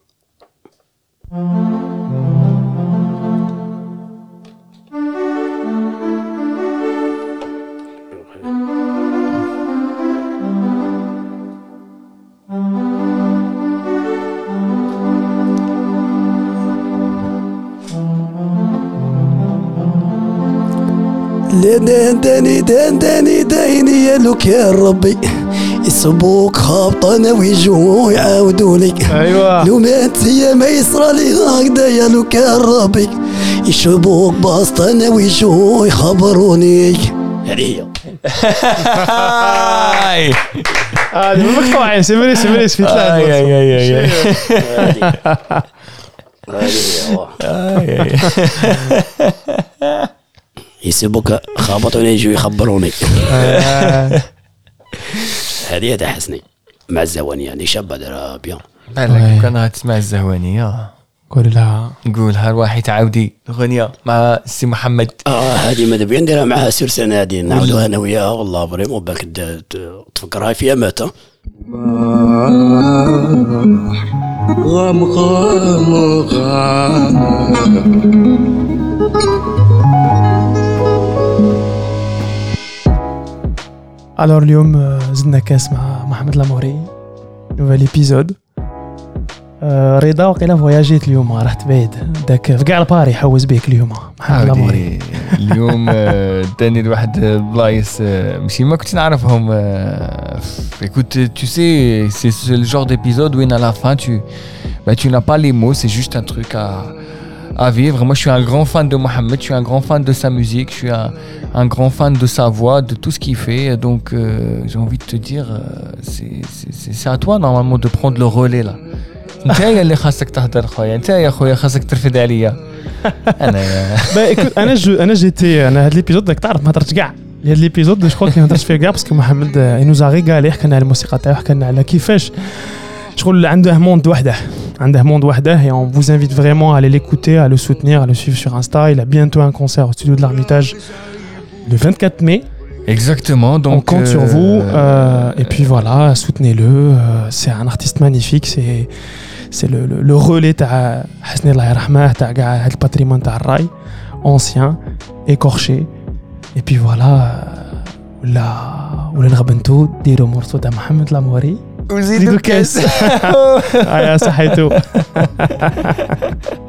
[SPEAKER 3] داني يا لوك يا ربي يصبوك خابطنا ويجوا يعاودوا لك.
[SPEAKER 4] ايوا
[SPEAKER 3] لو مات يا ما يصرى لي هكذا يا لوك يا ربي يشربوك بسطنا ويجوا يخبروني. هذه هي
[SPEAKER 4] هذه مقطوعين سيمريس في
[SPEAKER 3] هذه يسيبوك خابطوني يجوا يخبروني. هذه هذا حسني مع الزوانية يعني شابة دارها بيان.
[SPEAKER 2] بالك كان تسمع الزوانية
[SPEAKER 4] قول لها
[SPEAKER 2] نقولها الواحد تعاودي الغنية مع السي محمد.
[SPEAKER 3] هذه ماذا بيا نديرها معها سير سنة هذه نعاودوها أنا وياها والله فريمون بالك تفكرها فيها مات.
[SPEAKER 1] غام غام غام.
[SPEAKER 4] الور اليوم زدنا كاس مع محمد لاموري نوفال ايبيزود. رضا وقيلا فواياجيت اليوم رحت بعيد داك في كاع الباري حوز بيك اليوم محمد لاموري.
[SPEAKER 2] اليوم داني لواحد بلايص ماشي ما كنت نعرفهم. écoute tu sais c'est le genre d'épisode où à la fin tu n'as pas les mots, c'est juste un truc à vivre. Moi je suis un grand fan de Mohamed, je suis un grand fan de sa musique, je suis un grand fan de sa voix, de tout ce qu'il fait. Donc j'ai envie de te dire c'est à toi normalement de prendre le relais là. انت يا اللي خاصك تهضر خويا، انت يا خويا خاصك ترفد عليا.
[SPEAKER 4] انا جيتي انا هاد ليبيزود داك تعرف ما هضرتش كاع هاد ليبيزود جو كوا ما هضرتش فيه كاع باسكو محمد ينوزا ريغالي حكينا على الموسيقى تاعو حكينا على كيفاش شغل عنده موند وحده et on vous invite vraiment à aller l'écouter, à le soutenir, à le suivre sur Insta. Il a bientôt un concert au studio de l'Ermitage le 24 mai.
[SPEAKER 2] Exactement, donc
[SPEAKER 4] on compte sur vous et puis voilà, soutenez-le. C'est un artiste magnifique, c'est le relais تاع حسني الله يرحمه تاع كاع هذا الباتريمون تاع الراي ancien écorché. et puis voilà ولا نغبنتو ديروا مرسو تاع محمد لاموري
[SPEAKER 2] وزيدوا كاس.
[SPEAKER 4] يا صحيتو.